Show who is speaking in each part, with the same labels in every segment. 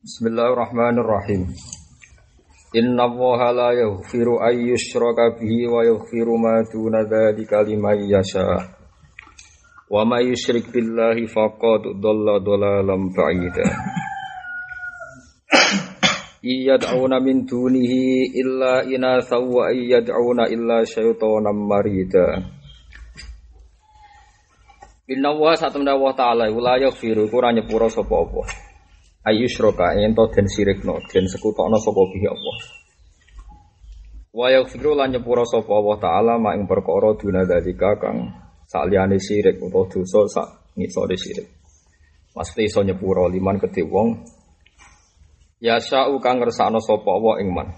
Speaker 1: Bismillahirrahmanirrahim. Innallaha la yaghfiru an yushraka bihi wa yaghfiru ma duna dzalika liman yasha. Wa may yusyrik billahi faqad dhalla dhalalan ba'ida. Iyad'una min dunihi illa inatha wa iyad'una illa syaitanan marida. Innallaha satamna wa ta'ala la yaghfiru ora nyepuro sapa apa. Ayyusroka ento den sirikno den sekutokno sapa bihi Allah. Wa yaghfiru lan nyepuro sapa Allah taala mak ing perkara duna dalika kang saliyane sirik utawa dosa sak ngisore sirik. Mesti iso nyepuro liman kedhe wong ya sa'u kang ngersakno sapa Allah ing man.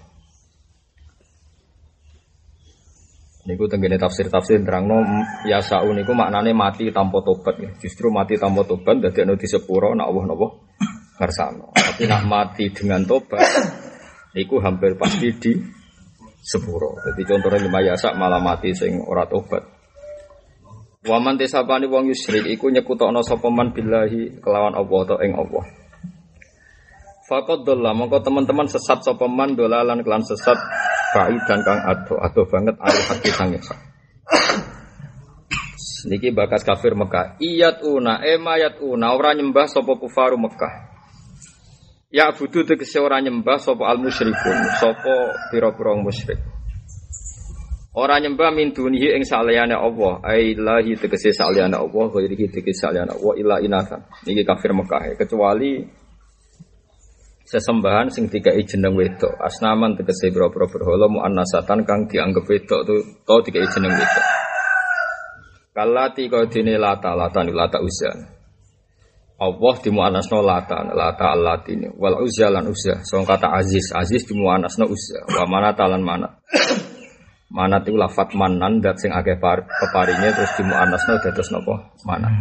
Speaker 1: Niku tenggene tafsir-tafsir nerangno ya sa'u niku maknane mati tanpa tobat ya. Justru mati tanpa tobat dadekno disepuro nek Allah napa ngersakno. Tapi nak mati dengan tobat iku hampir pasti di sepuro. Jadi contohnya lima yasak malah mati sing ora tobat. Waman tesapani wong yusyrik iku nyekutokno sapa man billahi kelawan Allah atau ing Allah. Faqad dhalla mongko teman-teman sesat sapa man dolalan kelan sesat baidan kang ado banget ayat hati sang yasak. Niki bakas kafir Mekah. Iyatuna mayatuna ora nyembah sapa kufaru Mekah. Ya budu tegese ora nyembah sapa al musyrikun, sapa pira-pira musyrik. Ora nyembah min dunihi ing saliyane Allah, ai lahi tegese saliyane Allah, ghairihi tegese saliyane Allah illa inathan. Niki kafir Mekah kecuali sesembahan sing dikai jeneng wedok. Asnaman tegese pira-pira berhala muannasatan kang dianggep wedok to dikai jeneng wedok. Kalati kodine lata uzan. Allah dimuannasna lata allatini wal uzza lan uzza sing kata aziz dimuannasna uzza wa manat lan manat iku lafat manan dat sing akeh peparinge terus dimuannasna dados napa manat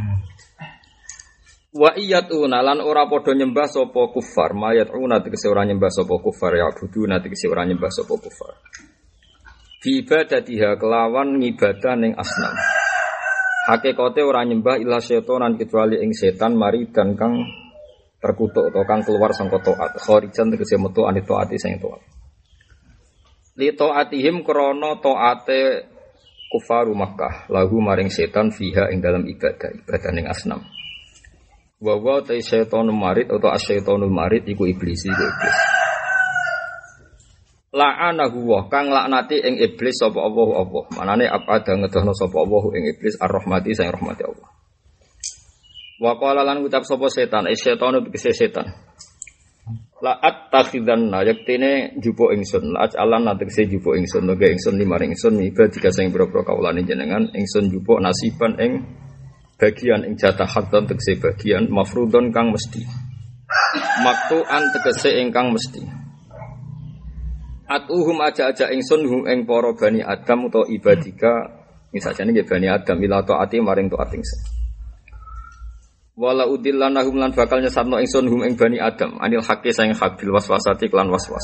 Speaker 1: wa iyatuna lan ora padha nyembah sapa kufar mayatuna tegese ora nyembah sapa kufar ya buduna tegese ora nyembah sapa kufar fi ibadatiha kelawan ngibadah ning asnam. Hakikate ora nyembah illa setan kecuali ing setan maridan kang terkutuk atau kang keluar sangka taat kharijan tegese metu anit taati sing taat li taatihim krana taate kufaru Makkah lahu maring setan fiha ing dalam ibadah ning asnam wa ta setan marid atau asyaitonul marid iku iblis. La'anahu wa kang laknati ing iblis sapa Allah. Manane abada ngedohno sapa Allah ing iblis ar-rahmati sing rahmati Allah. Wa qala lan ucap sapa setan, setan tegese setan. La attakhidanna yaktine jupo ingsun, la alan tegese jupo ingsun, nggih ingsun limaring ingsun ibadika sing pira-pira kawulane jenengan, ingsun jupo nasiban ing bagian ing jatah hadan tegese bagian mafrudon kang mesti. Maktu'an tegese ingkang mesti. Atuhum aja-aja ingsun hum ing para bani Adam utawa ibadika misajane nggih bani Adam ila taati maring taat ingsun. Wala udillanahum lan bakal nyesatno ingsun hum ing bani Adam anil haqqi saing hak bil waswasati lan waswas.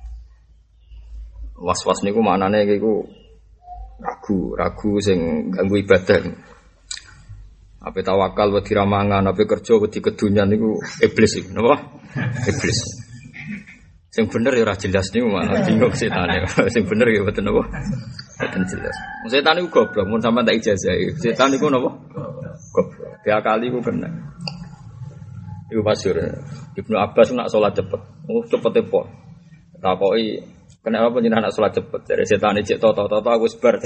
Speaker 1: Waswas niku maknane iku ragu sing ganggu ibadah. Ape tawakal wedi ramangan, ape kerja wedi kedunyan niku iblis iku napa? Iblis. Sing bener ya ora jelas niku malah bingung setane. Sing bener ya mboten napa? Mboten jelas. Setan niku goblok mun sampean tak ijazah. Setan niku napa? Goblok. Diakali ku kena. Iku masyhur. Ibnu Abbas nak salat cepet. Cepete po. Takoki kenapa panjenengan nak salat cepet? Jare setane cek toto aku wis bar.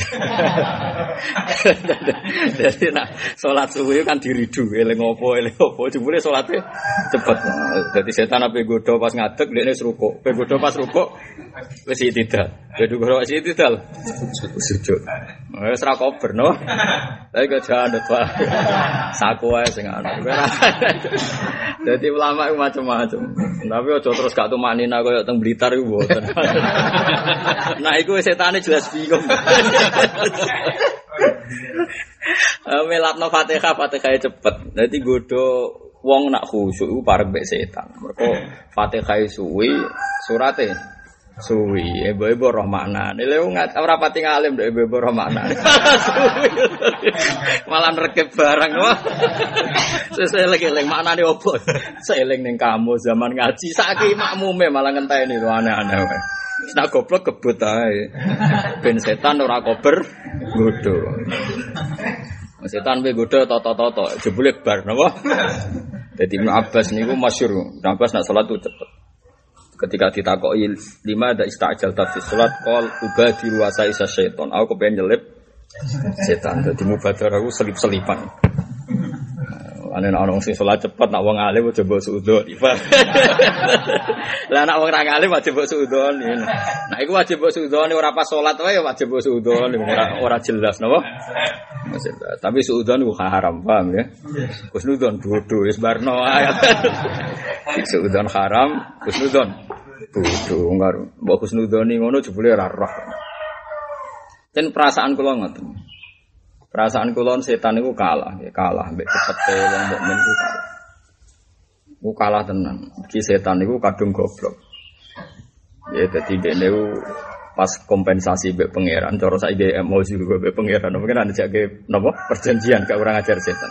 Speaker 1: Jadi nak salat suwi kan diridu eling opo jebule salate cepet. Dadi setan ape godho pas ngadeg dekne rukuk. Pe godho pas rukuk wis itidal. Godho wis itidal. Sujud. Wis ra kober no. Tapi kok jandet Pak. Saku wae sing ana. Dadi ulama iku macam-macam. Tapi aja terus gak tumanina koyo teng Blitar iku mboten. Nah iku setane jelas bingung. Melatno Fatihah cepet. Dadi godho wong nak khusyuk iku parek mek setan. Mergo Fatihah suwi surate Suwi, ibu-ibu roh maknane. Lha ora pati ngalim ndek ibu-ibu roh maknane. Suwi. Malah rekep barang wah. Seseling-eling maknane opo? Seeling ning kamu zaman ngaji saiki makmume malah ngenteni lho aneh-aneh wae. Nek goblok kebut ae. Ben setan ora kober nggodho. Setan pe nggodho toto-toto jebule bar napa? Dadi Ibnu Abbas niku masyhur. Ibnu Abbas nak salat itu cepet. Ketika ditakoki lima ada istajal tafsir salat qol ubadiru wasa isa syaiton. Aku kepengen nyelip setan. Dadi mubadarah aku selip-selipan. Ane ana wong sing salat cepet nak wong alim aja mbok suudon. Lah nak wong ra alim aja mbok suudon. Nah iku wajib mbok suudon ora pas salat wae wajib mbok suudon ora jelas napa? Tapi suudon ku haram, paham ya? Kusnudon bodoh wis barno ae. Suudon haram, kusnudon bodoh karo mbok kusnudoni ngono jebule ora roh. Ten perasaan kula ngoten. Perasaan kula setan niku kalah mbek cepete wong mukmin ku kalah. Ku kalah tenan. Iki setan niku kadung goblok. Ya dadi dene pas kompensasi mbek pangeran cara saiki emosi juga mbek pangeran mungkin ana jake napa perjanjian gak kurang ajar setan.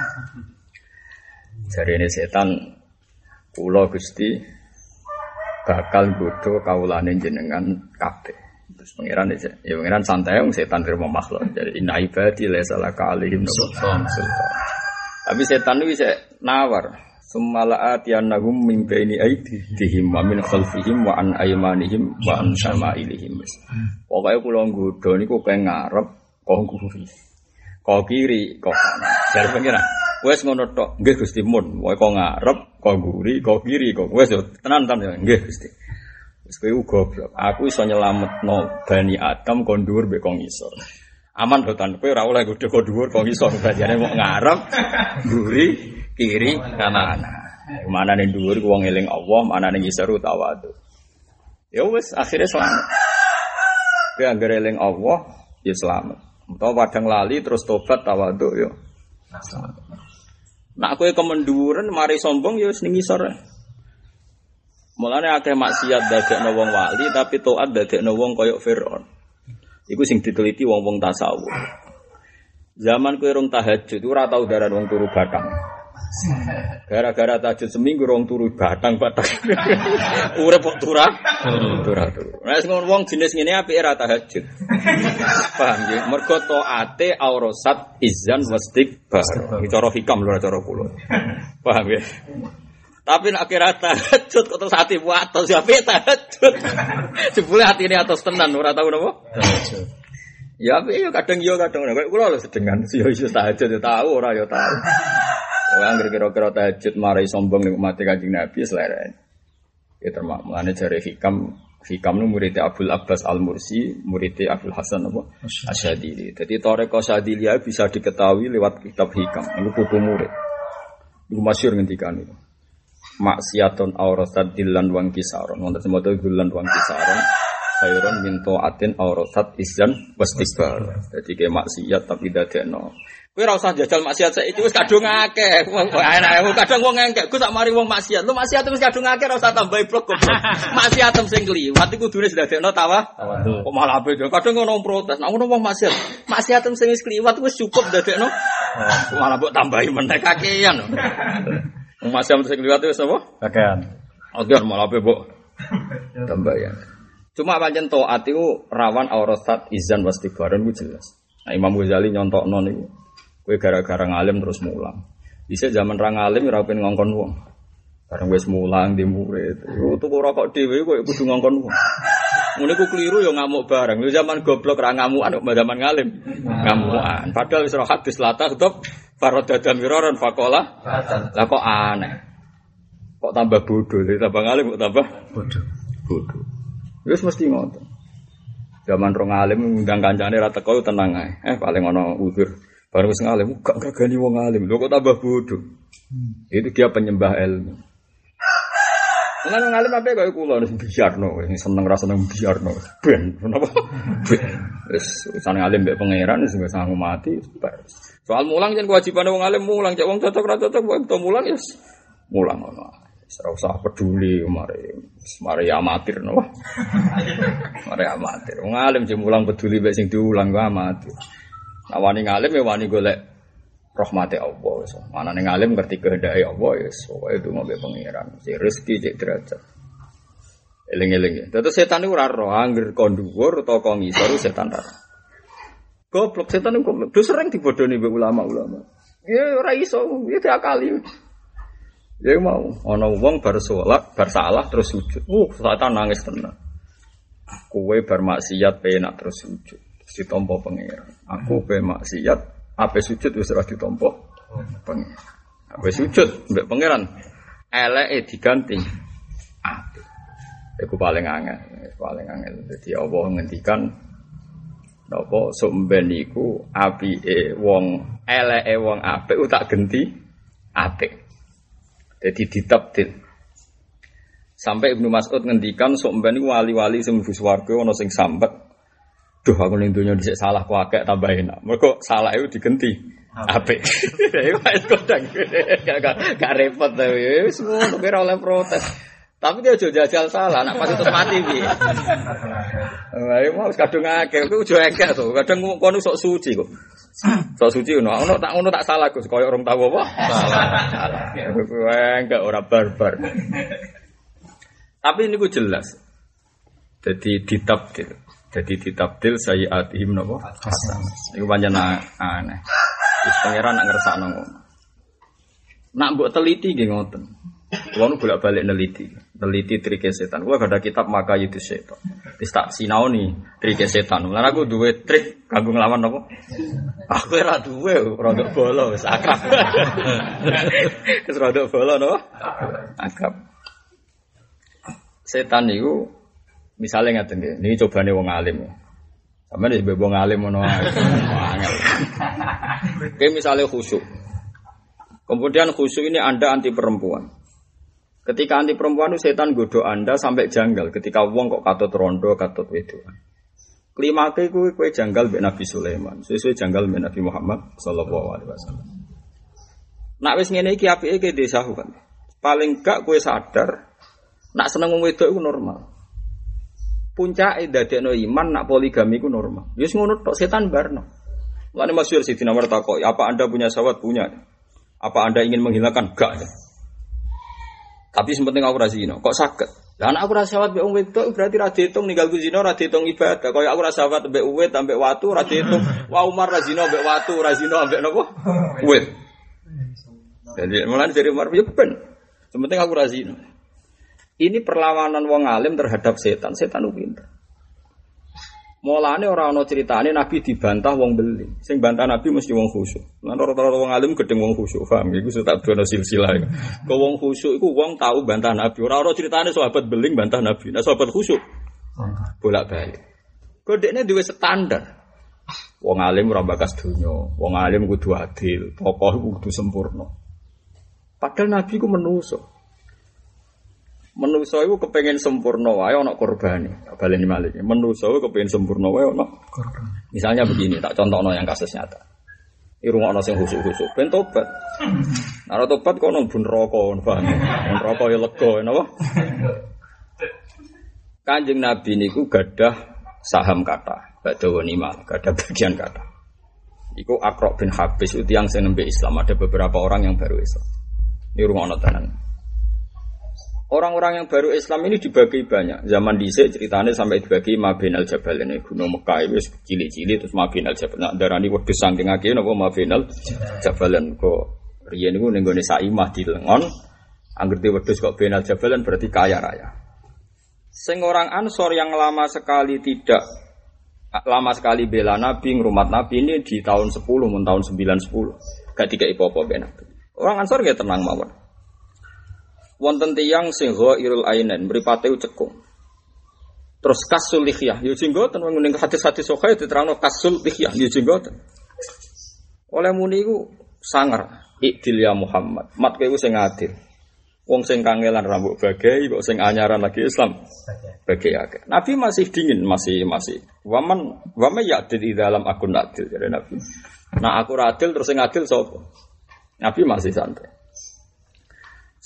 Speaker 1: Jarene setan kula Gusti bakal godho kawulane jenengan kabeh. Terus pangeran ya pangeran santai wong setan terima makhluk. Jadi inna ibadi laysa laka alaihim sultan. Tapi setan itu bisa nawar. Sumalaat yanahum min baini aydihim wa min khalfihim wa an aymanihim wa an syama'ilihim. Pokoke kula nggodho niku kok ngarep, kok nguri. Kok kiri, kok kanan. Jare pangeran, wis ngono tok. Nggih Gusti mun, pokoke kok ngarep, kok nguri, kok kiri, kok wis tenan ya. Nggih Gusti. Wis kowe goblok. Aku iso nyelametno Bani Adam kon dhuwur mbek kon ngisor. Aman boten kowe ora oleh godho kon dhuwur kon ngisor. Bajane mok ngarep, mburi, kiri, kanan. Manane dhuwur ku wong eling Allah, manane ngisor tawadu. Ya wis akhire selamat. Kowe anggere eling Allah, ya selamat. Utawa padang lali terus tobat tawadu ya. Nek kowe kemenduren mari sombong ya wis ning ngisor. Mulane akeh maksiat dadekno wong wali tapi taat dadekno wong kaya Firaun. Iku sing diteliti wong-wong tasawuf. Zaman kowe rong tahajud ora tau daran wong turu batang. Gara-gara tahajud seminggu rong turu batang-batang. Urip kok turah. Nek ngono wong jenis ngene apike ora tahajud. Paham ya? Mergo taate aurasat izan wastikbar. Iki cara hikam lho cara kula. Paham ya? Tapi nak kira tahajud kok terus hati atos ya tahajud. Jebule atine atos tenan ora tau napa? Tahajud. Ya kadang ora. Kula lho sedengan yo iso tahajud ya tahu ora ya tahu. Wong anggere kira-kira tahajud marai sombong ning umat Kanjeng Nabi seleren. Ya termak mulane jare Hikam nu murid Abdul Abbas Al-Mursi, murid Abdul Hasan apa? Asyadili. Jadi Thariqah Syadiliyah bisa diketahui lewat kitab Hikam. Iku putu murid. Iku masyhur ngendikan itu. Maksiatun aurasat dilan wang kisaron. Wonten semoto dilan wang kisaron. Khairon min ta'atin aurasat izan wastikbar. Jadi ke maksiat tapi dadekno. Kowe ora usah jajal maksiat saiki wis kadung akeh. Enak kadang wong engkek ku sak mari wong maksiat. Lu maksiat wis kadung akeh ora usah tambahi blok goblok. Maksiat sing kliwat iku kudune dadekno tawadhu. Kok malah ape kadang ngono protes. Nek ngono wong maksiat. Maksiat sing wis kliwat wis cukup dadekno. Malah mbok tambahi meneh kakean. Masih sing liwat wis apa? Kakean. Oke, malah ape mbok tambahan. Cuma pancen taat iku rawan aurasat izan wastikbaran ku jelas. Nah Imam Ghazali nyontokno niku. Kowe gara-gara ngalim terus mulang. Bisa zaman ra ngalim ora pengen ngongkon wong. Bareng wis mulang di murid. Tuku rokok dhewe kowe kudu ngongkon wong. Ngene ku keliru ya ngamuk bareng. Lu zaman goblok ra ngamukan kok zaman ngalim. Ngamukan. Padahal wis ora hadis latah tetep faradada miraran faqala. Lah kok aneh. Kok tambah bodoh, tambah ngalim kok tambah bodoh. Wis mesti ngoten. Zaman rong alim ngundang kancane ra teko tenang ae. Paling ana uzur. Baru wis ngalim gak gagani wong alim. Lho kok tambah bodoh. Itu dia penyembah ilmu. Ana wong alim ape kaya kula biarno, seneng ra seneng biarno. Ben, napa? Ben. Wis usane alim mbek pangeran wis gak sanggup mati. Soal mulang yen kewajibane wong alim mulang, cek wong cocok ra cocok wae to mulang ya mulang ngono. ora usah peduli mari amatir no. Mari amatir. Wong alim sing mulang peduli mek sing diulang ku amatir. Nah wani ngalim ya wani golek rahmate Allah wis. Manane ngalim ngerti kehendake Allah wis. Pokoke itu ngombe pangeran. Cek rezeki cek derajat. Eling-eling. Terus setan iku ora roh anggere kon dhuwur utawa kon ngisor setan ora. Goblok setan iku goblok. Sering dibodoni mbek ulama-ulama. Ya ora iso, ya diakali. Ya mau ana wong bar salat, bar salah terus sujud. Setan nangis tenan. Kowe bar maksiat penak terus sujud. Ditampa pangeran. Aku pe maksiat, ape sujud wis ora ditampa pangeran. Ape sujud mbek pangeran. Eleke diganti. Iku paling angel. Dadi Allah ngendikan napa sumben iku apike wong eleke wong apik tak genti apik. Dadi ditabdil. Sampai Ibnu Mas'ud ngendikan sumben iku wali-wali sing mlebu swarga ana sing sambet. Duh aku ning donya dhisik salah ku akeh tambah enak. Mergo salah iku digenti apik. Iku wis kodang. Gak repot ta wis ngono ora oleh protes. Tapi dia aja jajal salah, nak pasti terus mati piye. Lah mau kadung akeh, kuwi aja akeh to. Kadang kono sok suci kok. Sok suci ono tak salah Gus, koyo orang tahu apa? Salah. Enggak ora barbar. Tapi niku jelas. Jadi ditabdil sayiatihim napa? Hasan. Niku pancen aneh. Wis pangeran nak ngersakno ngono. Nak mbok teliti nggih ngoten. Kulo nu bolak-balik neliti trike setan. Kulo ada kitab maka itu setan. Wis tak sinaoni trike setan. Lan aku duwe trik kanggo nglawan napa? Aku ora duwe, rodok bola wis akrab. Wis rodok bola no? Akrab. Setan niku misale ngaten nggih. Niki cobane wong alim. Sampeyan wis mbok wong alim ngono ae. Angel. Kayak misale khusyuk. Kemudian khusyuk ini Anda anti perempuan. Ketika anti perempuan itu setan godho Anda sampai janggal. Ketika wong kok katut rondo, katut wedoan. Klimake kowe janggal mbek Nabi Sulaiman, sesuai janggal mbek Nabi Muhammad sallallahu alaihi wasallam. Nak wis ngene iki apike ke desahu kan. Paling gak kowe sadar nak seneng wong wedok iku normal. Puncake dadekno iman nak poligami iku normal. Wis ngono tok setan barno. Lan masyhur Sidina Umar takoki, "Apa Anda punya syahwat?" Punya. Apa Anda ingin menghilangkan? Enggak. Tapi sepenting aku ra zina. Kok saged? Lah anak aku ra syahwat mbek wong wedok berarti ra diitung ninggalku zina, ra diitung ibadah. Kaya aku ra syahwat mbek uwit ambek watu, ra diitung. Wa Umar ra zina mbek watu, ra zina ambek napa? Uwit. Jadi mulane dari Umar ya ben. Sepenting aku ra zina. Ini perlawanan wong alim terhadap setan. Setan ku pinter. Mulane ora ana critane Nabi dibantah wong beli. Sing bantah Nabi mesti wong khusyuk. Lan rata-rata wong alim gedeng wong khusyuk, paham? Iku tak dono silsilah. Kok wong khusyuk iku wong tau bantah Nabi. Ora ana critane sahabat beling bantah Nabi. Nah sahabat khusyuk bolak-balik. Kodekne duwe standar. Wong alim ora bakas donya, wong alim kudu adil, tokoh kudu sempurna. Padahal Nabi ku menungso. Menungso iku kepengin sempurna wae ana korbane. Baleni malih. Menungso iku kepengin sempurna wae ana korban. Misalnya begini, tak contohno yang kasus nyata. Irungokno sing khusuk-khusuk ben tobat. Nek tobat kok nang bun neraka, paham. Neraka ya lega, napa? Kanjeng Nabi niku gadah saham kathah, badhe ghanimah, gadah bagian kathah. Iku Aqra bin Habis itu yang sing nembe Islam, ada beberapa orang yang baru Islam. Irungokno tenan. Orang-orang yang baru Islam ini dibagi banyak. Zaman dhisik ceritanya sampai dibagi Mabinal Jabal ini gunung Mekah wis cilik-cilik terus Mabinal Jabal. Nak darani wedhus saking akeh napa Mabinal Jabalan kok riyen niku ning gone Saimah di Lengon. Angger di wedhus kok Binal Jabalan berarti kaya raya. Sing orang Ansor yang lama sekali bela Nabi, ngrumat Nabi ini di tahun 10 mun tahun 9-10. Gak dikai apa-apa ben Nabi. Orang Ansor nggih tenang mawon. Wonten tiyang sing ghairul ainen mripate cekung. Terus kasul lihyah, yo jenggoten ning hadis-hadis sahih diterangno kasul lihyah, yo jenggoten. Oleh muni iku sangar, ikdil ya Muhammad. Mat kowe sing adil. Wong sing kangelan rambut bagai kok sing anyaran lagi Islam. Bagai akeh. Nabi masih dingin, masih. Waman ya'dil dalam akun adil jare Nabi. Nah aku adil terus sing adil sapa? Nabi masih santai.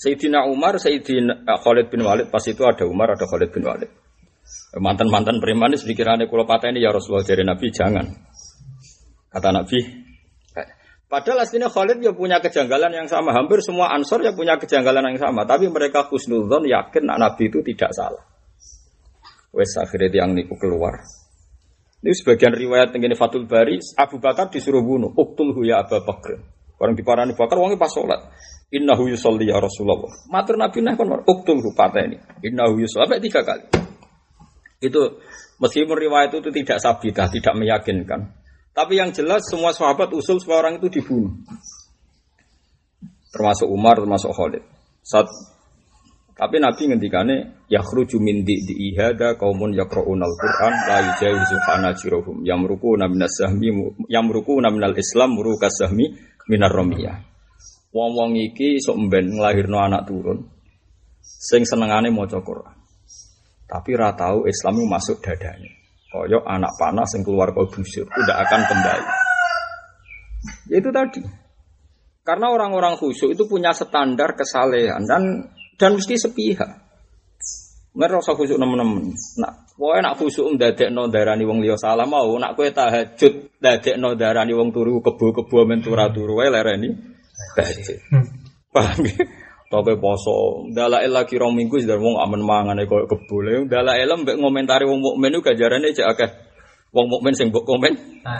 Speaker 1: Sayyidina Umar, Sayyidina Khalid bin Walid, pas itu ada Umar, ada Khalid bin Walid. Mantan-mantan preman ini pikirannya kula pateni ya Rasulullah dari Nabi jangan. Kata Nabi, padahal aslinya Khalid ya punya kejanggalan yang sama. Hampir semua Ansor ya punya kejanggalan yang sama. Tapi mereka husnudzon yakin Nabi itu tidak salah. Wes akhirnya tiang niku keluar. Ini sebagian riwayat tentang Fathul Bari, Abu Bakar disuruh bunuh. Uqtulhu ya Abu Bakar. Orang diparani Bakar, wongnya pas sholat. Innahu yusolli ya Rasulullah. Matur Nabi nah kon uqtulhu pateni. Innahu yusolli sampai 3 kali. Itu meskipun riwayat itu tidak sabitah, tidak meyakinkan. Tapi yang jelas semua sahabat usul semua orang itu dibunuh. Termasuk Umar, termasuk Khalid. Tapi Nabi ngendikane yakhruju min di ihada qaumun yaqra'unal Qur'an la yujawizu hanajiruhum yamruquna minal Islam murukas sahmi minar ramiyah. Wong-wong iki sok mben nglahirno anak turun sing senengane maca Qur'an. Tapi ra tau Islam masuk dadane. Koyok anak panah yang keluar ke busur tidak akan kembali. Ya itu tadi. Karena orang-orang khusyuk itu punya standar kesalehan dan mesti sepihak. Mereka rasa khusyuk nemen-nemen. Nak, kowe nak khusyuk ndadekno darani wong liya salah mau, nak kowe tahajud ndadekno darani wong turu kebo-kebo men turu wae lereni tahajud. Paham ya? Toke poso, dalail lagi rong minggu sudah wong amen mangane koyo kebule. Dalail mbek ngomentari wong mukmin ku ganjarane cek akeh. Wong mukmin sing mbok komen.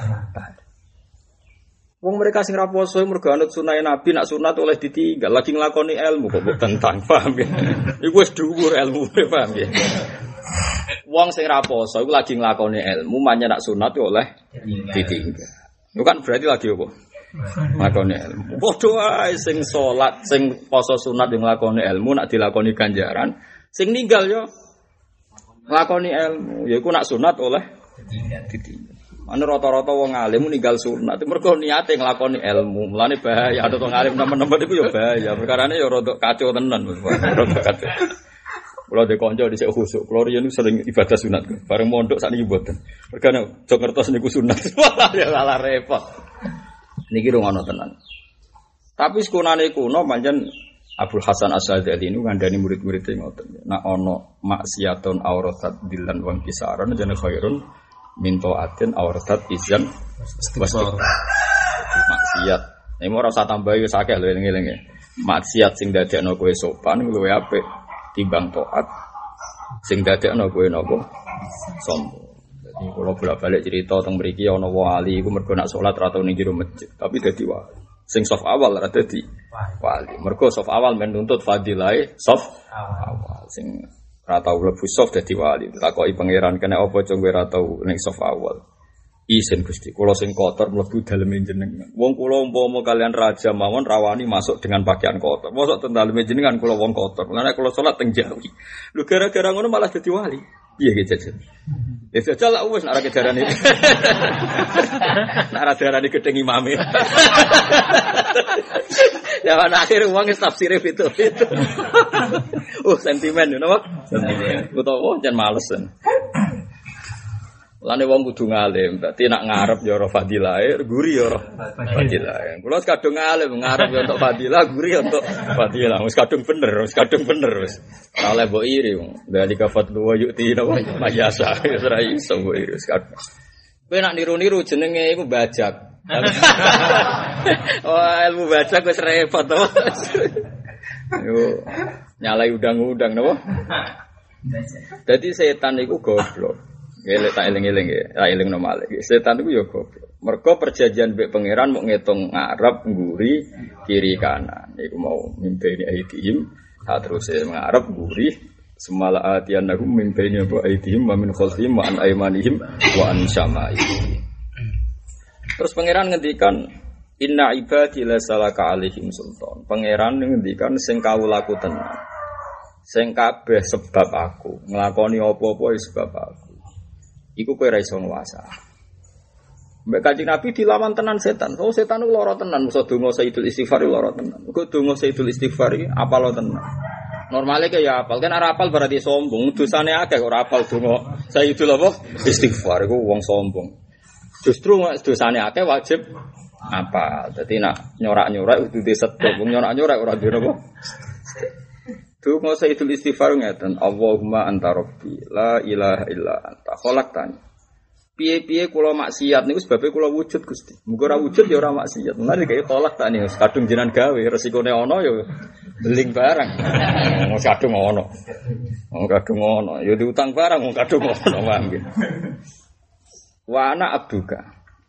Speaker 1: Wong mereka sing ra poso mergo anut sunah Nabi, nak sunat oleh ditinggal, lagi nglakoni ilmu kok mbok tentang, paham ya? Iku wis dhuwur ilmu, paham ya? Wong sing ra poso iku lagi nglakoni ilmu, manya nak sunat oleh ditinggal. Itu kan berarti lagi apa? Nglakoni ilmu. Padha ae sing salat, sing poso sunat yang nglakoni ilmu nak dilakoni ganjaran, sing ninggal yo nglakoni ilmu. Yaiku nak sunat oleh ditinggal. Ana rata-rata wong alim ninggal sunat mergo niate nglakoni ilmu. Mulane bahaya ada wong alim nemen-nemen iku yo bahaya. Perkarane yo rada kacau tenan, rada kacau. Kula de kanca dhisik khusuk. Kula riyen sering ibadah sunat. Bareng mondok sakniki mboten. Mergane aja ngertos niku sunat. Ya salah repot. Niki rungono tenan. Tapi sekunane kuno pancen Abdul Hasan Asy-Syadzali niku ngandani murid-muridé ngoten. Nek ana maksiatun auratat dilan wong kisaran jane khairun min taatin auratat izan wasfar. Maksiat. Nek ora usah tambahi wis akeh lho eling-eling. Maksiat sing dadekno kowe sopan luwih apik timbang taat sing dadekno kowe napa sombong. Kalau bolak-balik cerita tentang mriki ana wali iku mergo nak salat ra tau ning jero masjid, tapi dadi wali. Sing saf awal ra dadi wali. Mergo saf awal men nuntut fadilahe saf awal. Sing ra tau mlebu saf dadi wali. Takoki pangeran kena apa cung kowe ra tau ning saf awal. Isin Gusti, kula sing kotor mlebu daleme jenengan. Wong kula umpama kalian raja mawon rawani masuk dengan pakaian kotor. Mosok teng daleme jenengan kula wong kotor. Lan kula salat teng Jawi. Lho gara-gara ngono malah dadi wali. Piye ge jajan? Ya jajal lah wis nek ora kejaran iki. Nek ora darani gedeng imame. Ya ana akhir wong wis tafsire itu. Sentimen napa? Sentimen. Utawa jan malesen. Lane wong kudu ngalim, berarti nak ngarep ya ora fadilah, guri ya ora fadilah. Kula kadung ngalim, ngarep ya untuk fadilah, guri ya untuk fadilah. Wis kadung bener wis. Ora oleh mbok iri wong. Dari kafat wa yu'ti napa mayasa, wis ora iso mbok iri wis kadung. Kowe nak niru-niru jenenge iku bajak. Oh, ilmu bajak wis repot to. Yo nyalai udang-udang napa? Dadi setan iku goblok. Ngelek tak eling-eling ya, tak eling nomale. Setan itu ya goblok. Mergo perjanjian mbek pangeran mau ngitung ngarep, nguri, kiri kanan. Iku mau mimpeni aidihim, terus ngarep, nguri, semala atiyanahum mimpeni apa aidihim wa min khalfihim wa an aymanihim wa an syama'ihim. Terus pangeran ngendikan inna ibadi lasalaka alaihim sultan. Pangeran ngendikan sing kawulaku tenan. Sing kabeh sebab aku, nglakoni apa-apa sebab aku. Iku kowe ra iso nguasa. Mbek Kanjeng Nabi dilawan tenan setan. Oh setan ku lara tenan, musa donga Sayyidul Istighfar lara tenan. Kok donga Sayyidul Istighfar iki apal tenan. Normale ke ya apal, kan ora apal berarti sombong. Dosane akeh kok ora apal donga Sayyidul apa? Istighfar iku wong sombong. Justru dosane akeh wajib apal. Dadi nak nyorak-nyorak kudu disetuk. Wong nyorak-nyorak ora duwe apa? Donga Sayyidul Istighfar ngeten, Allahumma anta rabbi, la ilaha illa anta khalaqtani. Piye-piye kula maksiat niku sebabe kula wujud Gusti. Muga ora wujud ya ora maksiat. Mulane kaya khalaqtani kadung jenengan gawe, resikone ana ya beling barang. Wong kadung ana. Wong kadung ana, ya diutang barang wong kadung ana wae. Wa ana abduka.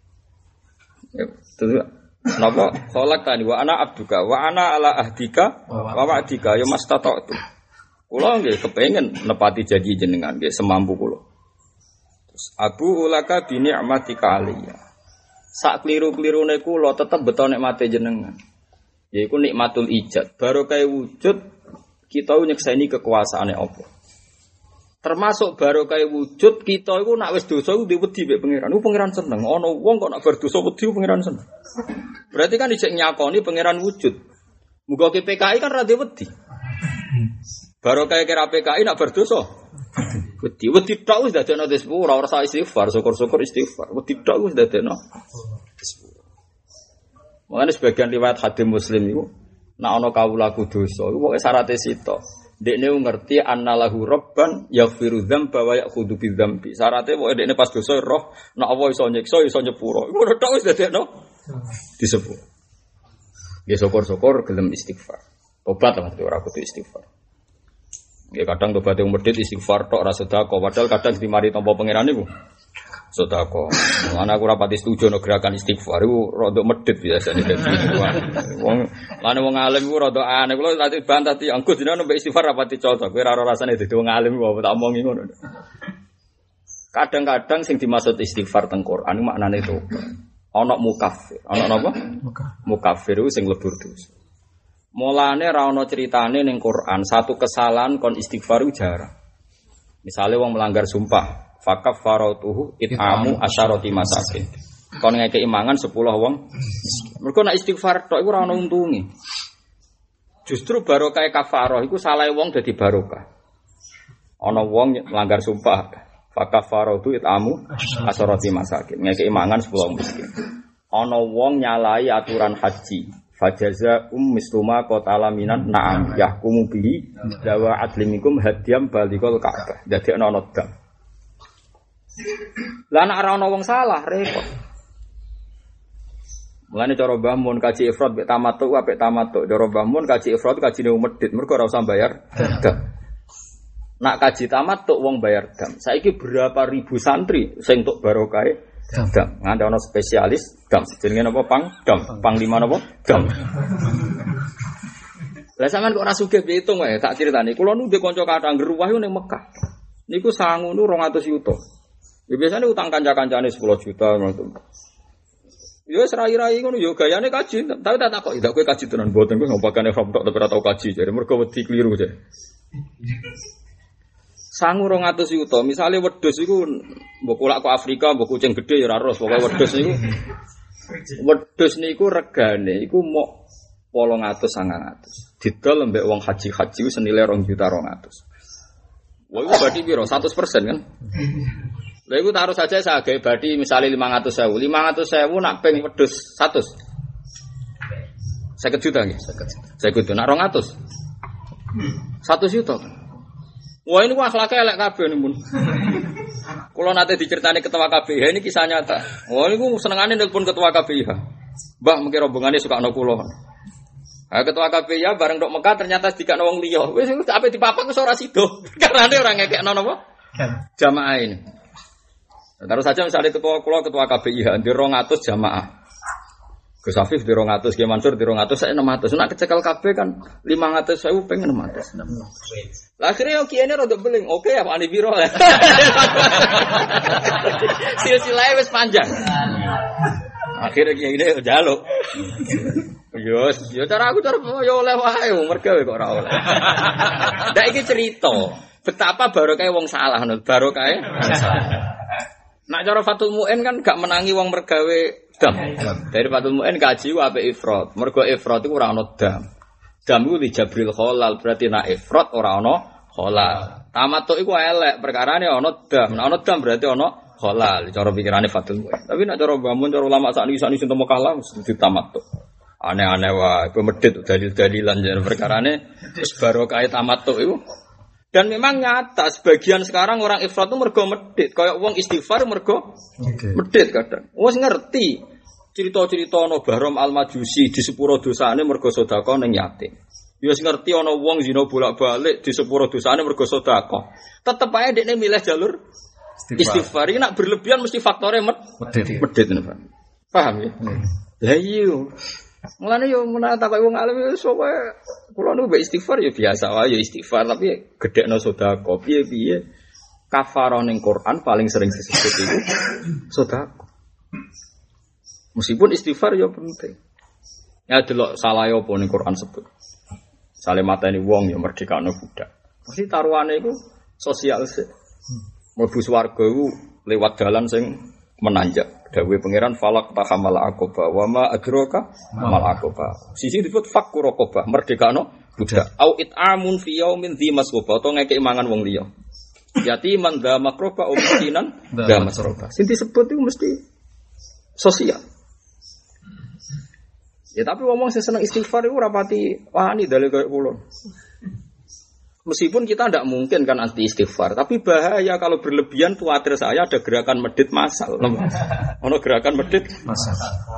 Speaker 1: Ya, terus napa khalaqtani wa ana abduka wa ana ala ahdika wa wa'dika ya mastata'tu. Kula nggih kepengin nepati janji jenengan nggih semampu kula. Terus Abu ulaka bi ni'matika aliyya. Sak kliru-klirune kula tetep beto nikmate jenengan. Yaiku nikmatul ijad. Barokah wujud kita nyekseni kekuasaane Allah. Termasuk barokah wujud kita iku nak wis dosa iku wedi mek pangeran. Iku pangeran seneng. Ana wong kok nak bar dosa wedi pangeran seneng. Berarti kan dicek nyakoni pangeran wujud. Muga ke PKI kan ra wedi. Barokah kira PKI nak bar dosa. Wedi tok wis dadekno disepuro ora usah istighfar, syukur-syukur istighfar. Wedi tok wis dadekno disepuro. Mangane sebagian riwayat hadis Muslim iku nak ana kawulaku dosa iku pokoke syaraté sitok. Dekne ngerti annalahu rabban yaghfiru dzamba wa ya'khudhu bidzambi. Syaraté pokoke dekne pas dosa roh nek Allah iso nyiksa iso nyepuro. Iku ora tok wis dadekno disepuro. Nggih syukur-syukur gelem istighfar. Tobat lah ora kudu istighfar. Nggih kadang tobat yang medhit istighfar tok ora sedekah padahal kadang dimari tampa pangeran niku sedekah. Ana aku ora pati setuju nek gerakan istighfar iku rada medhit biasane dadi wong lane wong alim iku rada aneh kula tadi bantah ti anggo jenenge nek istighfar ora pati cocok kowe ora rasane dadi wong alim kok tak omongi ngono. Kadang-kadang sing dimaksud istighfar teng Quran maknane tobat. Ana mukafir. Ana napa? Mukafir iku sing lebur dosa. Mulane ra ana critane ning Quran satu kesalahan kon istighfar jarang. Misale wong melanggar sumpah fakaf farautuhu it'amu asyarati masakin. Kon ngekeki mangan 10 wong. Mergo nek istighfar tok iku ora ana untunge. Justru barokah kafarah iku salahe wong dadi barokah. Ana wong melanggar sumpah, fakaf farautu it'amu asyarati masakin. Ngekeki mangan 10 wong miskin. Ana wong nyalai aturan haji, fajaza misluma qatala minan na'am yahkumu bihi dawa adlimikum hadiyam balikul ka'bah. Dadi ana dam. Lah nek ora ana wong salah repot. Mulane cara Mbah Mun kaji ifrad mek tamattu apik tamattu. Cara Mbah Mun kaji ifrad kajine medhit mergo ora usah bayar dam. Nak kaji tamattu wong bayar dam. Saiki berapa ribu santri sing entuk barokah dam. Ngandhe ana spesialis dam. Jenenge napa dam. Panglima napa? Dam. Lah sampean kok ora sugih pitung wae tak critani. Kula nu ndek kanca kathah ngruwah ning Mekah. Niku sangu nu 200 yuta. Ya biasanya utang kanca-kancane 10 juta ngono. Ya serai-rai ngono ya gayane kaji, tapi tak takok, "Ndak kowe kaji tenan mboten kowe ngopakane from tok tapi ora tau kaji." Jare mergo wedi kliru jare. Sangu 200 yuta, misale wedhus iku mbok kulak kok Afrika, mbok kucing gedhe ya ora ros, pokoke wedhus niku regane iku mok 800-900. Didol mbek wong haji-haji senilai 2.200.000. Wah, itu berarti piro? 100% kan? Lah iku taruh saja saya gawe badi misale 500.000. 500.000 nak ping wedhus 100. 50 juta nggih. 50 juta. Nak 200. 100 juta. Wah, ini akhlake elek kabeh niku. Kula nate diceritani ketua KPIH ini kisah nyata. Wah, niku senengane nelpon ketua KPIH. Mbah mengki rombongane suka ana kula. Ha ketua KPIH bareng ndok Mekah ternyata dikakno wong liya. Wis ape dipapak wis ora sida. Karane ora ngekekno napa? Jamaah ini. Terus saja misalnya ketua KPIH di 200 jamaah. Gus Afif di 200, Ki Mansur di 200, saya 600. Nak kecekel KB kan 500.000 pengen 600. Lah akhirnya Ki ini rada beling. Oke ya Pak Andi Biro. Silsilah wis panjang. Akhirnya Ki ini njaluk. Yo cara aku yo oleh wae mergo kok ora oleh. Ndak iki cerita betapa barokah wong salah ngono. Barokah salah. Nak cara Fatul Mu'in kan gak menangi wong mergawe dam. Dari Fatul Mu'in kaji apik ifrad. Mergo ifrad iku ora ana dam. Dam iku li Jabril Khalal, berarti nak ifrad ora ana halal. Tamattu iku elek, perkarane ana dam. Nek ana dam berarti ana halal. Cara pikirane Fatul Mu'in. Tapi nak cara bangun cara ulama sakniki sing temu kalah mesti tamattu. Aneh-aneh wae, medhit dalil-dalilan jan perkarane wis barokah tamattu iku. Dan memang nyata sebagian sekarang orang ifrat itu mergo medhit, kaya wong istighfar mergo medhit kadang. Wis ngerti cerita-cerita ana Bahram Al-Majusi di sepuro dosane mergo sedekah ning yatim. Ya wis ngerti ana wong zina bolak-balik di sepuro dosane mergo sedekah. Tetep ae dekne milih jalur istighfar. Iki nak berlebihan mesti faktore medhit. Paham ya? Lah iya. Mulane yo menawa tak wong alim yo sok kula niku mbek istighfar yo biasa wae yo istighfar tapi gedhekno sedekah piye-piye kafarah ning Quran paling sering disebut itu sedekah. Meskipun istighfar yo penting. Ya delok salah yo apa ning Quran sebut. Sale mateni wong yo merdekano budak. Mesti taruhane iku sosial sih. Mlebu swarga iku lewat dalan sing menanjak. Dawe pangeran falak tahamal aqaba wa ma adraka mal aqaba. Sisi disebut fakku raqabah, merdekano budak. Au it'amun fi yaumin dzi masghaba, to ngekek mangan wong liya. Yatiman dza makroba umtinan dza masroba. Sing disebut itu mesti sosial. Ya tapi ngomong sing seneng istighfar iku ora pati wani dalil koyo kula. Meskipun kita tidak mungkin kan anti istighfar, tapi bahaya kalau berlebihan. Khawatir saya ada gerakan medit massal. Ono gerakan medit massal.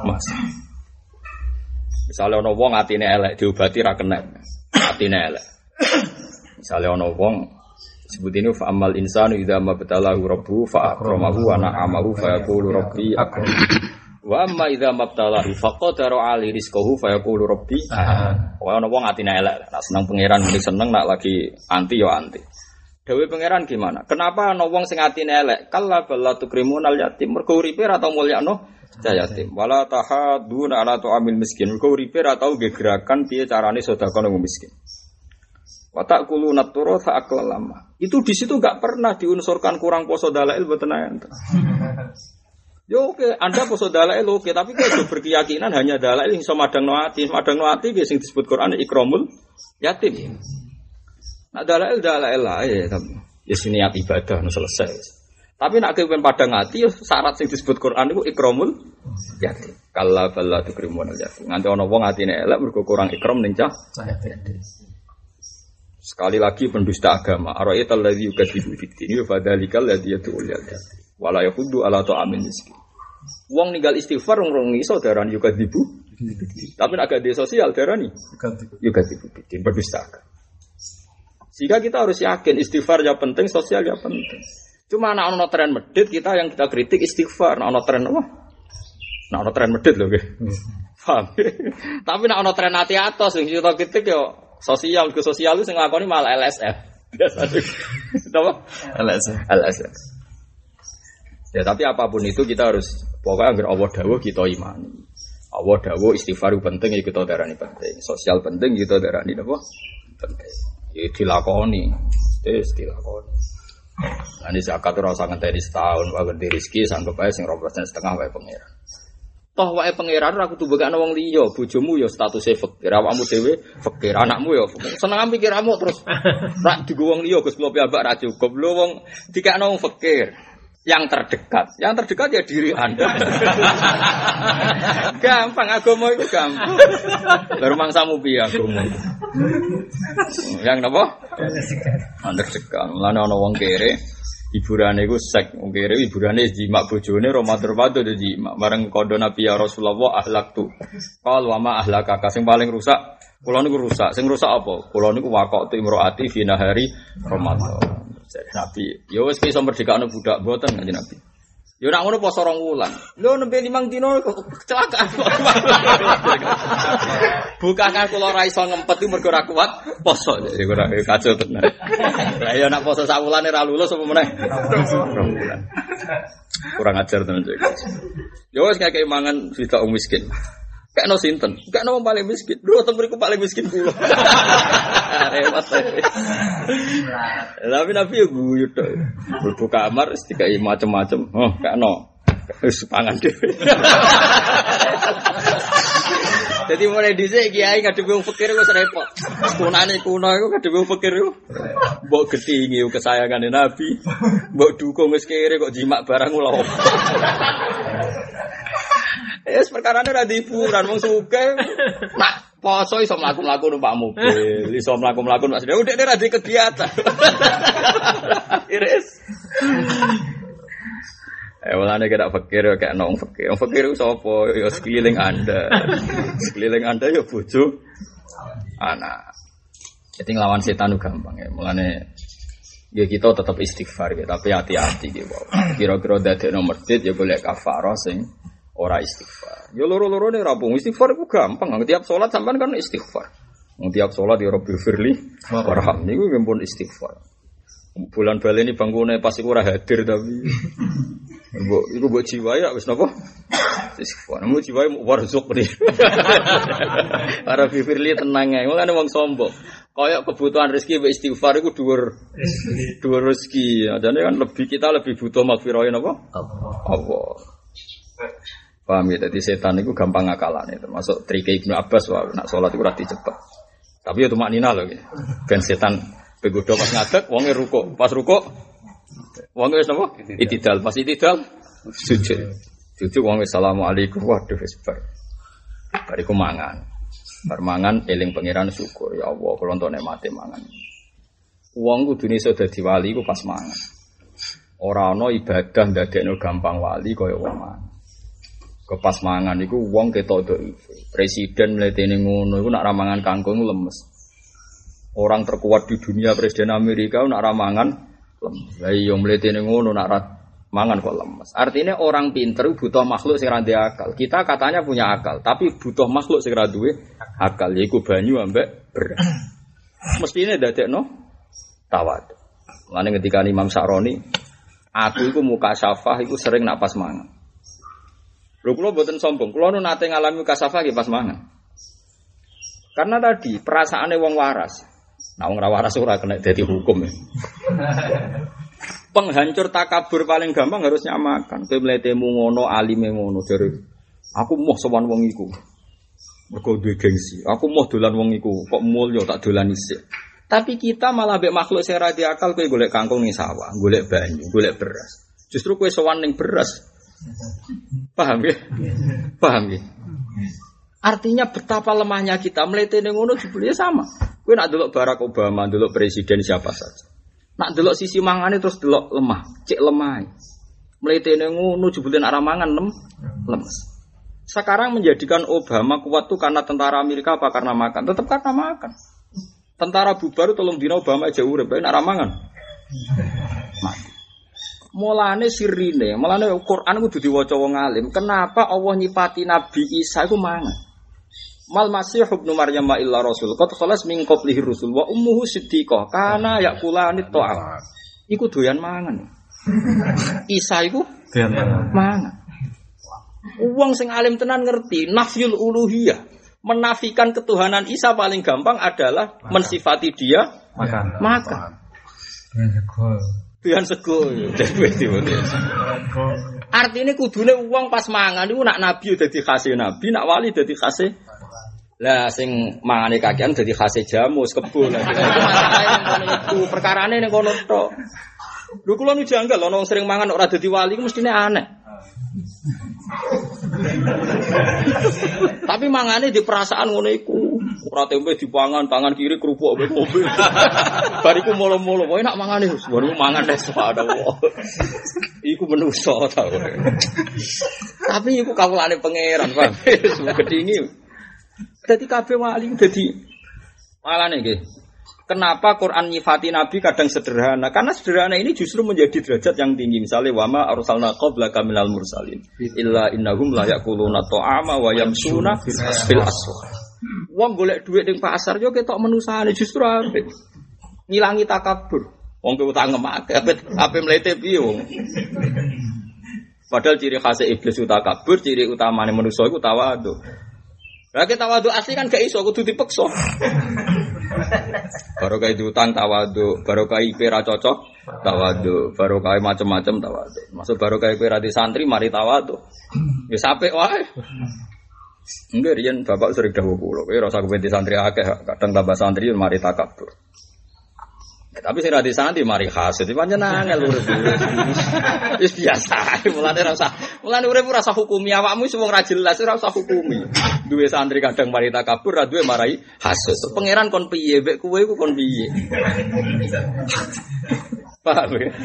Speaker 1: Misalnya ono wong atine elek diobati ra kena. Atine elek. Misalnya ono wong sebut ini fa amal insanu idza mabtalahu rabbuhu fa akramahu wa na'amahu fa yaqulu rabbi akram. Wa amma idza mabtalahu faqadara 'ali rizqahu fa yaqulu rabbi ana wong atine elek nak seneng pangeran muni seneng nak lagi anti yo anti. Dewe pangeran gimana? Kenapa ana wong sing atine elek? Kalla balla tukrimunal yatim mergo uripe ra tau mulyakno yatim. Wala tahaduna ala tu'amil miskin mergo uripe ra tau gerakan piye carane sedekah nang miskin. Wa ta'kuluna turatha aklan lama. Itu di situ enggak pernah diunsurkan kurang poso dalail mboten enten. Yo oke, Anda poso dalail oke, tapi kalau berkeyakinan hanya dalail yang sama madang noati yang disebut Quran ikramul yatim. Nah dalail lah ya, ya niat ibadah no selesai. Tapi nak kepen padang hati, syarat yang disebut Quran itu ikramul yatim. Kalla balla tukrimunal yatim. Nganti ana wong atine elek mergo kurang ikram ning cah yatim. Sekali lagi pendusta agama. Ara'aital ladzi yukadzibu bid-din fa dzalikal ladzi yad'ul yatim. Wala yakhuddu ala ta'amil miskin. Wong ninggal istighfar rong iso darani yukadzibu. Tapi nek agak di sosial darani yukadzibu bid-din berdusta. Sehingga kita harus yakin istighfar ya penting, sosial ya penting. Cuma nek ana tren medhit kita yang kita kritik istighfar, nek ana tren apa? Nek ana tren medhit lho nggih. Paham. Tapi nek ana tren ati atos sing kita kritik yo sosial, ke sosial itu sing nglakoni malah LSF. Biasa. Apa? LSF. Ya tapi apapun itu kita harus pokoknya agar Allah dawuh kita imani. Allah dawuh istighfar penting ya kita darani penting. Sosial penting kita darani apa? Penting. Ya dilakoni. Dilakoni. Ini zakat ora usah ngenteni setahun wae ngerti rezeki sanggup ae sing 2,5% wae pangeran. Toh wae pangeran ora kudu bekakno wong liya, bojomu ya statuse fakir, awakmu dhewe fakir, anakmu ya fakir. Seneng pikirmu terus rak digo wong liya Gus kula piyambak ra cukup. Lho wong dikakno wong fakir. Yang terdekat ya diri Anda. Gampang agama itu gampang. Baru mangsamu piye agama. Yang napa? Terdekat. Mulane ana wong kere hiburane iku sek, wong kere hiburane jimak bojone romatur-matur jimak. Bareng kondo Nabi ya Rasulullah ahlaktu. Qal wa ma ahlaka sing paling rusak. Kula niku rusak. Sing rusak apa? Kula niku waqatu imroati fi nahari Ramadan. Nabi, yo wis iso merdekakno budak mboten kanjeng Nabi. Yo nak ngono poso 2 wulan. Lho nembe 5 dino kecelakaan. Bukakan kula ora iso ngempet iki mergo ora kuat poso. Jadi ora kacau tenan. Lah yo nak poso 1 wulane ra lulus apa meneh? 2 wulan. Kurang ajar tenan cek. Yo wis kakek mangan sida wong miskin. Kekno sinten? Kekno wong paling miskin. Lho teng mriku paling miskin kula. Repot. Tapi Nabi yo guyu tok. Mlebu kamar wis dikai macem-macem. Oh, kekno. Wis pangan dhewe. Jadi mulai dhisik kiai ngadepi wong fakir wis repot. Kunane kuno iku ngadepi wong fakir iku. Mbok gedhingi kesayangane Nabi. Mbok dukung wis kere kok jimak barang lho. Es perkarane ra hiburan wong sugih. Nak poso iso mlaku-mlaku numpak mobil, iso mlaku-mlaku Mas. Udah ra di kegiatan. Iris. Walane kira fakir kayak nong fakir. Wong fakir ku sapa? Ya sekeliling Anda. Sekeliling Anda ya bojo anak. Jadi nglawan setan itu gampang ya. Mulane ya kita tetap istighfar ya, tapi hati-hati gitu. Kira-kira dadekno masjid ya golek kafarah sing ora istighfar. Ya loro-lorone rampung istighfar itu gampang. Tiap salat sampean kan istighfar. Tiap salat ya Rabbil firli warham niku nggih istighfar. Bulan baleni bangkune pas iku ora hadir tapi iku mbok jiwa ya wis napa? Istighfar. Mu jiwa mu warzuk nih. Para firli tenang ae. Mulane wong sombong. Kayak kebutuhan rezeki mbek istighfar iku dhuwur rezeki. Adane kan kita lebih butuh magfirah napa? Allah. Paham ya, jadi setan itu gampang ngakalane, termasuk trike Ibnu Abbas wah nak salat iku ora dicepat. Tapi ya tumak nina lho, ben setan begodo pas ngadeg wonge rukuk, pas rukuk wonge wis napa? Itidal, pas itidal sujud. Sujud wonge asalamualaikum, waduh wis bar. Bariku mangan. Bar mangan eling pangeran syukur, ya Allah kula entuk nikmate mangan. Wong kudune iso dadi wali iku pas mangan. Ora ana ibadah ndadekno gampang wali kaya wong mangan. Kepas mangan iku wong ketok dhaif. Presiden mletene ngono iku nak ramangan kangkung lemes. Orang terkuat di dunia Presiden Amerika nak ramangan lemes. Lah iya mletene ngono nak mangan kok lemes. Artinya orang pinter butuh makhluk sing ra akal. Kita katanya punya akal, tapi butuh makhluk sing ra duwe akal yaiku banyu ambek beras. Mestine dadekno tawadhu. Lane ketika Imam Sa'roni, aku iku muka syafah iku sering nak pas mangan. Lho kula mboten sombong, kula nu nate ngalami kasafah nggih pas mangan. Karena tadi perasaane wong waras. Nah wong ra waras ora kena dadi hukum ya. Penghancur takabur paling gampang harusnya makan. Kowe mletemu ngono, alime ngono jare. Aku moh sowan wong iku. Mergo duwe gengsi. Aku moh dolan wong iku, kok mulya tak dolan isih. Tapi kita malah mbek makhluk sing ra diakal kowe golek kangkung ning sawah, golek banyu, golek beras. Justru kowe sowan ning beras. Paham ya? Paham ya? Artinya betapa lemahnya kita mletene ngono jebule sama. Kowe nak delok Barack Obama, delok presiden siapa saja. Nak delok sisi mangane terus delok lemah, cek lemah. Mletene ngono jebule nak ramangan lemes. Sekarang menjadikan Obama kuat tuh karena tentara Amerika apa karena makan? Tetap karena makan. Tentara bubar tolong dina Obama aja urip, nak ramangan. Mati. Mulane sirine, mulane Quran kudu diwaca wong alim. Kenapa Allah nyipati Nabi Isa iku mangan? Mal Masih ibnu Maryam illa rasul. Qad khalas min qablihi rusul wa ummuhu siddiqah. Kana yakulani ta'am. Iku doyan mangan. Isa iku doyan mangan. Wong sing alim tenan ngerti nafyul uluhiyah. Menafikan ketuhanan Isa paling gampang adalah mensifati dia makan. Tuhan sego artinya kudune uang pas mangan itu nak nabi dadi khase nabi, nak wali dadi khase. Lah sing mangane kakean dadi khase jamus kebo lah. Itu perkarane ning kono tok. Lho kula nu janggal ana wong sering mangan ora dadi wali ku mestine aneh. Tapi mangane di perasaan ngono iku. Ora tempe dipangan tangan kiri kerupuk mbek mobil. Bariku molo-molo kowe nak mangane baru mangan wis ada. Iku menungso ta. Tapi iku kawulane pangeran, Pak. Wis gedhingi. Dadi kabeh wali dadi malane nggih. Kenapa Quran nyifati Nabi kadang sederhana? Karena sederhana ini justru menjadi derajat yang tinggi. Misalnya wama arsalna qablaka minal mursalin illa innahum la yaquluna ta'ama wa yamsuna fil aswaq. Wong golek dhuwit ning pasar yo ketok menusane justru apik. Ngilangi takabur. Wong ke utang ngemak ape mlete piye wong. Padahal ciri khas iblis utakabur, ciri utamane manusa iku tawadhu. Lah kita tawadhu asli kan gak iso kudu dipeksa. Barokah diutang tawadhu, barokah IP ra cocok tawadhu, barokah macam-macam tawadhu. Maksud barokah IP ra di santri mari tawadhu. Ya sapek wae. Enggak riyen bapak sering dawuh kula, kowe ora usah kepen di santri akeh, kadang tambah santri mari takabur. Tapi sing ra di santri mari hasud pancen angel urip. Wis biasa, mulane urip ora usah hukumi awakmu wis wong ra jelas ora usah hukumi. Duwe santri kadang mari takabur, ra duwe marai hasud. Pangeran kon piye mek kowe iku kon piye? Paham ya?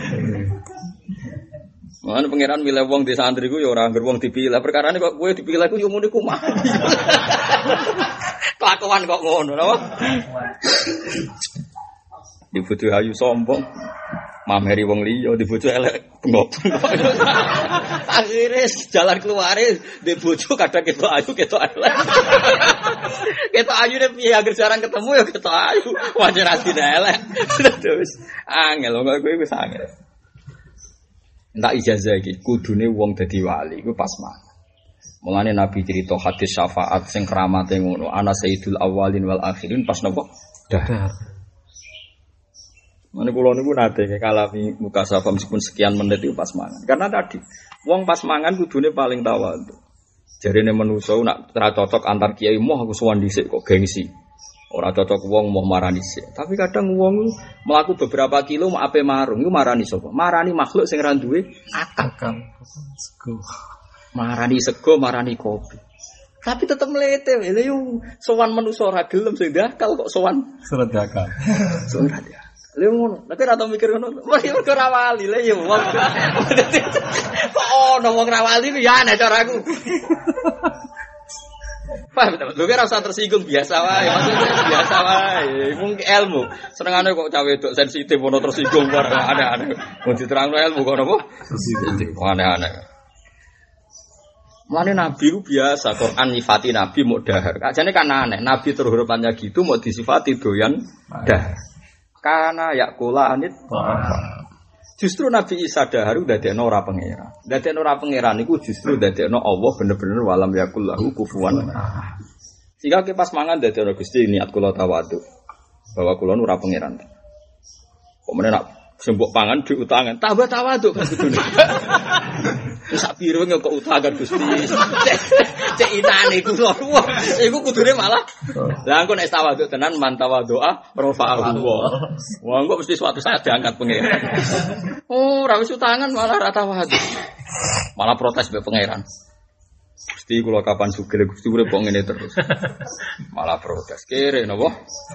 Speaker 1: Mulane pangeran milih wong di santri ku ya ora ngger wong dipilih. Perkarane kok kowe dipilih ku yo ngene ku mah. Kelakuan kok ngono napa? Di bojo ayu sombong, mameri wong liya, di bojo elek bengok. Akhire jalan keluare di bojo kadang ketok ayu, ketok elek. Ketok ayune piye agar jarang ketemu ya ketok ayu, wajar asline elek. Terus angel kok kowe wis angel. Entak ijazah iki kudune wong dadi wali iku pas mangan. Mulane Nabi cerita hadis syafaat sing keramate ngono, ana sayyidul awwalin wal akhirin pas napa? Dahar. Mane kula niku nate kalami muka safa meskipun sekian menit itu pas mangan. Karena tadi wong pas mangan kudune paling tawadhu. Jarene manusa nak ora cocok antar kiai moh aku sowan dhisik kok gengsi. Ora cocok wong moh marani sik. Tapi kadang wong mlaku beberapa kilo mau ape marung iku marani sapa? Marani makhluk sing ra duwe akal. Sego. Marani sego, marani kopi. Tapi tetep mlete lho yo sowan manusa ora gelem sing dakal kok sowan surat dakal. Surat ya. Lha ngono, tapi ora tau mikir ngono. Mergo ora wali lha ya wong. Kok ono wong ra wali ya ana caraku. Paham ta? Lho ora usah tersinggung biasa wae, maksudnya biasa wae. Mung ilmu. Senengane kok cah wedok sensitif ono tersinggung kok aneh-aneh. Mau diterangno ilmu kok napa? Sensitif. Aneh-aneh. Mane Nabi ku biasa Quran nyifati Nabi mau dahar. Ajane kan aneh, Nabi terhormatnya gitu mau disifati doyan dahar. Karena yakula anit. Justru Nabi Isa dahar dadekno ora pangeran. Dadekno ora pangeran iku justru dadekno Allah bener-bener walam yakul lahu kufuwan. Sehingga ke pas mangan dadekno Gusti niat kula tawadhu. Bahwa kula ora pangeran. Kok meneh nak sembok pangan diutangan tambah tawadhu kan kudune. Sak piro kok utangan Gusti. Cek inane kula. Iku kudune malah. Lah engko nek tawadhu tenan man tawadhu'a rafa'ahu. Wah engko mesti suatu saat diangkat pangeran. Oh, ora wis utangan malah ra tawadhu. Malah protes mbek pangeran. Gusti kula kapan sugih Gusti urip kok ngene terus. Malah protes. Kere napa?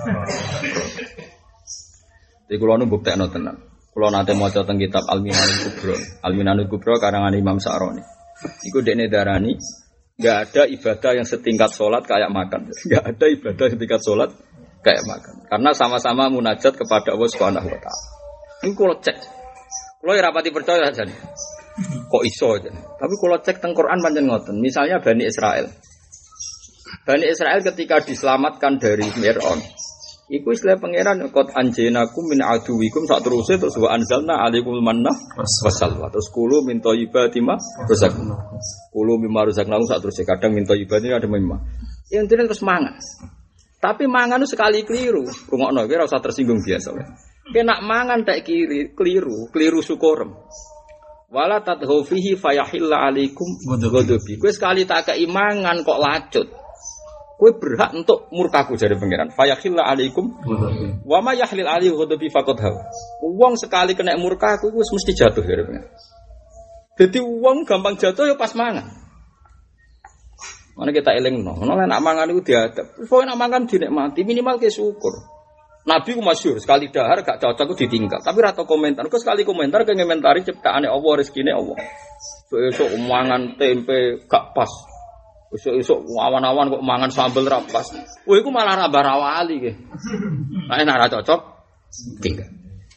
Speaker 1: Iki kula nu buktekno tenan. Kula nate maca teng kitab Al-Minanul Kubra. Al-Minanul Kubra karangan Imam Sa'roni. Iku dekne darani enggak ada ibadah yang setingkat salat kayak makan. Enggak ada ibadah setingkat salat kayak makan. Karena sama-sama munajat kepada Allah Subhanahu wa taala. Ini kula cek. Kula ora pati percaya jan. Kok iso jan. Tapi kula cek teng Quran pancen ngoten. Misalnya Bani Israel. Bani Israel ketika diselamatkan dari Fir'aun. Iku istilah pangeran qad anjaynakum min aduwikum sak teruse terus wa anzalna alaikumul manna wasalwa terus kulu min thayyibati ma razaqna kulu mimma razaqna sak teruse kadang min thayyibati ada mimma yang intine terus mangan tapi mangan itu sekali keliru rungokno kowe ora usah tersinggung biasa wae kena mangan tak keliru syukur wala tadhu fihi fayahilla alaikum ghadabi kowe sekali tak keimangan kok lacut kowe berhak untuk murkaku jare pangeran. Fayakhilla alaikum wa ma yahlil alaihi ghadabi faqad haw. Wong sekali kena murkaku wis mesti jatuh jare pangeran. Dadi wong gampang jatuh ya pas mangan. Mana kita elingno, ana nek mangan iku diadab. Pokoke nek mangan dinikmati minimal ke syukur. Nabi ku masyhur sekali dahar gak cocok ku ditinggal. Tapi ra tau komentar. Kok sekali komentar ke ngomentari ciptaane Allah rezekine Allah. Esuk mangan tempe gak pas. Esuk awan-awan kok mangan sambel ra pas. Kowe iku malah ra barawali ke. Nek ora cocok tinggal.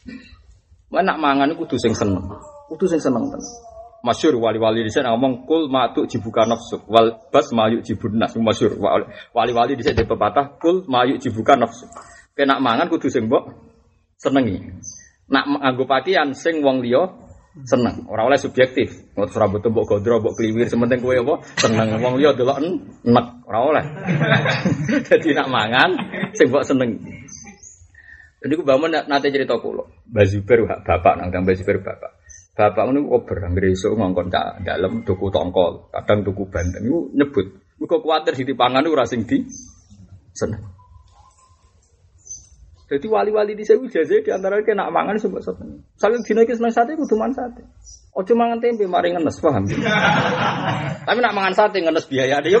Speaker 1: Nak mangan iku kudu sing seneng. Kudu sing seneng tenan. Masyhur wali-wali dhisik ngomong kul ma'tu jibuka nafsu wal bas ma'yu jibun nas masyhur. Wali-wali dhisik de pepatah kul ma'yu jibuka nafsu. Kena mangan kudu sing mbok senengi. Nak nganggo pakaian sing wong liya seneng, ora oleh subjektif. Ngono ora butuh mbok gondro, mbok kliwir, sementing kowe apa seneng. Wong liya delok enek, ora oleh. Dadi nak mangan sing mbok seneng. Jadi ku bangun nate cerita kula. Mbah Zubair bapak nang Mbah Zubair bapak. Bapak niku ober anggere esuk ngongkon cak dalem tuku tongkol, kadang tuku bandeng niku nyebut. Muga kuwatir dipangan ora sing di seneng. Jadi wali-wali di sewu jaze di antara ki nak mangan sebab sate. Saking dina iki seneng sate kudu mangan sate. Ojo mangan tempe mari ngenes, paham? Tapi nak mangan sate ngenes biaya dia.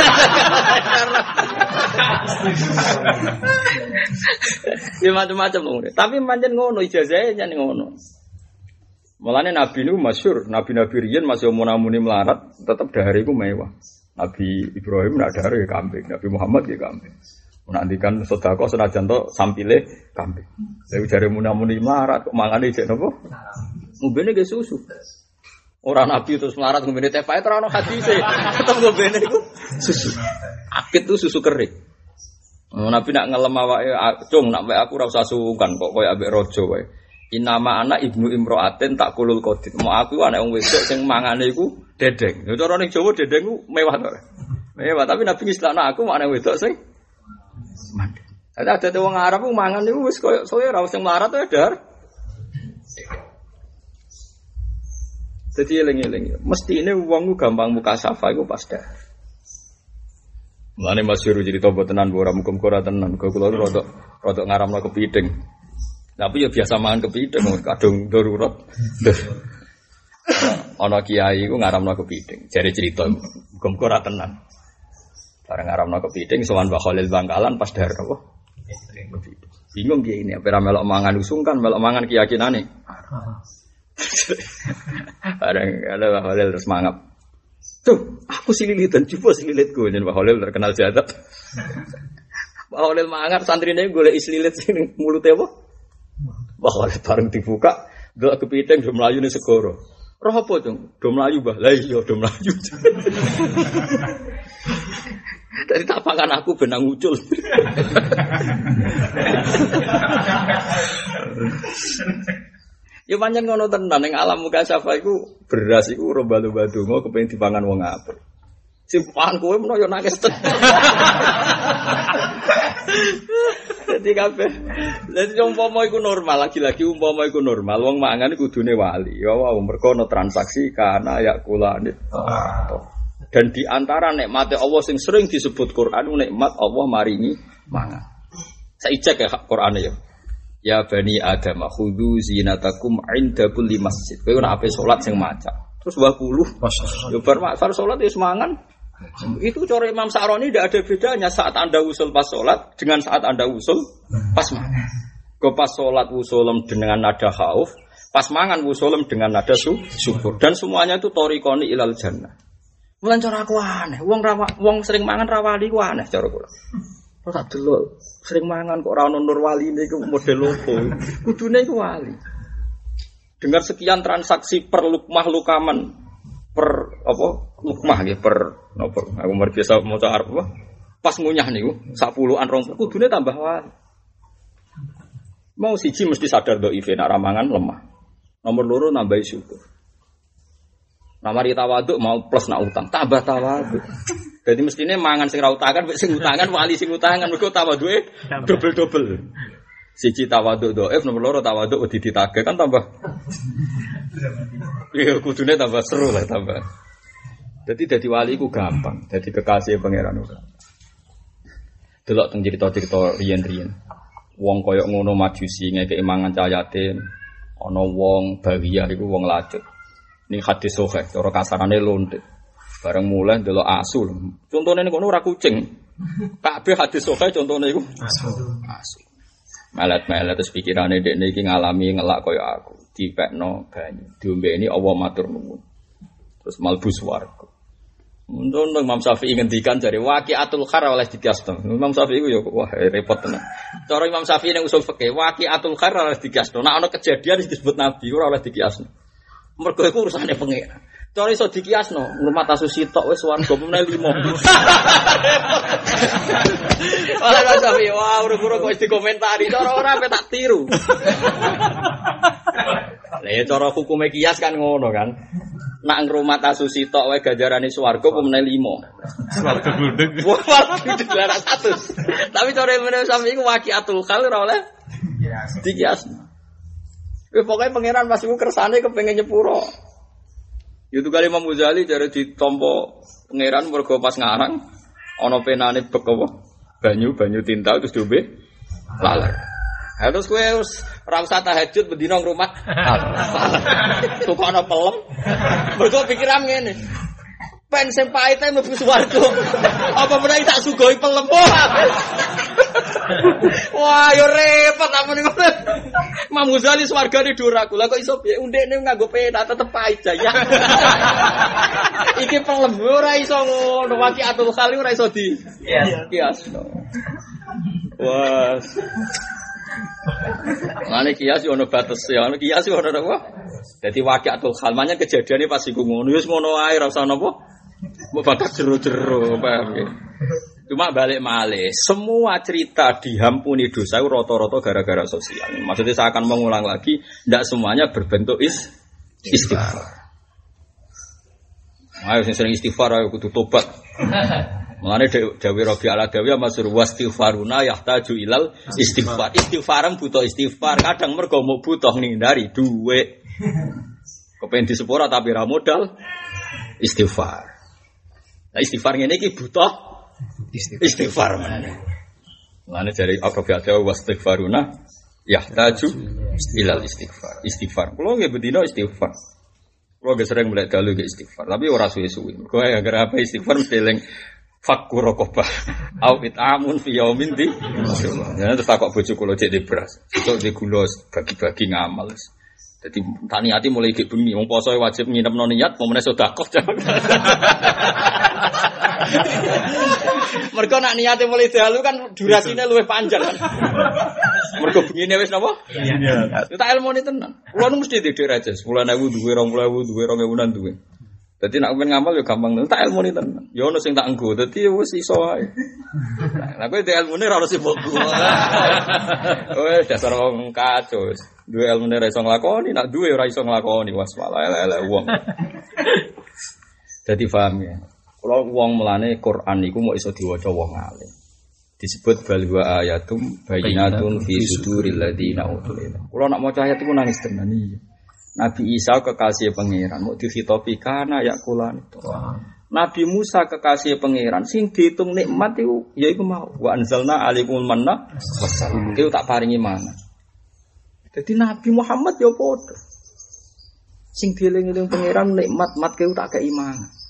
Speaker 1: Ya macam-macam loh. Tapi pancen ngono ijazahe jan ngono. Mulane nabi niku masyhur, nabi-nabi riyen masih umur-umure melarat, tetep dahare iku mewah. Nabi Ibrahim nak dahare kambing, Nabi Muhammad ya kambing. Menantikan sedekah senajan to sampile kambing. Dewe jare munamuni melarat kok mangane jek napa? Ngombene ge susu. Ora nabi terus melarat ngombene teh pae ora ono hadise. Tetep ngombene iku susu. Akit tuh susu kering. Nabi nak ngelem awake, cung nak wae aku ora usah sungkan kok koyo ambek raja wae. Inama anak ibnu imroatin tak kulul kodit. Mau aku anak wong wedok sing mangane iku dedeng. Yo cara ning Jawa dedeng ku mewah to. Mewah tapi Nabi ngistilahna aku anak wedok sing mandi. Ada wong Arab ku mangan niku wis koyo ora sing melarat to dar. Dadi eling-eling. Mestine wong ku gampang mukasafah iku pas dah. Mulane masyhur cerita botenan ora muga-muga ora tenan. Kula rodok ngaramno kepiting. Tapi ya biasa mangan kepiting, kadung darurat. Ana kiai ku ngaramno kepiting, jare cerita muga-muga ora tenan. Bareng ngaramno kepiting sowan Mbah Khalil Bangkalan pas dahar apa? Kepiting. Bingung kiai ini, apa melok mangan usungkan, melok mangan keyakinane. Bareng ada Mbah Khalil terus mangap. Tuh, aku sililitan, coba sililitku jeneng Mbah Khalil terkenal jadat. Mbah Khalil mangan santrine golek islilit sing mulute apa? Bahwa bareng dibuka, ndelok kepiting do mlayu ning segara. Roh apa, Cung? Do mlayu, Mbah. Lah iya do mlayu. Dari tapakan aku benang ngucul. Ya pancen ngono tenan ning alam mukasafah iku beras iku romba-lomba donga kepengin dipangan wong apik. Sing pangan kowe menawa yo nangis tenan. Dadi kabeh. Dadi umpama iku normal, lagi-lagi umpama iku normal, wong mangan kudune wali. Ya wow, mergo ana transaksi kana ya kulane. Dan di antara nikmate Allah sing sering disebut Quran nikmat Allah maringi mangan. Saijek ya Qur'ane ya. Ya bani Adam khudhu zinatakum 'inda kulli masjid. Kowe ora ape salat sing maca. Terus 20. Yo bar salat wis mangan. Itu cara Imam Sa'roni tidak ada bedanya saat Anda usul pas sholat dengan saat Anda usul pas mangan. Kau pas sholat usulem dengan nada khauf, pas mangan usulem dengan nada syukur. Dan semuanya itu torikoni ilal jannah. Mulan cara aku aneh, wong sering mangan rawali ku aneh cara kula. Kok tak delok sering mangan kok ora ono nur wali niku model opo? Kudune iku wali. Dengar sekian transaksi per lukmah lukaman per apa lukmah nggih per napa aku mar biasa maca Arab apa pas ngunyah niku 10-an 20 kudune tambah wali. Mau siji mesti sadar do ife nek ramangan lemah. Nomor loro nambahi syukur. Namari tawaduk mau plus nak utang tambah tawaduk. Jadi mestine mangan sing ra utangan mek sing utangan wali sing utangan mergo tawaduke double-double. Siji tawaduk dhaif nomor loro tawaduk wedi ditagih kan tambah. Ya kudune tambah seru lah tambah. Jadi wali ku gampang, jadi kekasih pangeran uga. Delok teng cerita-cerita riyen-riyen. Wong koyok ngono majusi ngekeki mangan cah yatim. Ana wong Bawiyah iku wong lacut. Ning hadis sahih, cara kasarane lontet. Bareng mulai ndelok asu. Contone ning kono ora kucing. Kabeh hadis sahih contone iku asu. Asu. Melet-melet terus pikirane dekne iki ngalami ngelak kaya aku. Dipekno banyu. Diombeni Allah matur nuwun. Terus malbu swarga. Untung Imam Syafi'i ngendikan jare waqiatul khar oleh dikiasno. Imam Syafi'i ku ya wah repot tenan. Cara Imam Syafi'i ning usul fikih waqiatul khar oleh dikiasno. Nek ana kejadian disebut nabi ora oleh dikiasno. Mergo iku urusane pengen. Cara iso dikiasno, ngrumat asus sitok wis swarga meneh 5. Ora Imam Syafi'i wah ora-ora kok dikomentari cara ora ape tak tiru. Lah ya cara hukume kias kan ngono kan. Nak ngrumat asusi tok wae ganjarane swarga apa meneh 5. Swarga gludeg. Wah, dilarang 100. Tapi cara meneh sampe iku waqiatul khal ora oleh dikias. Pokoke pangeran pas iku kersane kepengin nyepuro. Itu kali Imam Ghazali jare ditampa pangeran mergo pas ngarang ana penane bek apa? Banyu tinta terus diombe laler. Terus kowe ora usah tahajud bendina ngrumat. Tukokno pelem. Mergo pikiran ngene. Pen sing pahite mlebu swarga. Apa meneh tak sugoi pelem. Wah, yo repot apa niku. Imam Ghazali swargane dhuwur aku. Lah kok iso piye undekne nganggo pena tetep pahit jaya. Iki pelem ora iso ngono. Waqiatul khali ora iso di. Kias. Wah. Mane kias yo ono batas ya. Kias yo ono apa? Dadi waqiatul khal manya kejadiane pas iku ngono. Wis ngono ae ora usah napa. Mbok bakas jero-jero paham ya. Cuma balik malih, semua cerita dihampuni dosa rata-rata gara-gara sosial. Maksudnya saya akan mengulang lagi, tidak semuanya berbentuk istighfar. Ayo sering istighfar, ayo kudu tobat. Mulane Dawi Rabi al-Adawi masur wastighfaruna yahtaju ilal istighfar. Istighfaran butuh istighfar, kadang mergo mau butuh ngindari duit. Kepen disepura tapi ra modal istighfar. Nah istighfar ngene iki butuh istighfar mana? Mana dari akrobat wastighfaruna yahtaju ilal istighfar. Istighfar. Kalau nggak bedino istighfar. Kalau nggak sering mulai dalu nggak istighfar. Tapi orang suwe-suwe. Kalau agar apa istighfar mesti leng fakkur rokobah. Au itamun fi yaumin di. Jangan terus takut bojo kulo cek di beras. Itu di gulos bagi-bagi ngamal. Jadi tani hati mulai gak bengi. Wong poso wajib nginep no niat. Mau menes sedekah. Mergo nak niate mulai dalu kan durasine luwih panjang kan. Mergo bengine wis napa? Iya. Tak ilmune tenan. Kulo nu mesti dhewe aja. 10.000 duwe 20.000 duwe 2.000 duwe. Dadi nek ben ngamal ya gampang tenan. Tak ilmune tenan. Ya ono sing tak enggo. Dadi wis iso wae. Lah kowe ilmune ora ono sibuk. Wes dasar wong kacau. Duwe ilmune ora iso nglakoni, nek duwe ora iso nglakoni. Was malah elek wong. Dadi paham ya. Kalau wong melane Quran iku mau iso diwaca wong alim. Disebut bal wa ayatum bayyinatun fi suduril ladina utul ilm. Kalau nak maca ayat iku nangis tenan iki. Nabi Isa kekasih pangeran mau dikhitopi kana yakulan itu. Nabi Musa kekasih pangeran sing diitung nikmat iku yaiku mau wa anzalna alaikumul manna wassalama. Iku tak paringi mangan. Dadi Nabi Muhammad ya padha. Sing dieling-eling pangeran nikmat mat keu tak keimangan.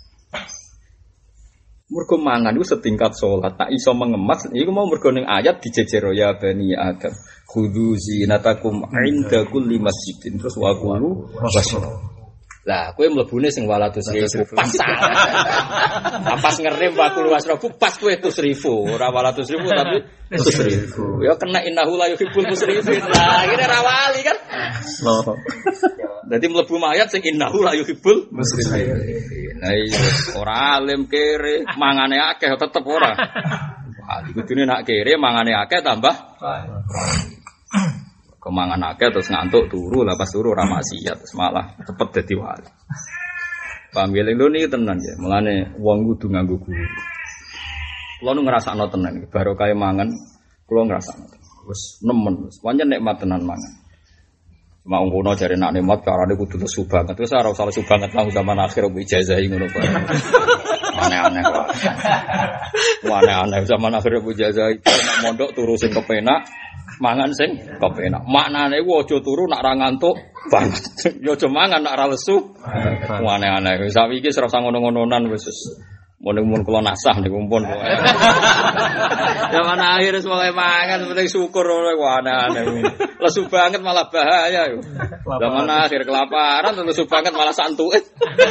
Speaker 1: Mergo mangan itu setingkat sholat, tak iso mengemas. Iku mau mergo ning ayat dijejero ya bani Adam. Khudzu zinatakum 'inda kulli masjidin. Terus wa qulu wasyrab. Lah, kowe mlebune sing 200.000 pas. Pas ngerem wa qulu wasyrab pas kowe 100.000, ora 200.000 tapi 100.000. Ya kena innahu la yuhibbul musrifin. Lah, iki ora wali kan. Loh. Dadi mlebu mayat sing innahu la yuhibbul musrifin. Nah iya, ora alim kere, mangane akeh tetep ora. Wah, kudune nak kere mangane akeh tambah. Kemangan akeh terus ngantuk turu, lah pas turu ora maksiat, terus malah cepet dadi wali. Paham ya lho niki tenan ya. Mulane wong kudu nganggo guru. Kulo nu ngrasakno tenan, barokah mangan kulo ngrasakno. Wis nemen, wis pancen nikmat tenan mangan. Mau ngono jare nak nikmat carane kudu lesu banget. Terus ora usah lesu banget nang zaman akhir kuwi ijazahi ngono bae. Aneh-aneh kok. Aneh-aneh zaman akhir kuwi ijazahi nek mondok turu sing kepenak, mangan sing kepenak. Maknane ku aja turu nak ra ngantuk banget. Ya aja mangan nak ra lesu. Aneh-aneh. Wis saiki iki ora usah ngono-ngononan wis. Mun kula nasah niku pun. Zaman akhir semoga mangan penting syukur ora aneh-aneh. Lesu banget malah bahaya yo. Zaman akhir kelaparan lesu banget malah santuke.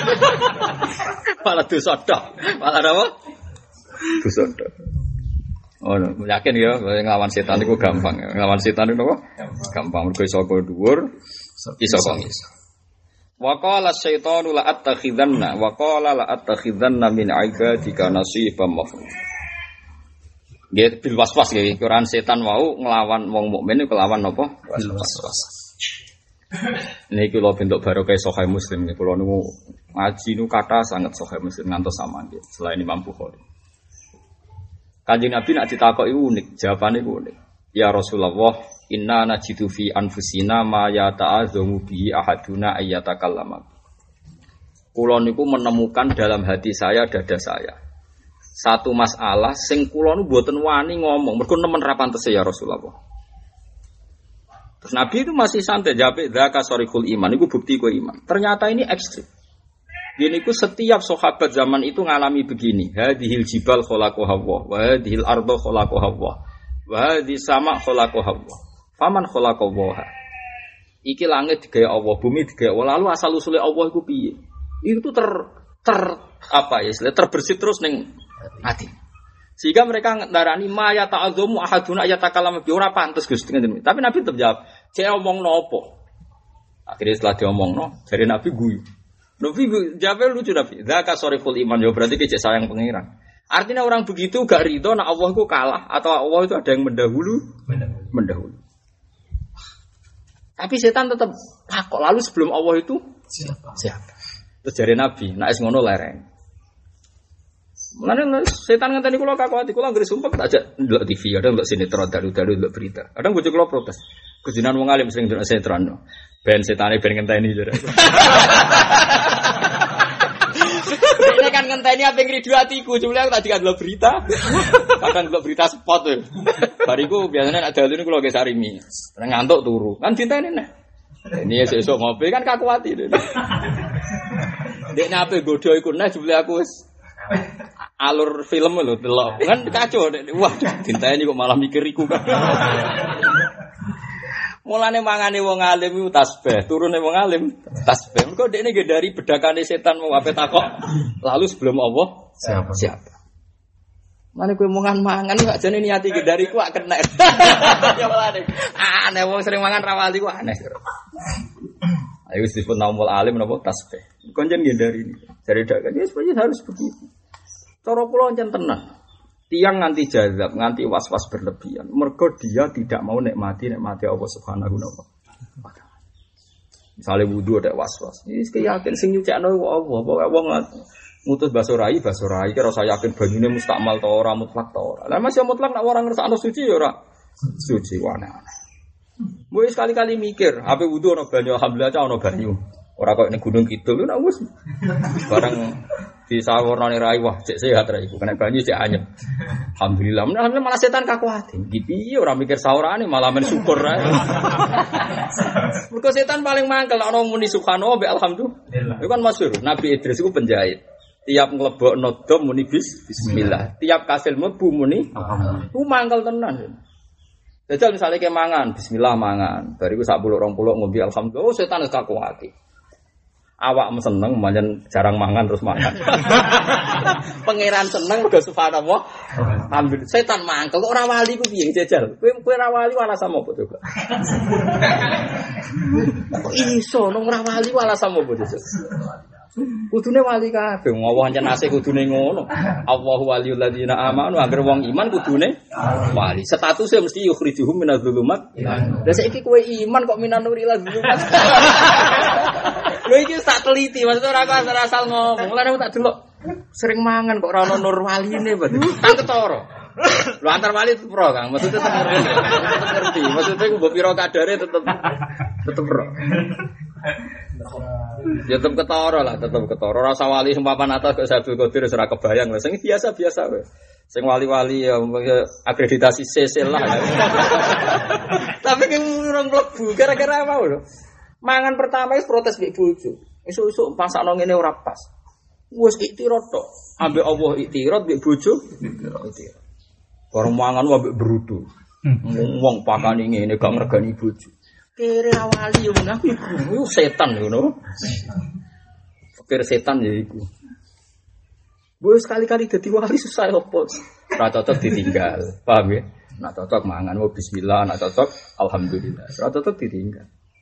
Speaker 1: Malah dosa tok. Malah apa? Dosa tok. Oh, yakin ya nglawan setan iku gampang. Nglawan setan iku gampang mergo iso dhuwur, iso kok iso. Wa qala asyaitanu la attakhidanna wa qala la attakhidanna min ibadika nasiban mafruḍ. Nggih bil waswas nggih Quran setan wau nglawan wong mukmin iku kelawan napa? Waswas. Niki lho bentuk barokah Sahih Muslim nggih kula niku ngaji niku kathah sanget Sahih Muslim ngantos sampeyan nggih selain Imam Bukhari. Kanjeng Nabi nek ditakoki unik, jawabane unik. Ya Rasulullah, inna najidu fi anfusina ma yata'azzamu bihi ahaduna ayyatakallama. Kula niku menemukan dalam hati saya, dada saya, satu masalah sing kula niku mboten wani ngomong, mergo nemen ra pantese ya Rasulullah. Terus Nabi itu masih santai jawab dzaka sarihul iman, itu bukti ku iman. Ternyata ini ekstrim. Gini ku setiap sahabat zaman itu ngalami begini. Hadhil jibal khalaqaha Allah, wa hadhil arda khalaqaha Allah, wa hadhis sama khalaqaha Allah. Faman khalaqaha. Iki langit digawe Allah, bumi digawe Allah. Lalu asal usule Allah iku piye? Itu terbersit terus ning hati. Sehingga mereka ndarani ma ya ta'azzamu ahaduna ayatakalam bi ora pantes Gusti ngene. Tapi Nabi tetep jawab, "Cek omong nopo?" Akhirnya setelah diomongno, dari Nabi guyu. Nabi jawab lucu Nabi. Dzaka sariful iman, ya berarti kecek sayang pangeran. Artinya orang begitu gak ridho nak Allah itu kalah atau Allah itu ada yang mendahulu. Tapi setan tetap takut. Lalu sebelum Allah itu siapa? Terus dari Nabi, nak es ngono lereng. Mulane setan ngenteni kula kakuati, kula anggere sumpah tak ajak ndelok TV, ada ndelok sinetron dalu-dalu ndelok berita. Kadang bojo kula protes. Kejinan wong alim sering ndelok sinetron. Ben setane ben ngenteni jare. Ini kan ngenteni apa yang ngridu atiku, cuma aku tadi kan ndelok berita. Kadang ndelok berita spot tuh. Bariku biasanya ada dalu kula ge sarimi. Ngantuk turu. Kan diteni nek. Ini esuk ngopi kan kakuati. Dek nape godho iku nek jebule aku wis alur film lho delok. Kan kacau nek wah dinteni kok malah mikir iku kan. Mulane mangane wong alim iku tasbih, turune wong alim tasbih. Mergo dekne nggih dari bedakane setan mau ape takok. Lalu sebelum Allah siapa? Mane kowe mangan-mangan gak jane niati nggih dari ku kena. Ya mulane aneh wong sering mangan rawali ku aneh. Ayo disebut naumul alim napa tasbih. Konjen nggih dari ini. Dari dak ya sebenarnya harus begitu. Cara kula pancen tenan. Tiang nganti jazab, nganti was-was berlebihan. Mergo dia tidak mau nikmati Allah Subhanahu wa taala. Misale wudu ada was-was. Wis yakin sing nyucikno Allah, pokoke wong ngutus basorai kira saya yakin banyune mustakmal ta ora mutlak ta ora. Lah masih mutlak nek ora ngersakno suci ya ora suci aneh. Mbok sekali-kali mikir, ape wudu ana banyu alhamdulillah ca ana banyu. Ora kok ning gunung kidul nek wis bareng disawarnane rai wah cek sehat ra iku kena banyu cek anyep. Alhamdulillah malah setan kakuati. Iki piye ora mikir saurane malah men syukur ae. Mergo setan paling mangkel ana muni subhanallah be alhamdulillah. Iku kan masyhur Nabi Idris iku penjahit. Tiap nglebokno dom muni bismillah. Tiap kasil mlebu muni alhamdulillah. Ku mangkel tenan. Dajal misale ke mangan bismillah mangan. Bariku sak 10-20 ngombe alhamdulillah. Oh setan wis kakuati. Awak seneng, manjan jarang mangan terus makan. Pangeran seneng mergo subhanallah. Alhamdulillah. Setan mangkel kok ora wali ku piye jajal. Kowe ora wali alasan apa coba? Kok iso nang ora wali alasan apa jajal? Kudune wali kabeh. Allah pancen asih kudune ngono. Allahu waliyul ladzina amanu, anggere wong iman kudune wali. Statusnya mesti yukhrijuhum minadz-dzulumat. Lah saiki kowe iman kok minan nuri dzulumat. Lho iki tak teliti, maksudnya ora asal ngomong. Lah aku tak delok sering mangan kok ora ono nur waline berarti. Tak ketara. Lho antar wali tetep pro, Kang. Maksudnya tetep ngerti. Maksudnya ku mbok pira kadare tetep pro. Ya tetep ketara lah, tetep ketara. Ora usah wali sing papan atas kok Abdul Qadir ora kebayang lho. Sing biasa-biasa wae. Sing wali-wali ya akreditasi CC lah. Tapi ki urung mlebu gara-gara apa lho? Mangan pertama wis protes mbek bojo. Esuk-esuk pasakno ngene ora pas. Wis iktirad tok. Ambek Allah iktirad mbek bojo. Iktirad. Bareng mangan ambek brutu. Wong pakane ngene gak ngregani bojo. Kere awali yo menah iku setan ngono. Pikir setan ya iku. Wis sekali-kali dadi wali susah opo. Ora cocok ditinggal. Paham ya? Nak cocok mangan bismillah, nak cocok alhamdulillah. Ora cocok ditinggal.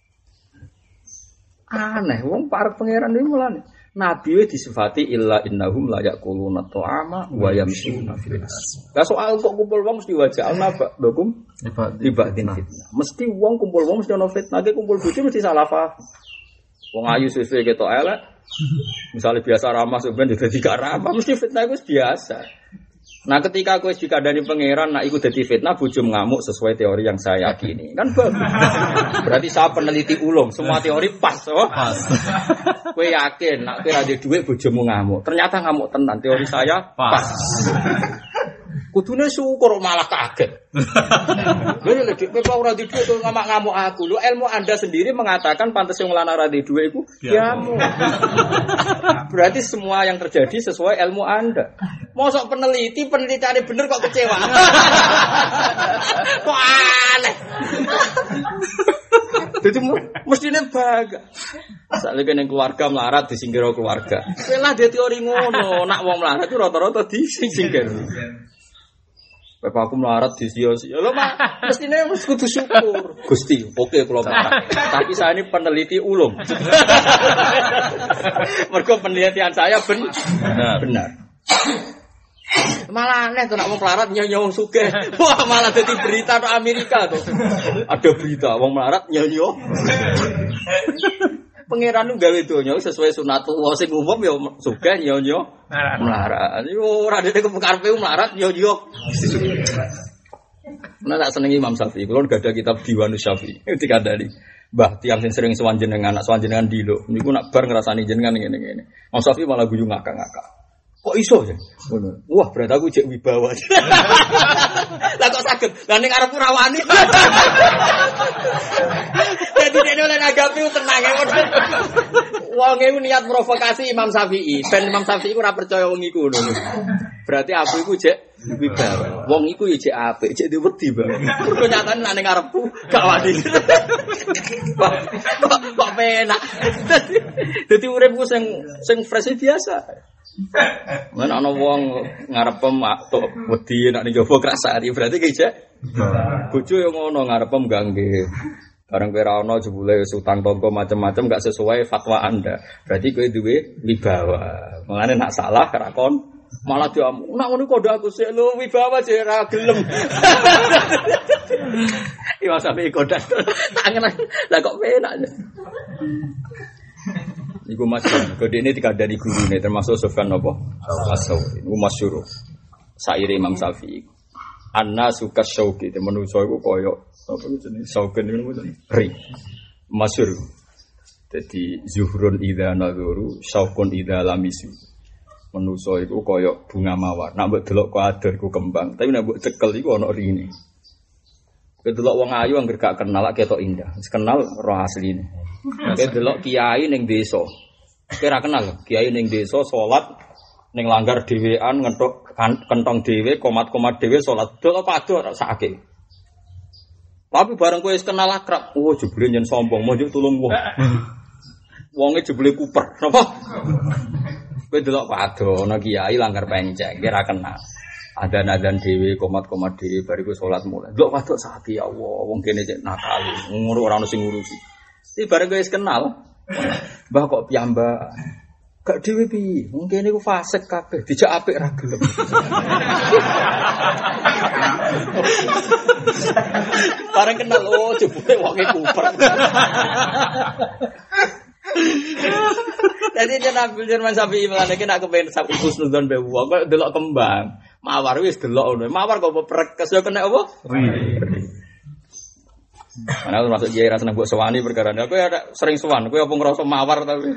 Speaker 1: Aneh, wong parek pangeran iki mulane. Nabi wis disifati illa innahum la yaquluna ta'ama wa yamshuna fil nas. Lah soal kok kumpul wong mesti wajah napa dokum tibatin fitnah. Mesti wong kumpul wong mesti ono fitnah, kumpul bojo mesti salah paham. Wong ayu suwe ketok elek. Misale biasa ramah sampeyan dadi gak ramah, mesti fitnah iku biasa. Nah ketika aku dikandani pangeran, nak ikut jadi fitnah, bojo ngamuk sesuai teori yang saya yakini, kan bagus. Berarti saya peneliti ulung, semua teori pas, oh? Pas. Kue yakin, nak kue ada duit bojomu ngamuk, ternyata ngamuk tenan, teori saya pas. Kudune syukur malah kaget. Lha lek kowe ora di dhuwit kok ngamuk aku. Lho ilmu Anda sendiri mengatakan pantes wong lanang ora di dhuwit iku diamu. Berarti semua yang terjadi sesuai ilmu Anda. Mosok penelitiannya bener kok kecewa. Kok aneh. Jadi mestinya baga. Soalnya kan yang keluarga melarat disingkir keluarga. Lah dia teori ngono, nak wong melarat itu rata-rata disingkir. Bapak aku melarat di sia-sia. Lho mah mestinya mesti kudu syukur. Gusti, oke kalau melarat. Tapi saya ini peneliti ulung. Mergo penelitian saya benar. Malah aneh tuh nak wong melarat nyonya wong sugih. Wah, malah dadi berita di Amerika tuh. Ada berita wong melarat nyonya. Pangeran nu gawe donya sesuai sunatullah sing umum ya sugih nyonya melarat. Yo ora dene kepekarpe melarat nyonya. Nah tak senengi Imam Syafi'i. Kulo gak ada kitab Diwanus Syafi'i. Dikandani. Mbah tiang sing sering sowan jenengan, anak sowan jenengan dilo. Niku nak bar ngrasani jenengan ngene-ngene. Imam Syafi'i malah guyu ngakak-ngakak. Kok iso ya? Wah, berarti aku cek wibawa. Lah kok saged? Lah ning arepku rawani. Jadi dene oleh nagapi tenang ya. Wong e niat provokasi Imam Syafi'i. Ben Imam Syafi'i ora percaya wong iku ngono. Berarti aku iku cek wibawa. Wong iku ya cek apik, cek diwedi bae. Mergo nyatane nek ning arepku gak wani. Kok penak. Dadi uripku sing fresh biasa. Mana ana wong ngarepem tok wedi nek ning jaba krasani berarti ki cek. Bojo yo ngono ngarepem gangge. Bareng kowe ra ono jebule utang tangga macam-macam gak sesuai fatwa Anda. Berarti kowe duwe wibawa. Mengane nak salah rakon malah diamu. Nak ngono kok aku sik lho wibawa jek ra gelem. Iya sampe kodak. Tangan lah kok penak. Iku masyhur. Kode ini dikandani gurune termasuk Sufyan apa? As-Sauri. Iku masyhur. Saire Imam Syafi'i. An-nasu kasyauqi, manusa iku koyo apa jenenge? Sauken niku ri. Masyhur. Dadi zuhrun idza nadhuru, syauqun idza lamisu. Manusa iku koyo bunga mawar. Nek mbok delok kok adoh iku kembang, tapi nek mbok cekel iku ana rine. Kedelok wong ayu anggere gak kenal ketok indah. Wis kenal roh asline. Kowe delok kiai ning desa. Kowe ora kenal kiai ning desa salat ning langgar dhewean ngentuk kentong dhewe, komat-komat dhewe salat. Delok padha sakake. Tapi bareng kowe wis kenal akrab, oh jebule nyen sombong, monjuk tulung wong. Wonge jebule kuper, napa? Kowe delok padha ana kiai langgar penceng, kowe ora kenal. Adan-adan dhewe, komat-komat dhewe bariku salat mulai. Delok padha sakake ya Allah, wong kene cek nakal, ngurus ora ono sing ngurusi. Iki bareng guys kenal. Mbah kok piyambak. Gak dhewe piye? Wong kene iku fasik kabeh, dijak apik ra gelem. Bareng kenal oh jebule wonge kuper. Jadi jeneng Abdul Jerman Syafi'i melane nek kepen sapi husnudzon be wong kok delok kembang. Mawar wis delok ngono. Mawar kok prekes yo kena apa? Ana termasuk kiai ra seneng mbok sowani perkara aku ya sering sowan kowe apa ngrasa mawar tapi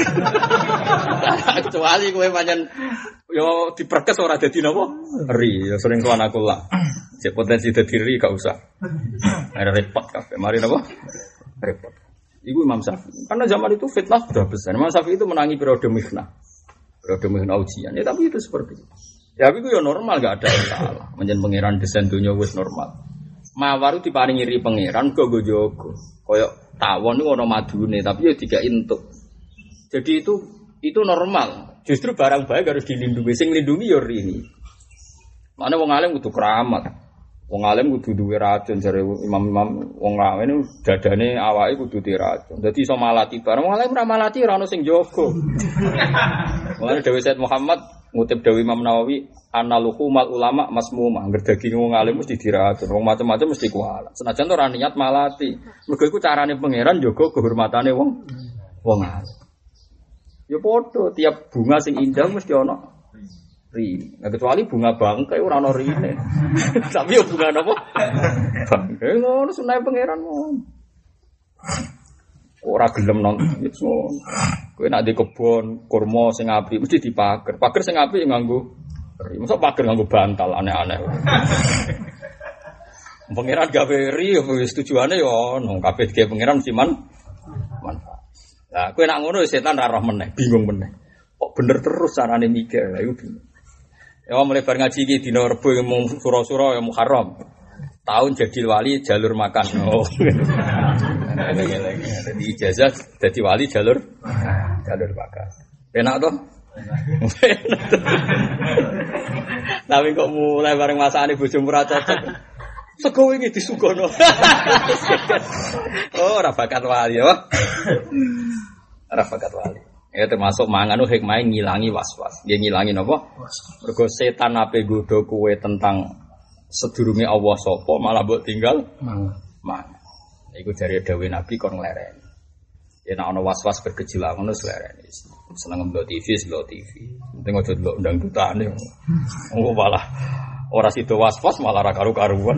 Speaker 1: kecuali kowe pancen yo diperkes ora dadi napa ri yo sering sowan aku lah cek potensi dadi ri gak usah ada repot kabeh mari napa repot iku Imam Syafi'i karena zaman itu fitnah sudah besar Imam Syafi'i itu menangi periode mihnah ujian ya tapi itu seperti itu ya tapi itu yo normal gak ada yang salah menjen pangeran desain dunya wis normal mawar itu diparingi ri pangeran go jogo. Koyok tawon niku ana madune tapi ya diga entuk. Jadi itu normal. Justru barang baik harus dilindungi. Sing nglindungi ya rini. Mane wong alim kudu keramat. Wong alim kudu duwe racun jare imam-imam wong alim dadane awake kudu diracun. Dadi iso malati bareng wong alim ora malati ora ono sing jaga. Mulane Dewi Said Muhammad ngutip Dewi Imam Nawawi analuhumal ulama masmumah angger daging wong alim mesti diracun wong macam-macam mesti kualat senajan ora niat malati mergo iku carane pangeran jaga kehormatane wong alim ya padha tiap bunga sing indah mesti ana ri nah kecuali bunga bangkai ora ana rine tapi ya bunga napa bangkai ngono sunah pangeran ngono ora gelem nonton ngono kowe nek di kebon kurma sing apik mesti dipager pager sing apik nganggo Masa pager nganggo bantal aneh-aneh. Pangeran gawe ri wis tujuane yo ono kabeh ge pangeran mesti manfaat. Lah kowe nak ngono setan ra roh meneh, bingung meneh. Kok bener terus carane mikir, lha iku bingung. Ya mulai bar ngaji iki dina Rebo mung sura-sura ya Muharram. Tahun jadi wali jalur makan. Oh. Jadi ijazah jadi wali jalur makan. Enak toh? Tapi kok mulai bareng masakane bojomu ora cocok. Sego iki disugono. Oh, ora bakat wali ya. Ora bakat wali. Ya termasuk mangan hikmah ngilangi was-was. Dia ngilangi napa? Mergo setan ape godho kowe tentang sedurunge Allah sapa malah mbok tinggal mangan. Iku dari dawuh Nabi kon nglereni. Ya nek ana was-was bergejolak ngono nglereni. Seneng ndelok TV. Penting aja ndelok ndang-dutane. Oh malah ora sida was-was malah ra karu-karuan.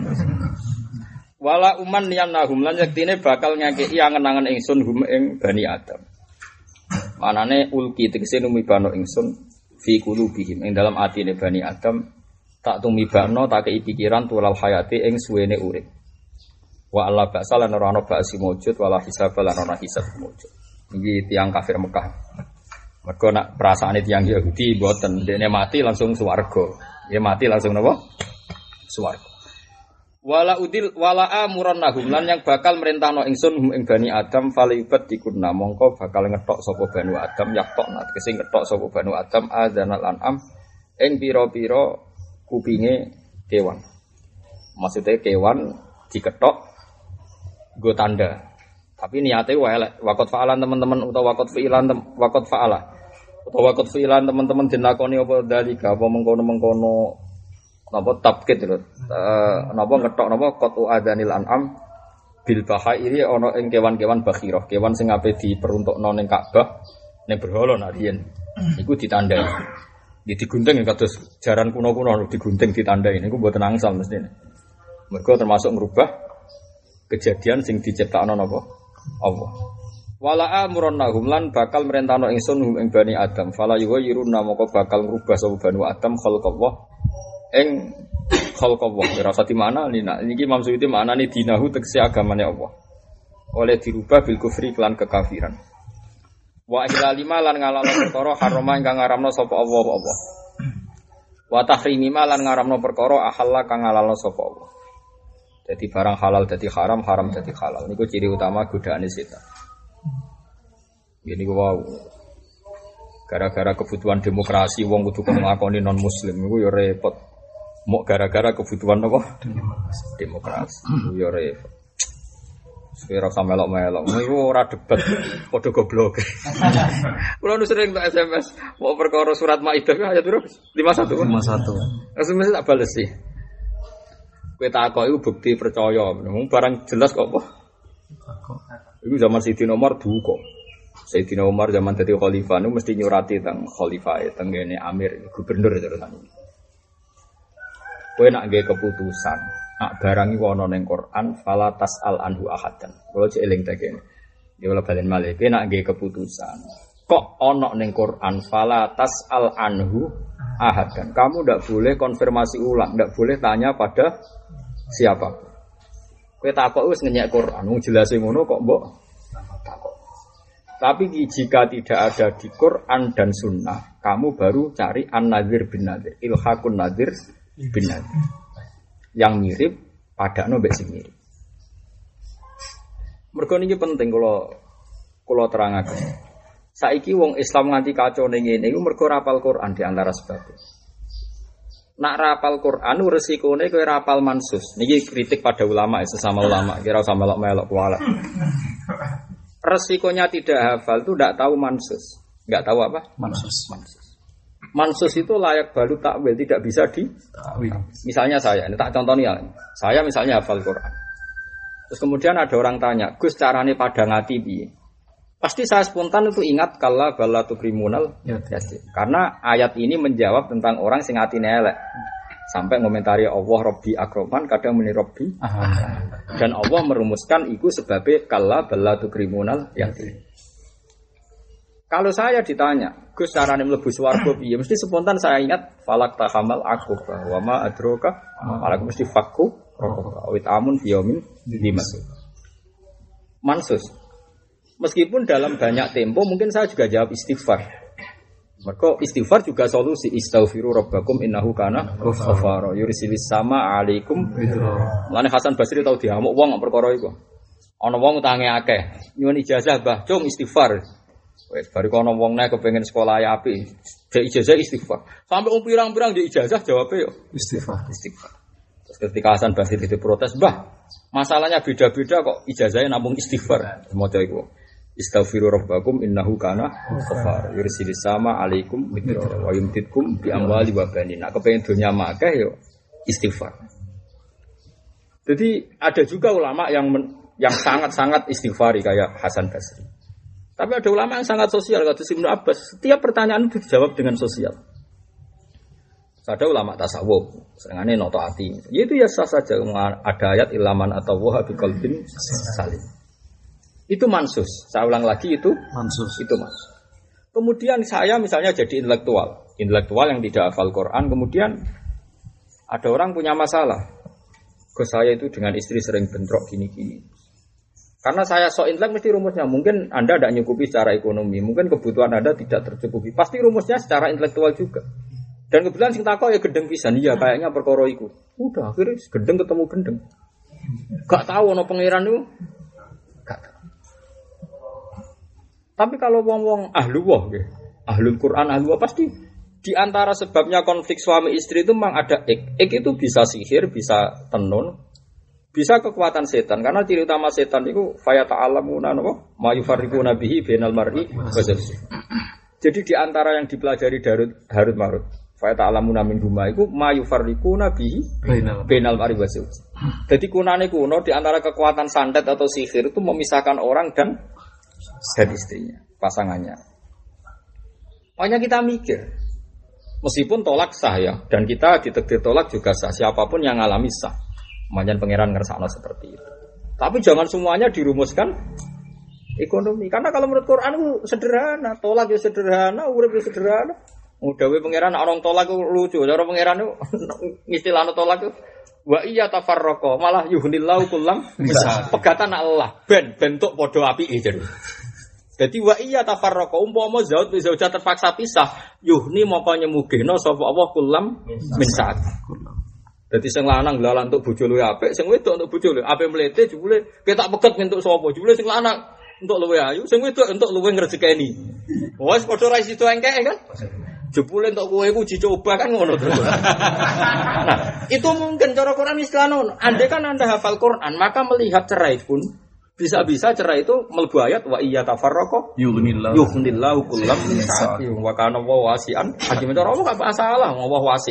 Speaker 1: Wala uman yanahum lan yektine bakal ngakeki angen-angen ingsun hum ing Bani Adam. Manane ulki tegese numibano ingsun fi qulubihim ing dalam atine Bani Adam tak tumibano tak kei pikiran tulal hayati ing suwene urip. Wa alla ba'sa lan ora ana ba'si mujud wala hisab lan ana hisab mujud. Iki tiyang kafir Mekah. Mergo nak perasaane tiyang Yahudi mboten dene mati langsung swarga. Ya mati langsung napa? Swarga. Wala amurannahum lan yang bakal merintahno ingsun ing Bani Adam falibat dikunna mongko bakal ngetok sapa Bani Adam yaktokna tegese ngetok sapa Bani Adam adzanal an'am ing pira-pira kupinge kewan. Maksudnya kewan diketok nggo tanda. Tapi niate wae elek. Waqat fa'alan teman-teman utawa waqat fa'ala. Utawa waqat fi'lan teman-teman dilakoni apa dalika apa mengkono-mengkono napa tabkit lho. Napa ngetok napa qatu adanil an'am bil bahairi ana ing kewan-kewan bakhirah, kewan sing ape diperuntukno ning Ka'bah ning berhala nak riyen. Iku ditandai. Nggih digunting kados jaran kuno-kuno digunting ditandai niku mboten angsal mestine. Mergo termasuk ngrubah kejadian sing diciptakno napa Allah. Wala amrunahum lan bakal merentano ingsun hum ing Bani Adam fala yughayiruna moko bakal ngrubah sapa Bani Adam khalqallah ing khalqallah rasa di mana niki Imam Suyuti maknane dinahu tegese agamane Allah oleh dirubah bil kufri lan kekafiran wa ihlalima lan ngalalo perkara harama ingkang ngaramno sapa Allah wa tahrimima lan ngaramno perkara ahalla kang ngalalo sapa Allah. Jadi barang halal dadi haram, haram dadi halal niku ciri utama godaane setan. Ini wow, gara-gara kebutuhan demokrasi, wong kudu nglakoni non Muslim, itu ya repot. Mau gara-gara kebutuhan apa? Demokrasi, itu ya repot. Sekarang sama melok-melok, itu ora debat, podo goblok. Kalau nu sering tak SMS, mau perkara surat Maidah ayat berapa? 51. SMS tak bales sih. Kowe takok iku bukti percaya, barang jelas kok apa? Iku zaman Sayyidina Umar duka. Sayyidina Umar zaman dadi khalifah niku mesti nyurati teng khalifah tengene Amir gubernur terusan. Kowe nak nggih keputusan, nak barang iku ana ning Quran fala tasal anhu ahadan. Kulo cek eling ta kene. Ya ora balen malih kowe nak nggih keputusan. Kok ana ning Quran fala tasal anhu ahadan. Kamu ndak boleh konfirmasi ulang, ndak boleh tanya pada siapa. Kowe takok wis ngenyek Quran, wong jelas ngono kok mbok takok. Tapi jika tidak ada di Quran dan Sunnah, kamu baru cari an-nadhir bin nadhir, ilhaqun nadhir bin nadhir. Yang mirip pada mbek sing mirip. Mergo niki penting kula terangaken. Saiki wong Islam nganti kacau ning ngene iku mergo rapal Quran di antara sebab. Nak rapal Quran resikone kowe rapal mansus. Niki kritik pada ulama sesama ulama, kira usah melok-melok kuala. Resikonya tidak hafal itu tidak tahu mansus. Enggak tahu apa? Mansus itu layak balu takwil, tidak bisa ditakwil. Misalnya saya, ini tak contohnya ya. Saya misalnya hafal Quran. Terus kemudian ada orang tanya, "Gus, carane padang ati piye?" Pasti saya spontan itu ingat kalla balatu kriminal yasin. Karena ayat ini menjawab tentang orang sing atine elek. Sampai ngomentari Allah Rabbi akroman kadang muni Rabbi dan Allah merumuskan itu sebabnya kalla balatu kriminal yasin. Kalau saya ditanya, Gus carane mlebu swarga piye? Mesti spontan saya ingat falak tahamal aku wa ma adroka malak mesti fakku rokok awit amun biyomin dimasuk. Mansus. Meskipun dalam banyak tempo mungkin saya juga jawab istighfar. Maka istighfar juga solusi istaghfiru rabbakum innahu kana ghafara yursilis sama alaikum. Mulane Hasan Basri tau diamuk wong perkara iku. Ana wong utange akeh, nyuwun ijazah Mbah Cung istighfar. Wes bariku ana wong nek kepengin sekolah ya apik, dhek ijazah istighfar. Sampai pirang-pirang dhek ijazah jawabe yo istighfar. Terus ketika Hasan Basri diprotes, "Mbah, masalahnya beda-beda kok ijazahnya namung istighfar." Maca iku. Istaghfiru rabbakum innahu kana ghafar yursilis sama alaikum midra wa yumtitkum bi amwali wa banin. Nek kepengin donya akeh yo istighfar. Jadi ada juga ulama yang sangat-sangat istighfari kayak Hasan Basri. Tapi ada ulama yang sangat sosial kata Ibnu Abbas. Setiap pertanyaan itu dijawab dengan sosial. Ada ulama tasawuf, senengane noto ati. Itu ya sah saja ada ayat ilaman atau waha bi qalbin salim. Itu mansus. Saya ulang lagi itu mansus. Itu mansus. Kemudian saya misalnya jadi intelektual yang tidak hafal Quran, kemudian ada orang punya masalah. Ke saya itu dengan istri sering bentrok gini-gini. Karena saya sok intelek mesti rumusnya. Mungkin Anda tidak nyukupi secara ekonomi, mungkin kebutuhan Anda tidak tercukupi. Pasti rumusnya secara intelektual juga. Dan kebetulan sing takok ya gendeng pisan. Iya, kayaknya perkara iku. Udah akhirnya gendeng ketemu gendeng. Gak tahu ana pangeran itu. Gak tahu. Tapi kalau wong-wong ahlullah nggih, ahlul Quran ahlullah pasti di antara sebabnya konflik suami istri itu memang ada ik itu bisa sihir, bisa tenun, bisa kekuatan setan. Karena ciri utama setan itu faya ta'alamuna napa ma yufarriquna bihi bainal mar'i wa zawjihi. Jadi di antara yang dipelajari Harut Marut faya ta'alamuna min huma iku ma yufarriquna bihi bainal mar'i wa zawjihi. Jadi kunane kuno di antara kekuatan santet atau sihir itu memisahkan orang dan istrinya, pasangannya. Makanya kita mikir, meskipun tolak sah ya, dan kita ditakdir tolak juga sah, siapapun yang ngalami sah. Makanya pangeran ngersakno seperti itu. Tapi jangan semuanya dirumuskan ekonomi, karena kalau menurut Quran itu sederhana, tolak ya sederhana, urip ya sederhana. Mudawe pangeran orang tolak itu lucu, cara pangeran itu istilahnya tolak itu wa iya tafarraqa malah yuhnillahu kullam bisa pegatan Allah ben bentuk padha apike jadi. Dadi wa iya tafarraqa umpama zaud bisa terpaksa pisah yuhni moko nyemugihno sapa Allah kullam min saat. Dadi sing lanang glalan untuk bojo luwe apik, sing wedok untuk bojo luwe apik mlete jebule ketak peget entuk sapa jebule sing lanang untuk luwe ayu, sing wedok untuk luwe ngrejekeni. Wes padha ra sido engkek kan. Jebule entuk kowe iku dicoba kan ngono terus. Nah, itu mungkin cara Quran istilahnya. Andai kan Anda hafal Quran, maka melihat cerai pun bisa-bisa cerai itu mlebu ayat wa iya tafarraqa yughnillahu kullam min sa'ati wa kana wasi'an. Hakim cara Allah enggak masalah, Allah wasi.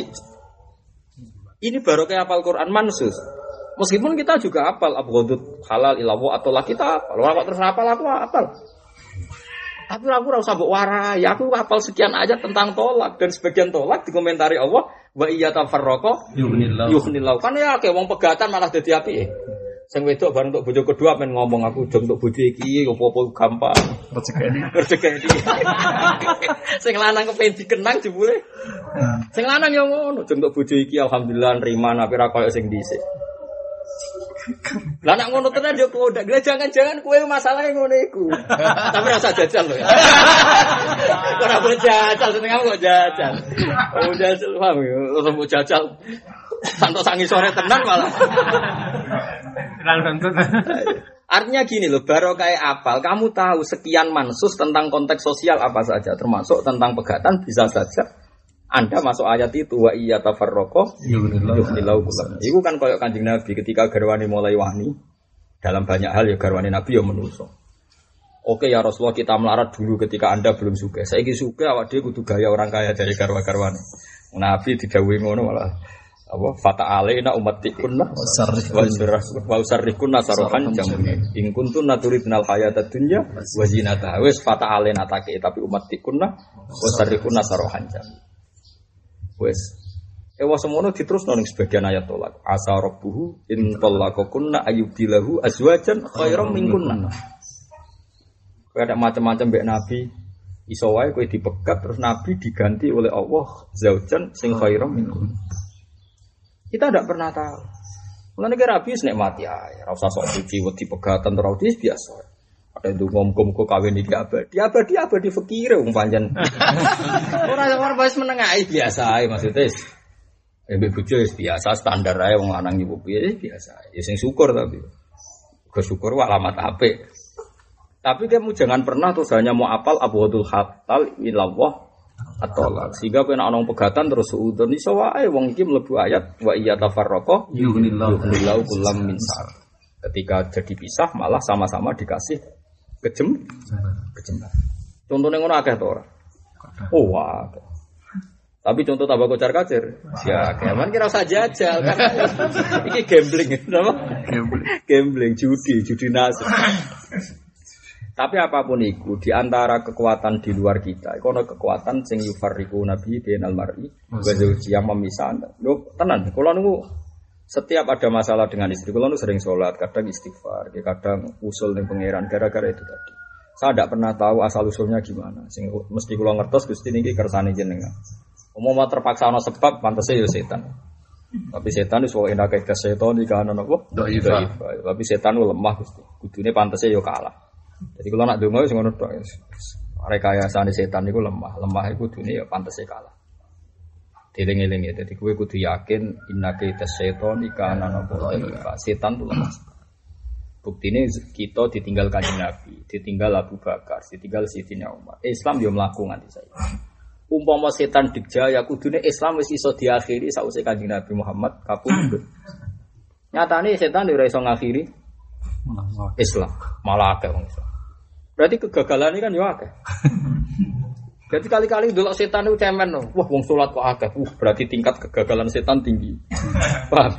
Speaker 1: Ini baru kayak hafal Quran mansus. Meskipun kita juga hafal abghadut halal ilawo atau lah kita hafal. Ora kok terus hafal aku hafal. Tapi aku ora usah mbok warai, aku hafal sekian ayat tentang tolak dan sebagian tolak dikomentari Allah wa iya tafarraqa yughnillahu. Kan ya akeh wong pegatan malah dadi apike. Sing wedok bareng untuk bojo kedua men ngomong aku jom untuk bojo iki opo-opo gampang. Rezeki. Sing lanang kepen dikenang jebule. Sing lanang yo ngono, jom untuk bojo iki alhamdulillah nrima nek ora koyo sing dhisik. Lah nek ngono tenan yo kodak. Jangan-jangan kowe masalahnya ngono iku. Tapi rasa jajal lho ya. Ora boleh jajal, seneng kok jajal. Oh jajal paham yo, ora mau jajal. Santo sangi sore tenan malah. Artinya gini loh, baru kayak apal, kamu tahu sekian mansus tentang konteks sosial apa saja, termasuk tentang pegatan bisa saja Anda masuk ayat itu wa iya tafarraqa yughnillahu kullam. Iku kan koyo Kanjeng Nabi ketika garwane mulai wani dalam banyak hal ya garwane Nabi ya menungso. Oke ya Rasulullah kita melarat dulu ketika Anda belum sugih. Saiki sugih awak dhewe kudu gaya orang kaya dari garwa-garwane. Nabi didhawuhi ngono malah apa fata'alaina ummatikunna wa usarrikunna sarohan jamun in kuntunna turidnal hayatad dunya wa zinataha wis fata'alaina take tapi ummatikunna wa usarrikunna sarohan jamun. Wes, semono diterusno ning sebagian ayat tolak. Asa rabbuhu in talaqakunna ayyubilahu azwajan khairam minkunna. Ada macam-macam mbek Nabi. Iso wae kowe dipegat terus Nabi diganti oleh Allah zaujan sing khairam minkum. Kita tidak pernah tahu. Mulane ki rabi wis nikmati ae, ora usah sok suci wedi pegatan ora wis biasa. Ada ndonga muga-muga kawin iki abadi fikire wong pancen. Ora wis meneng ae biasa ae maksudnya. Mbek bojo wis biasa standar ae wong lanang ibu piye biasa. Ya sing syukur tapi. Kesyukur wa alamat apik. Tapi kamu jangan pernah terus hanya mau apal abwadul hatal ilallah atau sehingga kena orang pegatan terus suudon iso wae wong iki mlebu ayat wa iya tafarraqa yughnillahu kullam min sa'at. Ketika jadi pisah malah sama-sama dikasih kejem. Contohnya ngono akeh to ora? Oh wah. Tapi contoh tambah kocar-kacir. Ya, keman kira usah jajal kan. Iki gambling, apa? Gambling, judi nasib. Tapi apapun itu, di antara kekuatan di luar kita, itu ada kekuatan sing yufarriqu nabi bainal mar'i wa zawji yang memisahkan. Lho, tenan, kalau nunggu setiap ada masalah dengan istri, kalau nunggu sering sholat, kadang istighfar, kadang usul dengan pangeran gara-gara itu tadi. Saya tidak pernah tahu asal usulnya gimana. Sing mesti kula ngertos Gusti niki kersane jenengan. Umumnya terpaksa ana sebab pantese ya setan. Tapi setan wis wae enak ke setan iki ana napa? Dhaif. Tapi setan lemah Gusti. Kudune pantese ya kalah. Jadi kalau nak donga wis ngono tok. Rekayasane setan niku lemah iku kudune ya pantese kalah. Dieling-eling ya. Dadi kowe kudu yakin innaka setan iki ana napa? Setan itu lemah. Buktine kita ditinggal Kanjeng Nabi, ditinggal Abu Bakar, ditinggal Sayyidina Umar. Islam yo mlaku nganti saiki. Umpama setan dijaya kudune Islam wis iso diakhiri sausé Kanjeng Nabi Muhammad kapundhut. Nyatane setan ora iso ngakhiri Islam, malah akeh wong Islam. Berarti kegagalan ini kan yo akeh. Jadi kali-kali delok setan itu cemen no. Wah wong salat kok akeh. Berarti tingkat kegagalan setan tinggi. Paham?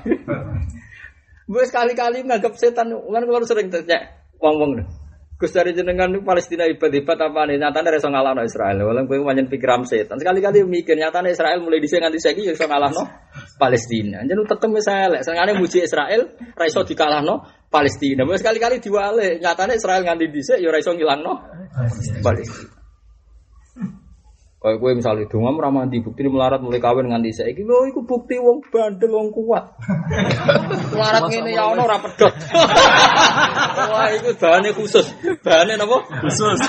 Speaker 1: Gue sekali-kali nganggap setan, kan kalau sering tanya wong-wong Gus dari jenengan Palestina hebat-hebat apa nih? Nyatanya reso ngalahno Israel. Walau gue panjen pikiran setan. Sekali-kali mikir nyatanya Israel mulai dhisik nganti saiki ya iso ngalahno Palestina. Jeneng tetep Israel. Senengane muji Israel, ra iso dikalahno Palestina. Wes sekali-kali diwale. Nyatanya Israel nganti dhisik ya ra iso ngilangno Palestina. Kayak gue misalnya donga ora mandi bukti melarat mulai kawin nganti saiki lho iku bukti wong bandel wong kuat. Melarat ngene ya ono ora pedhot. Wah iku bahane khusus. Bahane napa? Khusus.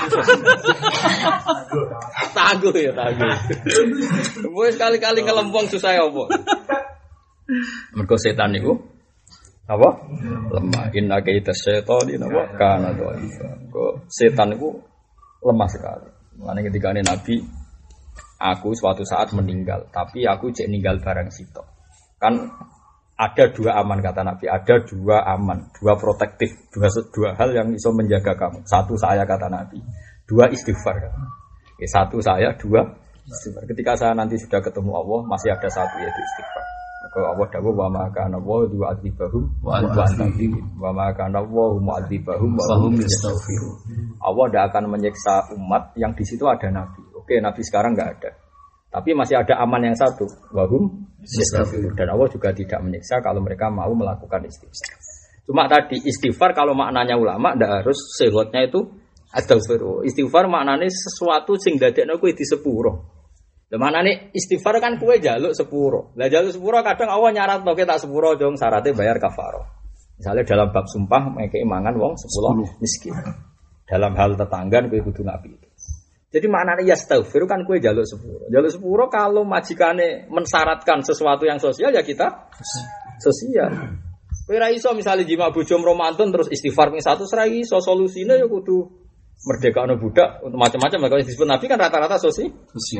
Speaker 1: Tangguh ya tangguh. Wis kali-kali ngelempong susah apa? Mergo setan niku apa? Lemah. Inna kaita syaitani napa kana dhaifa. Kok setan niku lemah sekali. Mulane ketika Nabi aku suatu saat meninggal, tapi aku cek ninggal barang sitok. Kan ada dua aman kata Nabi, ada dua aman, dua protektif, dua hal yang bisa menjaga kamu. Satu saya kata Nabi, dua istighfar. Satu saya, dua istighfar. Ketika saya nanti sudah ketemu Allah, masih ada satu yaitu istighfar. Maka Allah dawuh wa ma kana wa yu'adzibahum wa anta wa ma kana wa mu'adzibahum wa hum yastaghfirun. Allah tidak akan menyiksa umat yang di situ ada Nabi. Oke, Nabi sekarang enggak ada. Tapi masih ada aman yang satu, wahum yastaghfirun. Dan Allah juga tidak menyiksa kalau mereka mau melakukan istighfar. Cuma tadi istighfar kalau maknanya ulama ndak harus sehlotnya itu astaghfirullah. Istighfar maknanya sesuatu sing dadekno kowe disepuro. Lah maknane istighfar kan kowe njaluk sepuro. Lah njaluk sepuro kadang Allah nyaratno kowe tak sepuro dong syaratnya bayar kafarah. Misalnya dalam bab sumpah mengke mangan wong 10 miskin. Dalam hal tetanggan kowe kudu ngapi. Jadi maknanya yastaghfir kan kowe njaluk sepuro. Njaluk sepuro kalau majikane mensyaratkan sesuatu yang sosial ya kita sosial. Kowe ra iso misale jima bojo romantun terus istighfar ping 100 ra iso solusine ya kudu merdeka budak untuk macam-macam kalau disebut Nabi kan rata-rata sosial.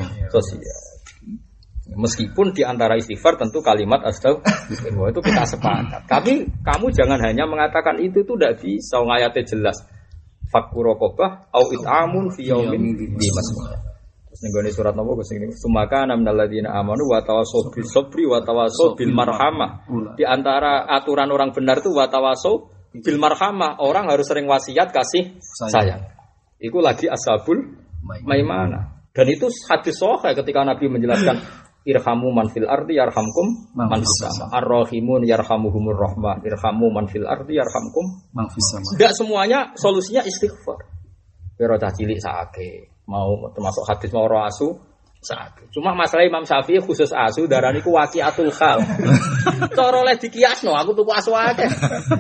Speaker 1: Meskipun di antara istighfar tentu kalimat astaghfirullah itu kita sepakat. Tapi kamu jangan hanya mengatakan itu tidak bisa ngayatnya jelas. Fakku raqabah au it'amun fi yaumin dimasmah. Terus ning surat napa Gus ini? Sumaka minal ladzina amanu wa tawassaw bis sabri wa tawassaw bil marhamah. Di antara aturan orang benar itu wa tawassaw bil marhamah, orang harus sering wasiat kasih sayang. Itu lagi ashabul maimana. Dan itu hadis sahih ketika Nabi menjelaskan irhamu man fil ardi yarhamkum man fis sama. Ar-rahimun yarhamuhumur rahman. Irhamu man fil ardi yarhamkum man fis sama. Enggak semuanya solusinya istighfar. Kira cah cilik sakake, mau termasuk hadis mau roh asu sakit. Cuma masalah Imam Syafi'i khusus asu darah niku waqiatul khal. Cara oleh dikiasno aku tuku asu akeh.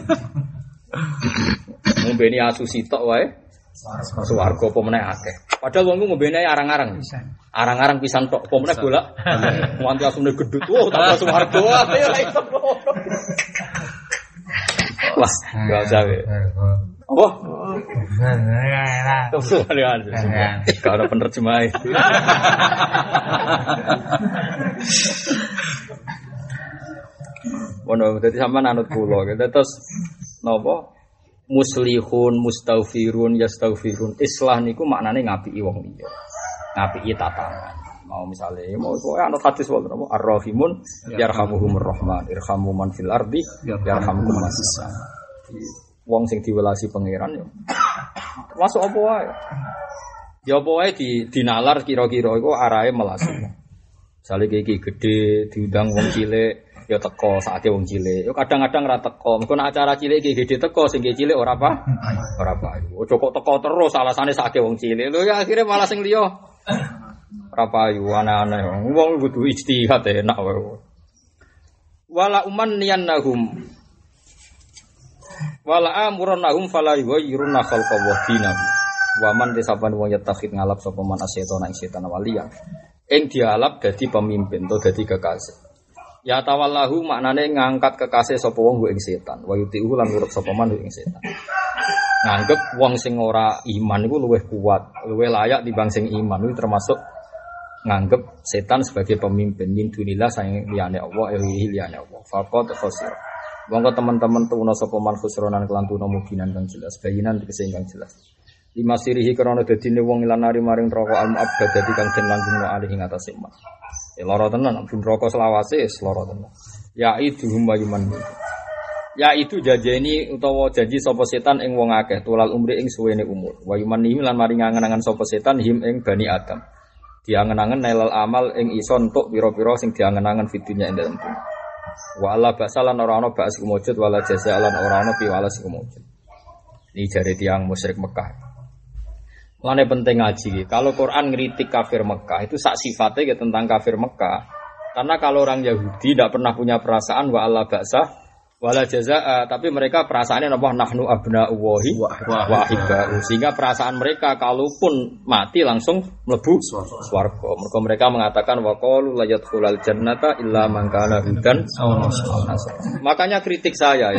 Speaker 1: Ngombeni asu sitok wae. Swarga apa meneh akeh. Padahal wong ngombene arang-arang. Arang-arang pisan tok apa meneh golak. Nganti asune gedhut. Oh, tambah swarga. Ya iso. Wah, enggak usah. Apa? Gak ada penerjemah. Wono dadi sampean anut kula. Terus napa? Muslihun, mustaghfirun, yastaghfirun. Islah niku maknane ngapiki wong liya. Ngapiki tatanan. Mau misalnya mau anut hadis wonten apa? Ar-Rahimun yarhamuhumur Rahman, irhamu man fil ardi yarhamukum man fis sama. Wong sing diwelasi pangeran yo. Masuk apa wae? Ya apa wae dinalar kira-kira iku arahe melasi. Misale iki gedhe diundang wong cilik ya teko saate wong cilik. Yo kadang-kadang ra teko. Mergo nek acara cilik iki gedhe teko sing cilik ora apa? Ora payu. Ojo kok teko terus alasane saate wong cilik. Lho ya akhire malah sing liya ora payu aneh-aneh. Wong kudu ijtihad enak wae. Wala umanniyannahum wala amurannahum fala yughayyiruna khalqallah dinahu. Wa man disaban wong yatakhid ngalap sapa man asyaiton ing setan waliya. Ing dialap dadi pemimpin to dadi kekasih. Ya tawallahu maknane ngangkat kekasih sapa wong ing setan. Wa yuti'u lan nurut sapa man ing setan. Nganggep wong sing ora iman iku luwih kuat, luwih layak timbang sing iman. Itu termasuk nganggep setan sebagai pemimpin min dunillah sayang liyane Allah, liyane Allah. Faqat khosir. Wong teman-teman tuna sapa man khusronan kelan tuna muginan kang jelas, bayinan tegese kang jelas. Lima sirihi krana dadine wong ilanari maring neraka al-mu'abbad dadi kang den langgungno alih ing atase mak. Lara tenan ben neraka selawase lara tenan. Ya itu humayuman. Ya itu jajeni utawa janji sapa setan ing wong akeh tulal umri ing suwene umur. Wa yumani lan maring angen-angen sapa setan him ing bani Adam. Diangen-angen nailal amal ing iso entuk pira-pira sing diangen-angen fidunya ing dalem dunya. Wa alla basalan ora ana ba'as kumujud wala jazalan ora ana piwalas kumujud. Ini jare tiyang musyrik Mekah. Lane penting ngaji. Kalau Quran ngritik kafir Mekah itu sak sifatnya tentang kafir Mekah. Karena kalau orang Yahudi tidak pernah punya perasaan wa alla ba'sa wala jazaa, tapi mereka perasaannya apa nahnu abna'ullahi wa ahibba'u. Sehingga perasaan mereka kalaupun mati langsung mlebu swarga. Mereka mengatakan wa qalu la yadkhulul jannata illa man kana hudan. Makanya kritik saya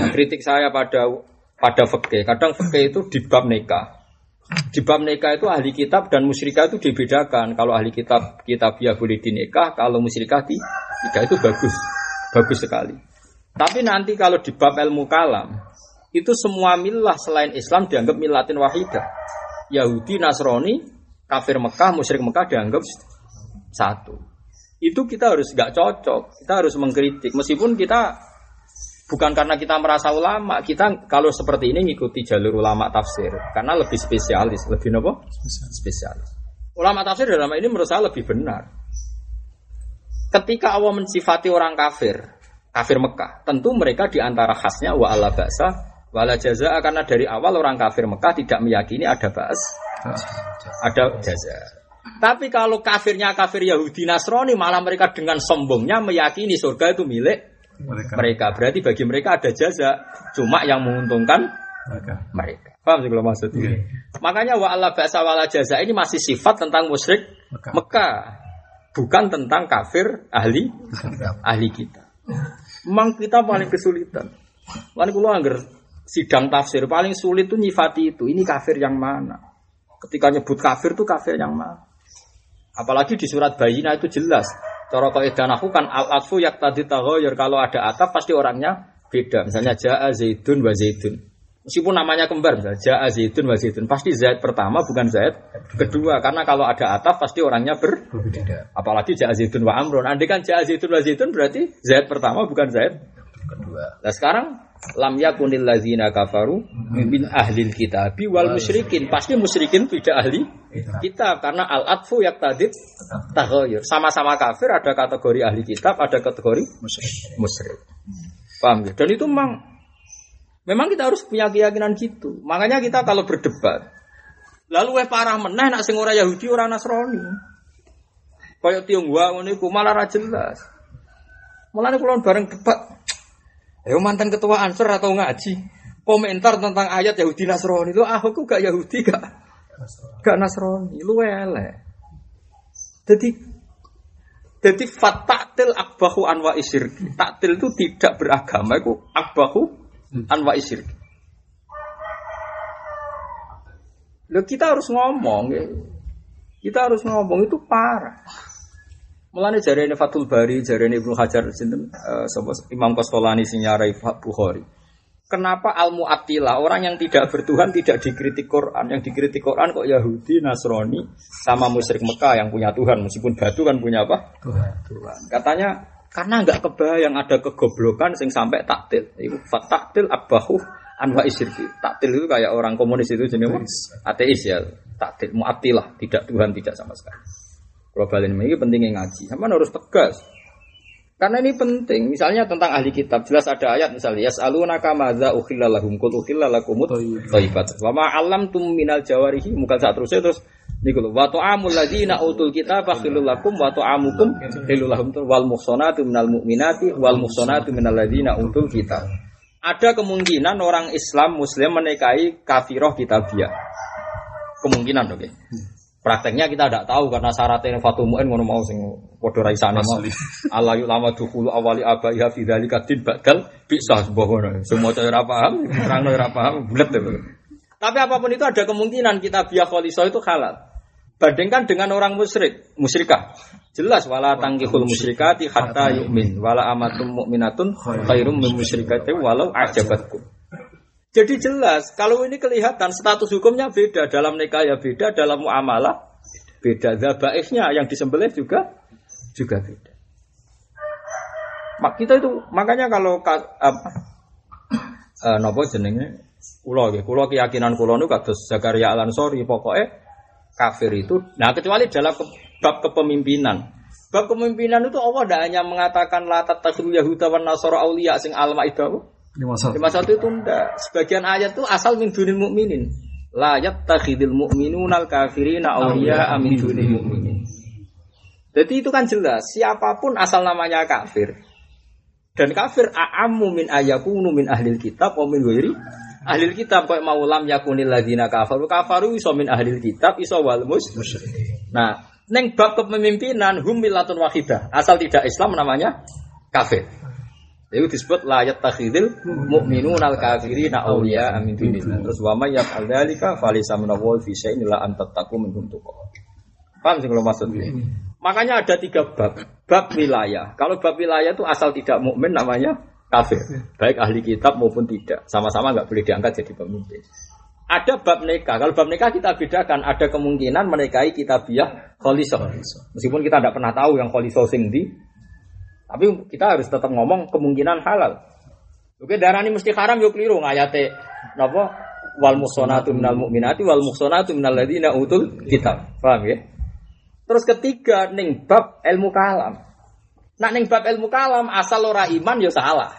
Speaker 1: pada fikih. Kadang fikih itu di bab nikah. Di bab nikah itu ahli kitab dan musyrikah itu dibedakan. Kalau ahli kitab kitabiah boleh dinikah, kalau musyrikah tidak, itu bagus sekali. Tapi nanti kalau di bab ilmu kalam, itu semua milah selain Islam dianggap milatin wahidah. Yahudi, Nasrani, kafir Mekah, musyrik Mekah dianggap satu. Itu kita harus gak cocok, kita harus mengkritik. Meskipun kita bukan karena kita merasa ulama, kita kalau seperti ini ngikuti jalur ulama tafsir karena lebih spesialis, lebih apa? Spesialis. Ulama tafsir dalam ini menurut saya lebih benar. Ketika Allah mensifati orang kafir Mekah, tentu mereka diantara khasnya wa ala ba'sa wa la jazaa, karena dari awal orang kafir Mekah tidak meyakini ada ba's, ada jaza. Tapi kalau kafirnya kafir Yahudi Nasrani, malah mereka dengan sombongnya meyakini surga itu milik mereka. Berarti bagi mereka ada jaza, cuma yang menguntungkan mereka. Paham sih kalau maksudnya? Makanya wa ala ba'sa wa la jaza ini masih sifat tentang musyrik Mekah, bukan tentang kafir ahli kita. Memang kita paling kesulitan. Lan kula angger sidang tafsir paling sulit tuh nyifati itu. Ini kafir yang mana? Ketika nyebut kafir tuh kafir yang mana? Apalagi di surat Bayyinah itu jelas. Cara kaidah nahwu kan al-atfu yaqtadi taghayyur, kalau ada ataf pasti orangnya beda. Misalnya jaa Zaidun wa Zaidun. Meskipun namanya kembar, misalnya jaa Zaidun wa Zaidun, pasti Zaid pertama bukan Zaid kedua, karena kalau ada ataf pasti orangnya berbeda. Apalagi jaa Zaidun wa Amrun. Andai kan jaa Zaidun wa Zaidun berarti Zaid pertama bukan Zaid kedua. Nah sekarang lam yakunil ladzina kafaru min ahlil kitabi wal musyrikin, pasti musyrikin tidak ahli kitab karena al-atfu yaqtadi taghayyur. Sama-sama kafir, ada kategori ahli kitab, ada kategori musyrik. Paham ya? Dan itu memang kita harus punya keyakinan gitu. Makanya kita kalau berdebat, Lalu parah meneh nak sing ora Yahudi ora Nasrani. Kaya Tionghoa ngono iku malah ra jelas. Mulane kula bareng debat. Ayo mantan ketua Ansor atau ngaji. Komentar tentang ayat Yahudi Nasrani itu aku gak Yahudi gak Nasrani. Lu elek. Jadi fataktil akbahu anwa isyirki. Taktil itu tidak beragama, itu akbahu anwa isyirki. Loh, kita harus ngomong, ya. Kita harus ngomong itu parah. Mulane jarene Fathul Bari, jarene Ibnu Hajar sinten Imam Qasqalani sing nyarai Bukhari. Kenapa al-mu'attilah, orang yang tidak bertuhan tidak dikritik Quran, yang dikritik Quran kok Yahudi, Nasrani, sama musyrik Mekah yang punya Tuhan, meskipun batu kan punya apa? Tuhan. Katanya karena enggak kebayang ada kegoblokan sing sampai taktil. Itu taktil abahu anwa isyirki. Taktil itu kayak orang komunis itu jenis ateis ya. Taktil mu'attilah, tidak Tuhan, tidak sama sekali. Kalau balen ini pentingnya ngaji, sama harus tegas. Karena ini penting, misalnya tentang ahli kitab, jelas ada ayat misalnya yas'alunaka madza ukhilla lahum qul ukhilla lakumut thayyibat. Wa ma 'allamtum minal jawarihi muka saat terus niku lho wa ta'amul ladzina utul kitaba khilul lakum wa ta'amukum khilul lahum wal muhsanatu minal mu'minati wal muhsanatu minal ladzina utul kitab. Ada kemungkinan orang Islam Muslim menikahi kafirah kitabiah. Kemungkinan oke. Prakteknya kita tidak tahu karena syaratnya Fatul Mu'in ngono mau sing padha ra isane mau. Allah yulama dukhulu awali abaiha fi dzalika din badal bisa sebuah ngono. Semua cara paham, terang ora paham bulet. Tapi apapun itu ada kemungkinan kita biya khalisah itu halal. Bandingkan dengan orang musyrikah. Jelas wala tangkihul musyrikati hatta yu'min wala amatum mu'minatun khairum min musyrikati walau ajabatkum. Jadi jelas, kalau ini kelihatan status hukumnya beda, dalam nikah ya beda, dalam muamalah beda, dzabaihnya yang disembelih juga beda. Kita itu makanya kalau napa jenenge kula keyakinan kula niku kados Zakaria Al-Ansori pokoknya kafir itu. Nah, kecuali dalam bab kepemimpinan. Bab kepemimpinan itu Allah tidak hanya mengatakan la tattakhidul yahuda wan nasara auliya sing al-Maidah 51 itu enggak. Sebagian ayat itu asal min dunil mu'minin. La yattakhidul mu'minunal kafirina awliya min dunil mu'minin. Jadi itu kan jelas, siapapun asal namanya kafir. Dan kafir a'ammu min ayakunu min ahlil kitab wa min ghairi ahlil kitab kok mau lam yakunil ladzina kafaru iso min ahlil kitab iso wal musyrikin. Nah, ning bab kepemimpinan hum millatun wahidah. Asal tidak Islam namanya kafir. Itu disebut la yattakhidul mu'minunal kafirina awliya min dunillah. Terus wa may yaf'al dzalika falaysa minallahi fi syai'in illa an tattaqu minhum tuqah. Paham sih kalau maksudnya? Makanya ada 3 bab. Bab wilayah. Kalau bab wilayah itu asal tidak mukmin namanya kafir. Baik ahli kitab maupun tidak. Sama-sama enggak boleh diangkat jadi pemimpin. Ada bab nikah. Kalau bab nikah kita bedakan. Ada kemungkinan menikahi kitabiah khalisah. Meskipun kita tidak pernah tahu yang khalisah sing ndi. Tapi kita harus tetap ngomong kemungkinan halal. Oke, darani mesti haram yo keliru ngayate napa wal muhsanatu minal mu'minati wal muhsanatu minal ladzina utul kitab. Paham ya? Terus ketiga ning bab ilmu kalam. Nak ning bab ilmu kalam asal ora iman ya salah.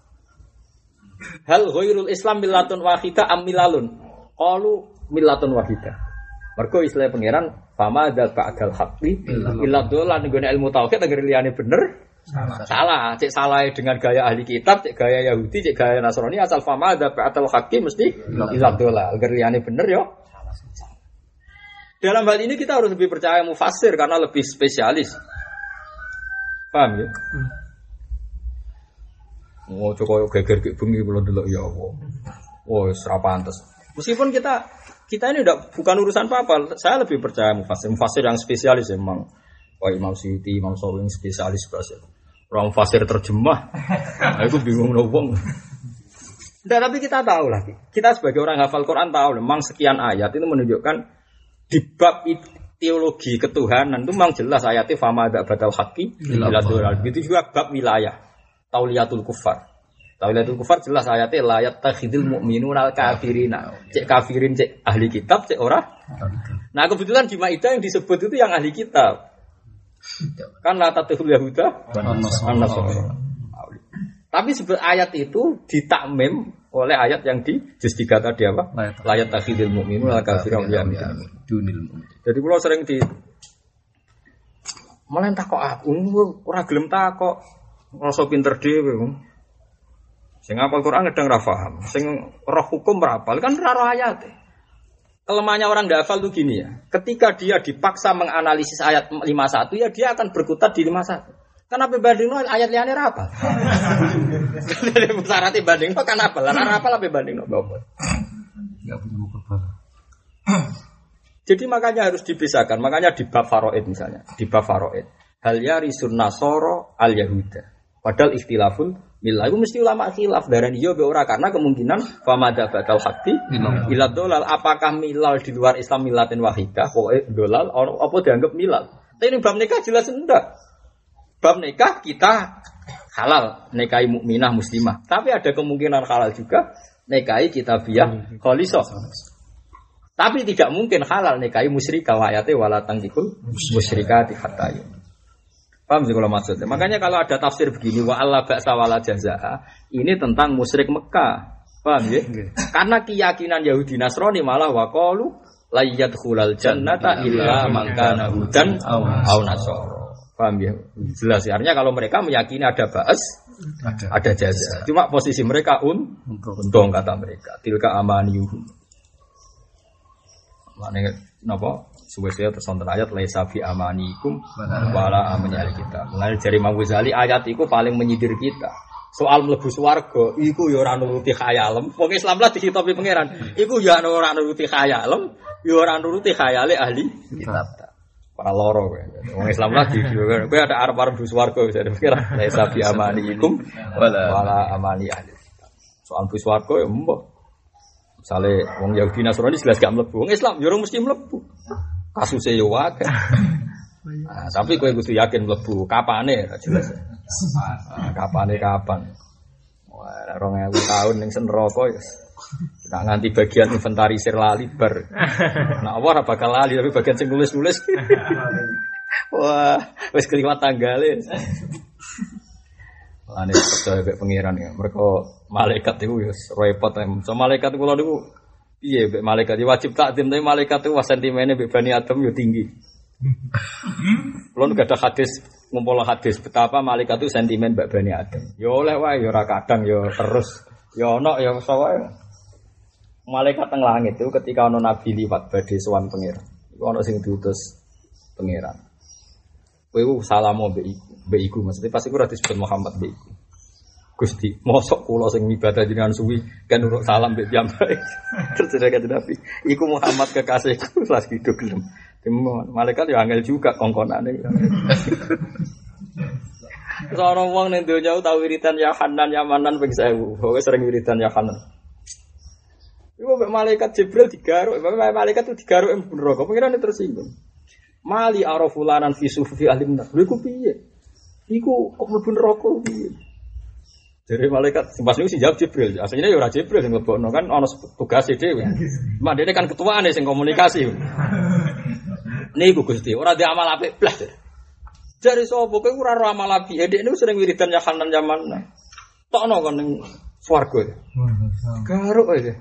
Speaker 1: Hal ghairul Islam millatun wahidah am milalun? Qalu millatun wahidah. Mergo istilah pangeran fama dzal ba'dal haqqi illa dolan nggone ilmu tauhid agar liyane bener. Salah, cek salah dengan gaya ahli kitab, cek gaya Yahudi, cek gaya Nasrani asal fama ada ba'atul hakim mesti iladzullah. Agar liyane bener yo. Dalam hal ini kita harus lebih percaya mufassir karena lebih spesialis. Paham ya? Oh, coba geger ke bengi kula delok ya Allah. Oh, wis ra pantes. Meskipun kita ini bukan urusan apa-apa, saya lebih percaya mufassir yang spesialis memang. Wah, Imam Suyuti, Imam Sawi spesialis bahasa. Orang fasir terjemah. Aku bingung nobong. Nah, tapi kita tahu lah. Kita sebagai orang hafal Quran tahu memang sekian ayat itu menunjukkan di bab teologi ketuhanan itu memang jelas ayatnya fama ada batal haqqi ila dolal. Begitu juga bab wilayah. Tauliyatul kufar. Tauliyatul kufar jelas ayatnya la yattakhidul mu'minunal kafirina. Cek kafirin cek ahli kitab cek ora. Nah, kebetulan di Maidah yang disebut itu yang ahli kitab. Kan la tatul yahuda an-nasara. Tapi ayat itu ditakmim oleh ayat yang di juz 3 tadi apa? Layat takhidil mu'minu al kafirun dunil mu'min. Jadi kula sering di malah takok aku ora gelem takok. Rasa pinter dhewe. Sing hafal Quran kadang ra paham, sing roh hukum ra hafal kan ra roh ayate. Kelemahannya orang enggak hafal tuh gini ya. Ketika dia dipaksa menganalisis ayat 51 ya dia akan berkutat di 51. Kenapa bandingno ayat liyane ra hafal? Syarat bandingno kan hafal. Lah ra hafal apa bandingno apa? Enggak punya hafal. Jadi makanya harus dipisahkan. Makanya di bab faraid misalnya, di bab faraid hal yarisun nasara al yahuda. Padahal ikhtilaful millah itu mesti ulama khilaf darani yo be ora karena kemungkinan famada batal haqqi ila dolal apakah milal di luar Islam milatin wahidah pokoke dolal apa dianggap milal. Tapi ini bab nikah jelas enggak. Bab nikah kita halal nikahi mukminah muslimah. Tapi ada kemungkinan halal juga nikahi kitabiah khalisah. Tapi tidak mungkin halal nikahi musyrikah wa ayate wala tangkihul musyrikati hatta. Paham sih kalau maksudnya. Makanya kalau ada tafsir begini wa alla ba'sa wala jazaa, ini tentang musyrik Mekah. Paham ya? Karena keyakinan Yahudi Nasrani malah wa qalu la yadkhulul jannata illa man kana hudan aw nasara. Paham ya? Jelas ya. Artinya kalau mereka meyakini ada ba'as, ada jazaa. Cuma posisi mereka untung kata mereka. Tilka amaniyuhum. Maknanya napa? Suwe-suwe tersonten ayat laisa fi amanikum wala amani kita. Mulai dari Imam Ghazali ayat itu paling menyindir kita. Soal mlebu swarga iku ya ora nuruti khayalem. Wong Islam lah dihitopi pangeran. Iku ya ora nuruti khayalem, ya ora nuruti khayale ahli kitab. Para loro kowe. Wong Islam lah kowe ada arep-arep mlebu swarga bisa dipikir laisa fi amanikum wala amani ahli kitab. Soal mlebu swarga ya mbok. Misale wong Yahudi Nasrani jelas gak mlebu. Wong Islam ya ora mesti mlebu. Kasusnya yo wae. Nah, tapi kowe kudu yakin mlebu. Kapane jelas. Kapane kapan? Wah, 2000 tahun ning neraka ya. Nek nganti bagian inventarisir lali bar. Nek ora bakal lali tapi bagian sing nulis-nulis. Wah, wis kliwat tanggale. Ane percaya mek pangeran ya. Mergo malaikat iku ya repot. So malaikat kula niku iya, malaikat wajib takdim tapi malaikat itu sentimennya Bani Adam yo tinggi. Kalau nggak ada hadis ngumpul hadis betapa malaikat itu sentimen Bani Adam. Yo oleh wae yo ora kadang yo terus yo ono yo sawae. Malaikat teng langit itu ketika ono nabi liwat badhe sowan pangeran. Iku ono sing diutus pangeran. Kowe salamu mbek iku maksudnya pas iku ora disebut Muhammad mbek iku. Gusti, mosok kula sing ibadah jenengan suwi kan urut salam mbek piyambake. Terus kata Nabi, iku Muhammad kekasihku lagi hidup gelem. Malaikat yo angel juga kongkonane. Seorang wong ning donya tau wiridan ya Hanan ya Manan ping 1000. Pokoke sering wiridan ya Hanan. Iku mbek malaikat Jibril digaruk, malaikat itu digaruk neraka. Pengiran tersinggung. Mali arafulanan fi sufi ahlimna. Lha iku piye? Iku kok mlebu neraka piye? Dari malaikat, pas niku sing jawab Jibril. Aslinya ya ora Jibril sing lebokno kan ana tugase dhewe. Mak dene kan ketuane sing komunikasi. Niku Gusti, ora di amal apik blas. Jare sapa kowe ora ro amal apik. Dek niku sering wiridan ya Hanan zaman. Tokno kon ning swarga. Garuk ae.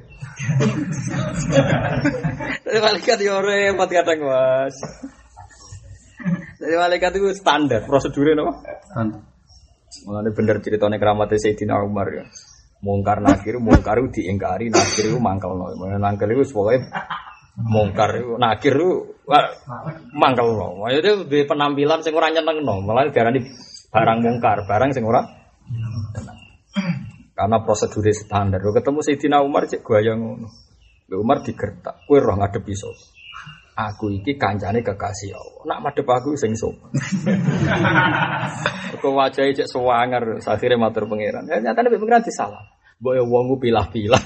Speaker 1: Dari malaikat yo repot kadang, Mas. Dari malaikat itu standar prosedure napa? Standar. Mulane bener ceritane keramat Sayyidina Umar ya. Mungkar nakir diingkari, nakir itu mangkelno. Mangkel itu pokoke mungkar itu nakir itu mangkelno. Maksudnya duwe penampilan sing ora nyenengno, malah diarani barang mungkar, barang sing ora tenang. Karena prosedure standar. Ketemu Sayyidina Umar cek gaya ngono. Umar digertak, kowe roh ngadepi sapa? Aku iki kancane kekasih Allah. Nak madhep aku sing sapa? Kok wajahe cek suwanger, akhire matur pangeran. Ya nyatane pangeran disalah. Mbok ya wong pilah-pilah.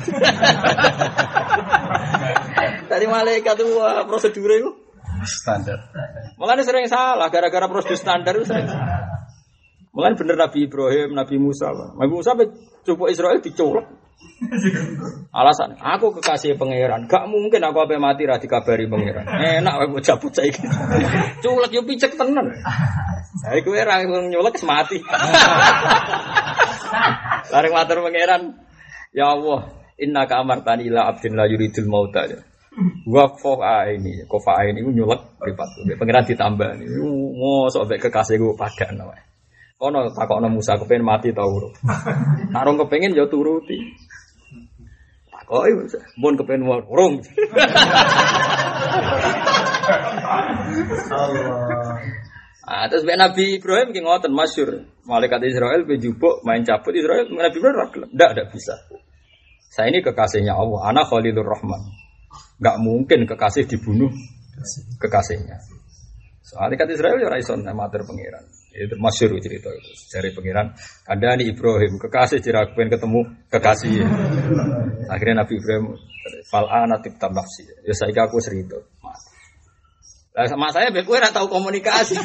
Speaker 1: Dari malaikat itu prosedure itu standar. Mulane sering salah gara-gara prosedur standar itu sering salah. Mulane bener Nabi Ibrahim, Nabi Musa. Nabi Musa coba Israel dicolok. Alasan, aku kekasih pangeran. Gak mungkin aku ape mati ra dikabari pangeran. Enak wae cabut saiki. Culek yo picek tenan. Saiki kowe ra nyolek mati. Bareng matur pangeran. Ya Allah, innaka amartani ila abdin la yuridul mauta. Wa ini, kofa ini nyulek mripat. Pengiran ditambah ini. Mosok mek kekasih gue padan wae. Kono takokno Musa kepen mati ta urip. Nek rong kepengin ya turuti. Takoki Musa, mun kepen urung. Allah. Terus Nabi Ibrahim ki ngoten masyhur. Malaikat Israel bejubuk main cabut Israel Nabi Ibrahim ra gelem. Ndak bisa. Saya ini kekasihnya Allah, ana Khalilur Rahman. Enggak mungkin kekasih dibunuh kekasihnya. Soalnya kata Israel ya raison amatir pangeran. Itu masyhur cerita itu. Dari pangeran kandhani Ibrahim kekasih dirakuin ketemu kekasih. Akhirnya Nabi Ibrahim fal ana tibtam nafsi. Ya saiki aku serito. Lah sama saya ben kowe ora tau komunikasi.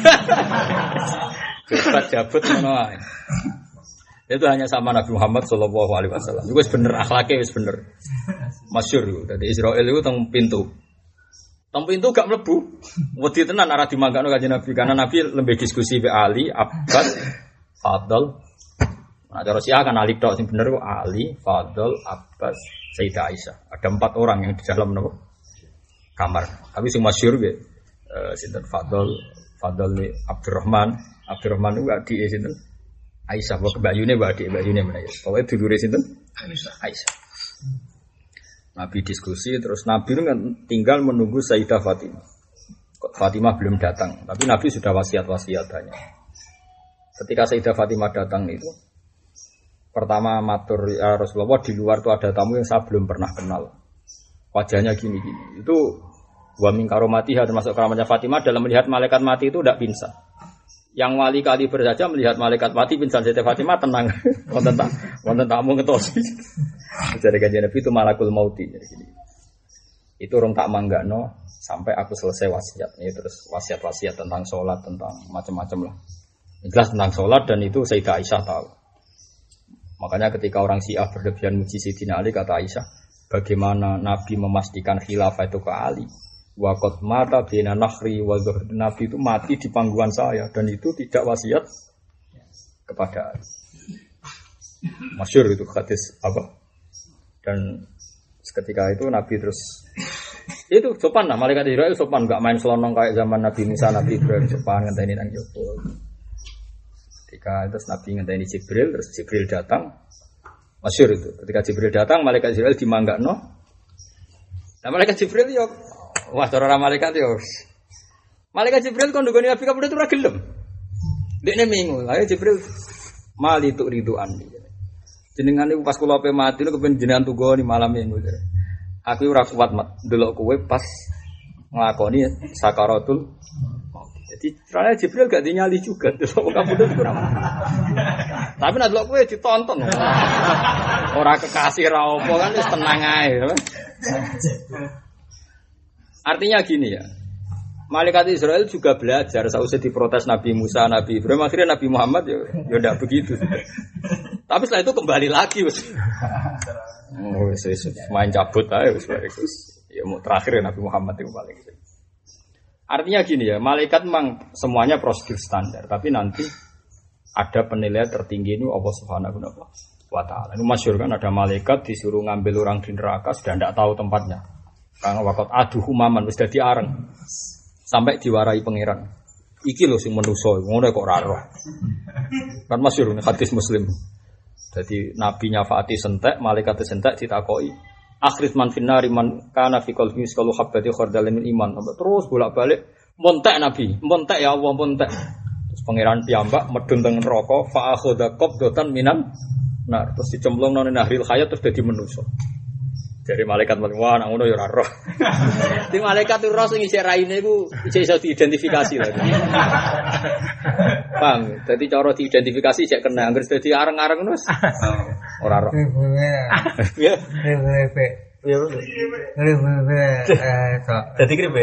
Speaker 1: Cepat jabut ngono ae. Itu hanya sama Nabi Muhammad sallallahu alaihi wasallam. Iku wis bener akhlake wis bener. Masyhur iku. Dadi Israil iku teng pintu. Teng pintu gak mlebu. Wedi tenan arah dimanggakno Kanjeng Nabi karena Nabi lebih diskusi be Ali, Abbas, Fadl. Nah, cara Syiah kan Ali tok sing bener kok Ali, Fadl, Abbas, Sayyidah Aisyah. Ada 4 orang yang di dalam nopo kamar. Tapi sing masyhur ge sinten Fadl Abdurrahman itu adike sinten Aisyah, wa kebayune wa adike bayune menawa. Pokoke dulure sinten Aisyah. Nabi diskusi terus Nabi itu kan tinggal menunggu Sayyidah Fatimah. Fatimah belum datang, tapi Nabi sudah wasiat-wasiat banyak. Ketika Sayyidah Fatimah datang itu pertama matur ya Rasulullah, di luar tuh ada tamu yang saya belum pernah kenal. Wajahnya gini-gini. Itu wa min karomatiha termasuk keramatnya Fatimah dalam melihat malaikat mati itu tidak pingsan. Yang wali kaliber saja melihat malaikat mati pingsan. Sayyidah Fatimah tenang. Wonten tamu ngetosi. Jadi Kanjeng Nabi itu malakul mauti. Itu orang tak manggano sampai aku selesai wasiat. Ini terus wasiat-wasiat tentang sholat, tentang macam-macam lah. Jelas tentang sholat dan itu Sayyidah Aisyah tahu. Makanya ketika orang Syiah berlebihan muji Sayyidina Ali, kata Aisyah, bagaimana Nabi memastikan khilafah itu ke Ali? Waqad mata bina nakhri wa zuhd. Nabi itu mati di pangkuan saya dan itu tidak wasiat kepada Ali. Masyhur itu hadis apa? Dan ketika itu Nabi terus itu sopan lah, malaikat Israel sopan, enggak main selonong kayak zaman Nabi Musa, Nabi Ibrahim sopan ngenteni nang jopo. Ketika terus Nabi ngenteni Jibril, terus Jibril datang. Masyhur itu. Ketika Jibril datang, malaikat Israel dimanggakno. Nah, malaikat Jibril yo wah cara malaikat yo. Malaikat Jibril kon ndungone Nabi kabeh itu ora gelem. Dekne mingu, ayo Jibril mali tuk riduan. Jenengan niku pas kula ape mati niku kepen jenengan tugoni malam minggu. Aku ora kuat mat ndelok kowe pas nglakoni sakaratul maut. Jadi ternyata Jibril gak dinyali juga ndelok kamu itu kurang. Tapi nek ndelok kowe ditonton. Ora kekasih ra opo kan wis tenang ae. Artinya gini ya. Malaikat Israel juga belajar sausé diprotes Nabi Musa, Nabi Ibrahim, akhirnya Nabi Muhammad ya ndak begitu. Tapi setelah itu kembali lagi wis. Oh, wis main cabut ae wis ya mau terakhir ya Nabi Muhammad itu paling gitu. Artinya gini ya, malaikat memang semuanya prosedur standar, tapi nanti ada penilaian tertinggi ini Allah Subhanahu wa taala. Ini masyhur kan ada malaikat disuruh ngambil orang di neraka sudah ndak tahu tempatnya. Karena waqat aduhu maman wis dadi areng. Sampai diwarai pangeran. Iki lho sing manusa, ngono kok ora roh. Kan masyhur hadis Muslim. Jadi nabinya Fatih sentek, malaikat sentek ditakoki. Akhir man finnari man kana fi qalbi misqalu habbati khardalin min iman. Terus bolak-balik montek nabi, montek ya Allah montek. Terus pangeran piyambak medun teng neraka fa akhadha qabdatan minan. Nah, terus dicemplung nang nahril hayat terus dadi manusa. Dari malaikat wah nang ngono ya ora roh. Di malaikat roh sing isih raine iku iso diidentifikasi lho. Bang, dadi cara diidentifikasi cek kena anggere dadi areng-areng wis. Ora roh. Ya. Dadi kribe.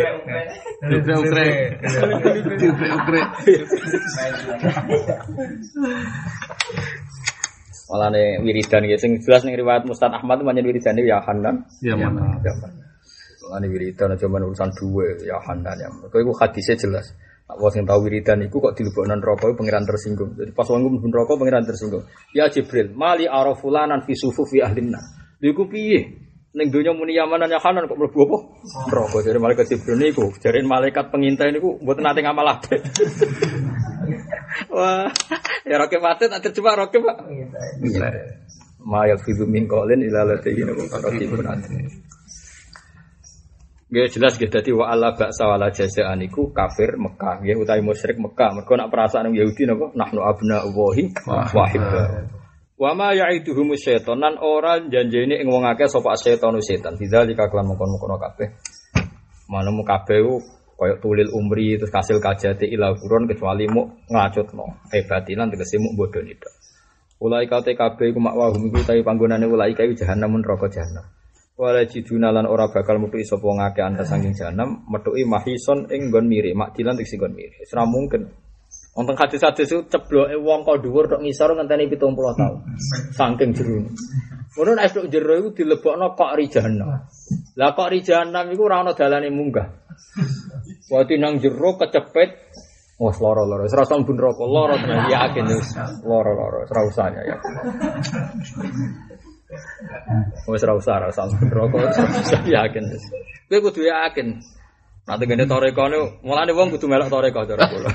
Speaker 1: Malah nih wiridan gitu, sing jelas nih riwayat Mustad Ahmad itu banyak wiridan ya Hanan, ya mana, malah nih wiridan cuma urusan dua ya Hanan ya, kau itu hadisnya jelas. Aku sing tahu wiridan itu kok dileboknan rokok pangeran tersinggung, jadi pas wangun pun rokok pangeran tersinggung. Ya Jibril, mali arafulanan fi sufufi ahlinna. Lha iku piye? Ning donya muni yamanan ya kanan kok mlebu apa? Neraka. Jare malaikat Jibril niku, jare malaikat pengintai niku mboten nate ngamal apik. Wah, ya roke patet tak terjebak roke, Pak. Iya. Ma yafidu min qaulin ila ladayhi raqibun atid. Nggih jelas nggih dadi wa alla ba'sa wala jazaan iku kafir Mekah nggih utawi musyrik Mekah. Mergo nak perasaan Yahudi napa nahnu abna'ullahi wa hibba. Wa ma ya'iduhum syaitanan ora janjene ing wong akeh sapa setan setan. Bidzalika kelan mongkon-mongkon kabeh. Manemu kabeh kaya tulil umri terus kasil kajati ila kurun kecuali mu ngacutno. Batilan tegese mu bodoni tok. Ulai kate kabeh iku makwahum iku utawi panggonane ulai kae jahanam neraka jahanam. Wala jiduna lan ora bakal metuki sapa ngake anta saking jahanam metuki mahison ing nggon mire makdilan tegese nggon mire. Ora mungkin. Wonten hadis-hadis itu cebloke wong kok dhuwur tok ngisor ngenteni 70 tahun. Saking jero. Ngono nek tok jero iku dilebokno kok ri jahanam. Lah kok ri jahanam iku ora ana dalane munggah. Wati nang jero kecepet wes loro-loro. Wis rasa mlebu neraka loro tenan yakin wis loro-loro. Ora usah ya. Wis ora usah neraka yakin wis. Kowe kudu yakin. Nanti gini torekone, mulane wong kudu melok toreko cara kula.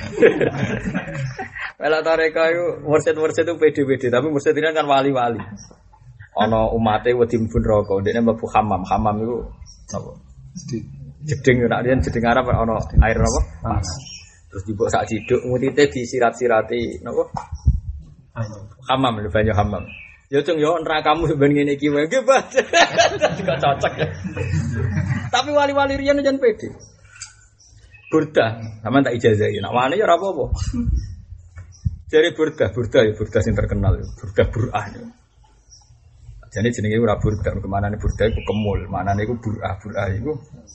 Speaker 1: Melok toreko itu mursid itu pede-pede, tapi mursid ini kan wali-wali. Ana umate wedi mlebu neraka, ndekne mlebu hamam iku napa? Jeding nek riyen jeding Arab ana air napa? Panas. Terus dibok sak ciduk mutite disirat-sirati napa? Hamam, banyu hamam. Ya cung yo nerakamu ben ngene iki wae nggih, Pak. Juga cocok ya. Tapi wali-wali riyen jan pede. Burda, sampean tak ijazahi. Nek wani ya ora apa-apa. Jare burda ya burda sing terkenal, burda Bur'ah. Jane jenenge ora burda, kemanane burda iku kemul, manane iku Bur'ah iku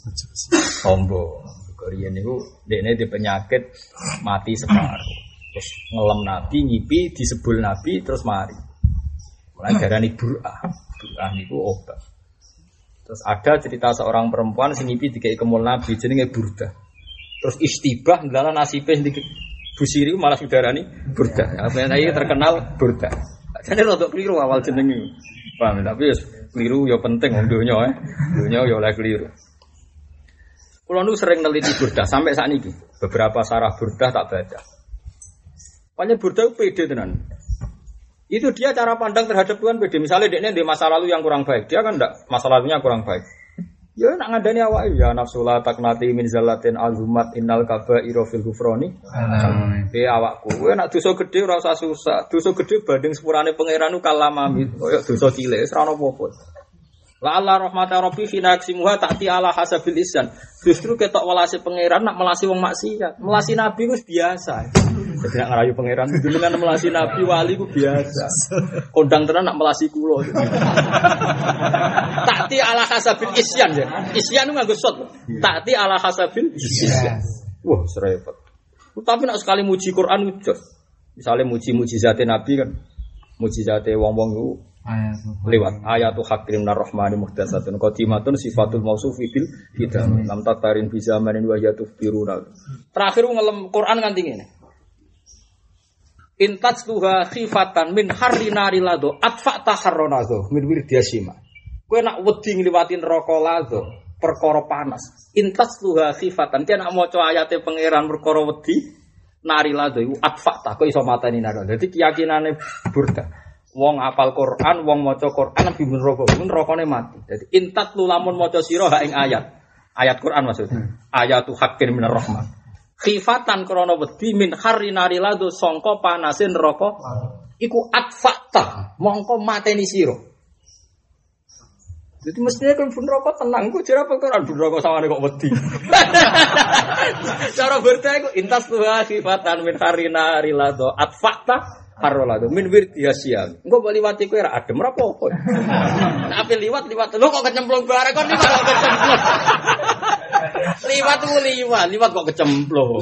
Speaker 1: tombo. Riyen niku dekne di penyakit mati separuh. Terus ngelem Nabi, ngipi disebul Nabi terus mari. Mulai darani Bur'ah niku obat. Terus ada cerita seorang perempuan sing ngipi dikei kemul Nabi jenenge Burda. Terus istibah ndalan nasibe sedikit busiri malah didarani Burda. Apa iki terkenal Burda. Jane rodok keliru awal jenenge. Paham tapi wis keliru ya penting wong donya Donya ya oleh keliru. Kula nu sering neliti Burda sampai sakniki. Beberapa sarah Burda tak baca. Pokoknya Burda pede tenan. Itu dia cara pandang terhadap Tuhan beda. Misalnya dia di masa lalu yang kurang baik, dia kan enggak masa lalunya kurang baik. Ya nak ngandani awake ya nafsula taknati min zallatin azumat innal kaba'ira fil ghufrani. Awakku, kowe nak dosa gedhe ora usah susah. Dosa gedhe banding sepurane pangeran ku kalamami, koyo dosa cilik wis ora apa-apa. La Allah rahmata rabbi fina aksimuha ta'ti ala hasabil isyan. Justru ketok welase pangeran nak melasi wong maksiat. Melasi nabi wis biasa. Jadi nak ngerayu pangeran dengan melasi nabi wali ku biasa. Kondang tenan nak melasi kula. Ta'ti ala hasabil isyan ya. Isyan ku nganggo sot. Ta'ti ala hasabil isyan. Wah, serepet. Tapi nak sekali muji Quran udah. Misalnya muji mukjizate nabi kan. Mukjizate wong-wong ku lewat ayatu hakim narrahmani muhdatsatun qadimatun sifatul mausufi bil hidam lam tatarin bi zamanin wa yatuf biruna. Terakhir ngelem Quran nganti ngene. Intatsuha khifatan min harrinari lado atfa taharronazo min wirdiasima. Kowe nak wedi ngliwati neraka lado perkara panas. Intatsuha khifatan dia nak maca ayate pangeran perkara wedi nari lado iku atfa ta kok iso mateni nari. Dadi keyakinane Burda. Wong apal Quran, wong maca Quran lebih neraka, nerakane mati. Dadi intat lu lamun maca sira ha ing ayat Quran maksudnya. Ayatu haqqin minar rahman. Khifatan krana wedi min harrinari lado sangka panase neraka. Iku atfata, mongko mateni sira. Jadi mestinya kan neraka tenang, kok jare apal Quran neraka sawane kok wedi. Cara berta iku intas tuha khifatan min harrinari lado atfata Harolado min wirdiasia. Engko mbok liwati kowe ra adem ra apa-apa. Nek ape liwat lho kok kecemplung bareng kok liwat kok kecemplung. Liwat kok kecemplung.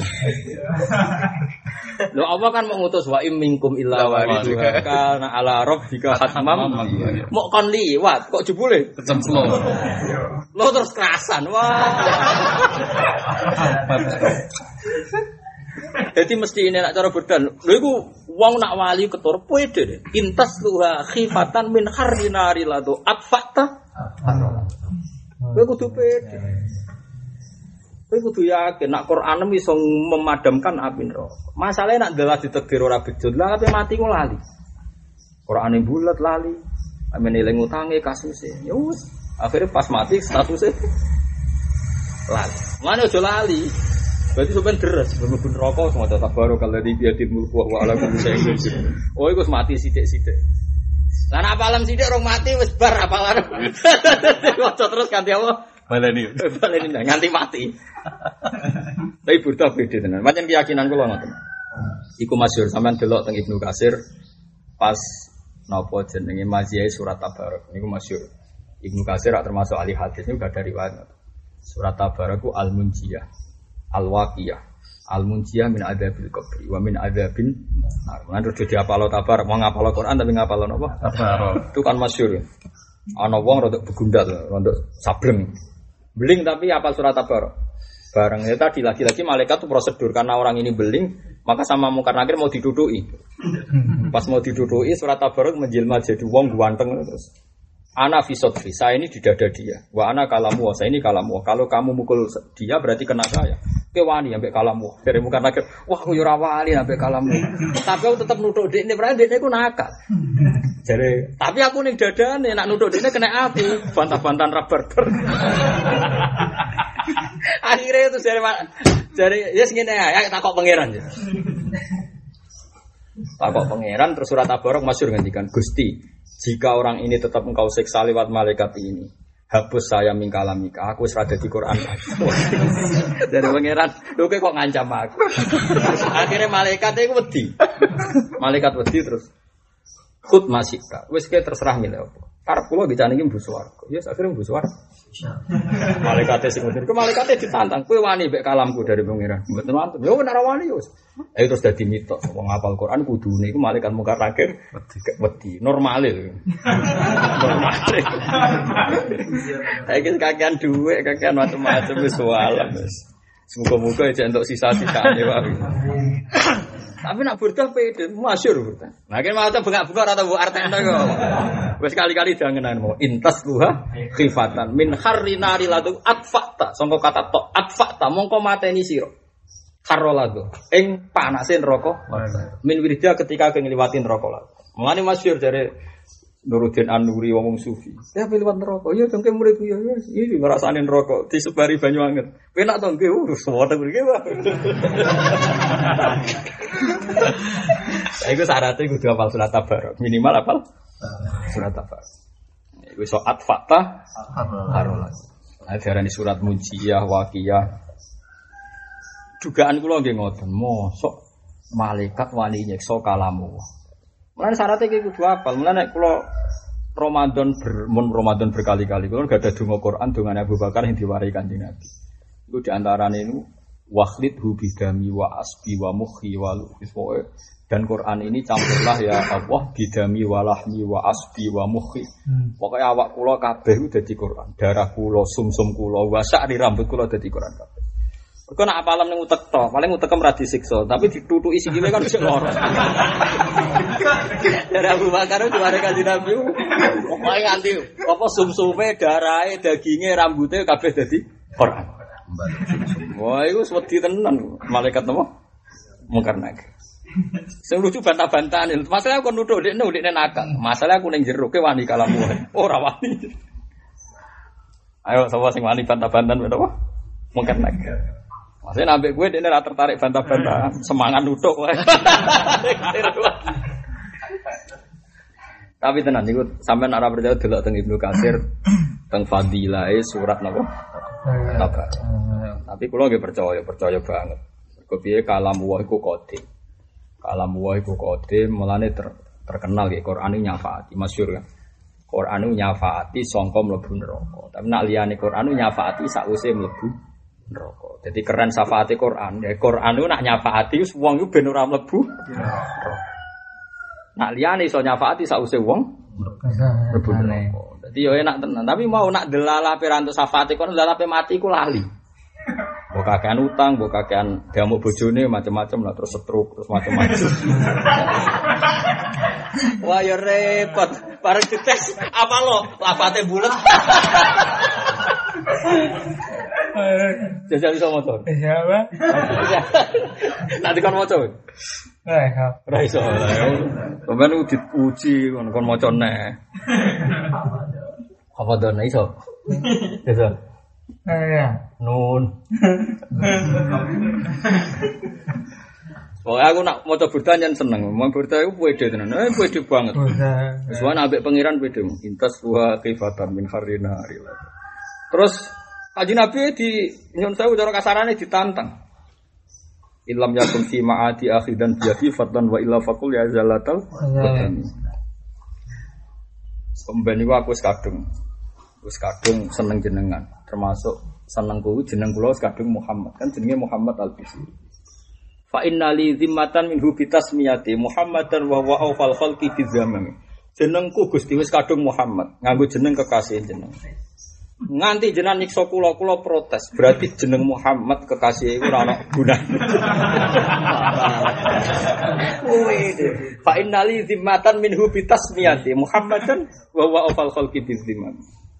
Speaker 1: Lho apa kan mau ngutus wa im minkum illa waridha kana ala rabbika hatmam. Mok kon liwat kok jebule kecemplung. Lho terus kerasan. Wah. Dadi mesti ini nak cara berdan. Lho iku wong nak wali ketur pede. Intas luha khifatan min harrinari lado atfata. Kowe kudu pede. Kowe kudu yakin nak Quran iso memadamkan api neraka. Masalahe nak ndelah ditegir ora bejot, lah ape mati ku lali. Qur'ane bulet lali. Amene eling utange kasuse. Ya wis, akhire pas mati statusé lali. Mane aja lali. Berarti sampean deres, mlebu neraka semua tabarok alladzi bi yadihi mulku wa ala kulli syai'in qadir. Oh iku wis mati sithik-sithik. Lah nek apalan sithik rong mati wis bar apalan. Waca terus ganti apa? Baleni nganti mati. Tapi burda beda tenan. Pancen keyakinan kula ngoten. Iku masyhur sampean delok teng Ibnu Katsir pas napa jenenge maziyah surat Tabarak niku masyhur. Ibnu Katsir termasuk ahli hadis niku gak dari riwayat. Surat Tabarak ku al-munjiyah, al-waqiyah, al-munjiyah min adzabil qabri wa min adzabin nar. Lan terus diapalo Tabarak, mau ngapalo Quran tapi ngapalo napa? Tabarak. Itu kan masyhur. Ana wong rada begundal, rada sableng. Beling tapi apal surat Tabarak. Bareng ya tadi lagi-lagi malaikat itu prosedur karena orang ini beling, maka sama Munkar Nakir mau diduduki. Pas mau diduduki surat Tabarak menjelma jadi wong ganteng terus. Ana fi sodfi, saya ini di dada dia. Wa ana kalamu, saya ini kalamu. Kalau kamu mukul dia berarti kena saya. Kowe wani ambek kalamu. Dari Munkar Nakir, wah kowe ora wani ambek kalamu. Tapi aku tetep nuthuk dekne, berarti dekne ku nakal. Jare, tapi aku ning dadane nak nuthuk dekne kena api, bantah-bantahan rabar-bar. Akhirnya itu jare yes ngene ae takok pangeran. Takok pangeran terus surat Tabarak masyhur ngendikan, Gusti, jika orang ini tetap engkau siksa lewat malaikat ini, hapus saya min kalamika, aku wis ra dadi Quran lagi. Dari pangeran, lho kok ngancam aku. Akhirnya malaikat iku wedi. Malaikat wedi terus khut masika. Wis ke terserah milih apa. Karep kula dicane iki mbu swarga. Ya akhire mbu swarga. Malaikate sing ngoten. Ku malaikate ditantang, kowe wani mbek kalamku dari pangeran. Mboten wonten. Ya ora wani yo. Ayo terus dadi mitos wong hafal Quran kudune iku malaikat Munkar Nakir wedi. Normale lho. Normale. Iki kakean dhuwit, kakean macam-macam wis walam wis. Semoga-moga aja entuk sisa-sisane wae. Tapi nak burdah pede, masyhur burdah. Nah, kan maca bengak-bengok atau bu artene kok. Wis kali-kali jangenan mau intas luha khifatan min harrinari ladu atfata. Sangka kata tok atfata mongko mateni sira. Karolado ing panase neraka. Min wirida ketika ngliwati neraka lado. Mulane masyhur jare Nuruddin An-Nuri wong sufi. Ya liwat neraka. Ya dongke muridku ya iki ngrasani neraka disebari banyu anget. Penak to nggih suwete mriki wae. Iku syaratnya kudu hafal surat Tabarak. Minimal hafal surat Tabarak. Iku soat fakta harolah. Nah, diarani surat Munjiyah, Waqiyah. Dugaan kula nggih ngoten, mosok malaikat wani nyekso kalamu. Mulane syaratnya iki kudu hafal. Mulane nek kula Ramadan berkali-kali kula gak ada donga Quran dongane Abu Bakar yang diwarai Kanjeng Nabi. Iku di antarane niku wakhlid hubidami wa asbi wa mukhi wa luhis dan Quran ini campurlah ya Allah bidami wa lahmi wa asbi wa mukhi. Pokoknya awak kula kabeh ku dadi Quran. Darah kula, sumsum kula, wa sa'ri rambut kula dadi Quran kabeh. Kok nak apalam ning utek to, paling utekem ra disiksa, tapi ditutuki sikile kan sik lara. Dari Abu Bakar itu ada Kanjeng Nabi. Pokoke nganti apa sumsume, darahe, daginge, rambute kabeh dadi Quran. Wah, itu wedi tenan malaikat napa? Munkar Nakir. Sing lucu bantah-bantahan. Masalah aku nuthuk dekne nakal. Masalah aku ning jero ke wani kalamu. Ora wani. Ayo sapa sing wani bantah-bantahan apa? Munkar Nakir. Maksudnya ambek gue dekne ra tertarik bantah-bantahan, semangat nuthuk wae. Tapi tenan niku sampean ora percaya delok teng Ibnu Katsir teng fadilahe surat napa? Tabarak. Tapi kula nggih percaya banget. Mergo piye kalam wa iku qadim. Kalam wa iku qadim mulane terkenal nggih Quran nyafaati, masyhur kan. Quran nyafaati sangka mlebu neraka. Tapi nak liyane Quran nyafaati sakwise mlebu neraka. Jadi keren syafaati Quran. Ya Quran nak nyafaati wis wong iku ben ora mlebu neraka. Nak liyane iso nyafaati sakwise wong mlebu neraka. Dadi yo enak tenan, tapi mau nak delala piranto syafaati kon delala pe mati ku lali. Mbok kakean utang, mbok kakean diamuk bojone macam-macam lah terus stroke terus macam-macam. Wah ya repot. Bareng dites apa lo? Lafate bulet. Jajal iso motor.
Speaker 2: Iya, Pak.
Speaker 1: Nanti kon maca.
Speaker 2: Iya.
Speaker 1: Ora iso. Sampeyan diuji kon maca neh. Apa dene iso? Iso.
Speaker 2: Iya.
Speaker 1: Nun. Oh, aku nak maca burda nyen seneng. Mau burda iku pede tenan. Pede banget. Wis wae ambek pangeran pede. Intas wa kifatan min harina. Terus Kanjeng Nabi di nyun sewu cara kasarane ditantang. Ilam yakun fi ma'ati akhidan biati fatan wa illa faqul ya zalatal batani. Pemben niku aku wis kadung seneng jenengan, termasuk seneng kuwi jeneng kula wis kadung Muhammad. Kan jenenge Muhammad Al-Bisri. Fa innali zimmatan minhu bitasmiyati Muhammadan wa huwa awfal khalqi fi zaman. Jenengku Gusti wis kadung Muhammad, nganggo jeneng kekasih jeneng. Nganti jenengan nyiksa kula protes. Berarti jeneng Muhammad kekasih iku ora ana gunane. Fa innali zimmatan minhu bitasmiyati Muhammadan wa huwa awfal khalqi fi zaman.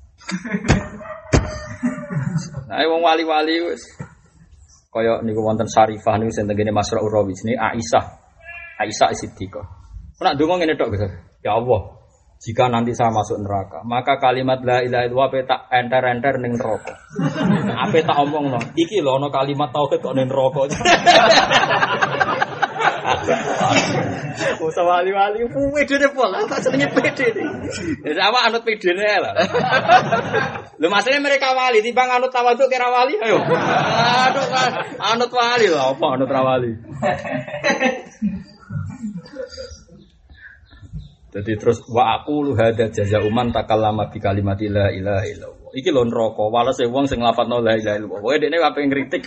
Speaker 1: Nah, wong wali-wali wis kaya niku wonten Syarifah niku sing tengene Masra'ur Rawi jenenge Aisyah Siddiqah. Nek ndonga ngene tok, Gus. Ya Allah, jika nanti saya masuk neraka, maka kalimat la ilaha illallah tak enter-enter ning neraka. Ape tak omongno, iki lho ana kalimat tauhid kok ning neraka. Usah wali-wali pedene pola, tak senenge pede. Wis awak anut pedene lah. Lho masalahnya mereka wali timbang anut tawadhu kira wali ayo. Aduh kan anut wali lho apa anut ra wali. Jadi terus wa aqulu hadza jazaa'u man takallama bi kalimati la ilaha illallah. Iki lho neraka, walese wong sing nglafadzno la ilaha illallah. Pokoke dekne ape ngritik.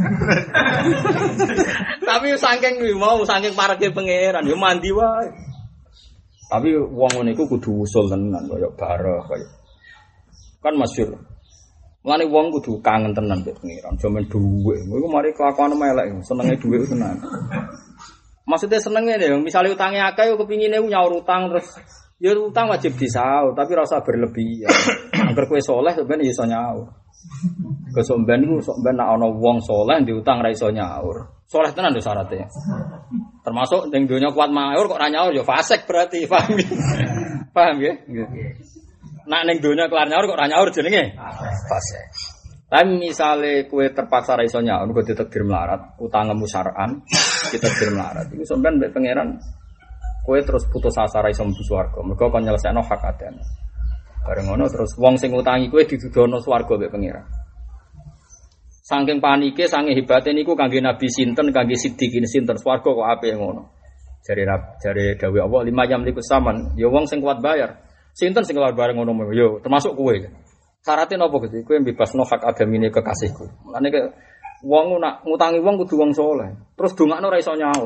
Speaker 1: Tapi saking pareke pangeran yo mandi wae. Tapi wong ngene iku kudu usul tenan kaya barah kaya. Kan masyhur. Mulane wong kudu kangen tenan mbek pangeran, jaman dhuwit. Iku mari kelakuan elek, senenge dhuwit tenan. Maksudnya senengnya deh, misalnya utangnya akeh, yo kepingine nyaur utang terus, ya utang wajib disaur, tapi rasa berlebihan. Agar kue soleh, sebenarnya iso nyaur. Kesomben itu, sebenarnya nak ono wong soleh diutang ra iso nyaur. Soleh tenan tuh syaratnya. Termasuk yang dunia kuat nyaur kok ra nyaur, yo fasik berarti, paham ya? Paham ya? Nak neng dunia kelar nyaur kok ra nyaur jenenge fasik. Tapi misalnya kue terpaksa ra iso nyaur, kue ditakdir melarat, utangmu syar'an, ditakdir melarat. Iku sampean mbek pangeran kue terus putus asa ra iso mlebu swarga. Mergo kon nyelesaikno hak adane. Bareng ngono terus wong sing utangi kue didudono swarga mbek pangeran. Saking panike, saking hebate niku kangge Nabi sinten, kangge Siddiqin sinten swarga kok apik ngono. Jare dawuh Allah 5 jam liku saman, ya wong sing kuat bayar. Sinten sing kuat bareng ngono yo termasuk kowe. Syaratnya napa Gusti? Kowe mbebasno hak agamine kekasihku. Mulane ke wong nak ngutangi wong kudu wong saleh. Terus dongakno ora iso nyaur.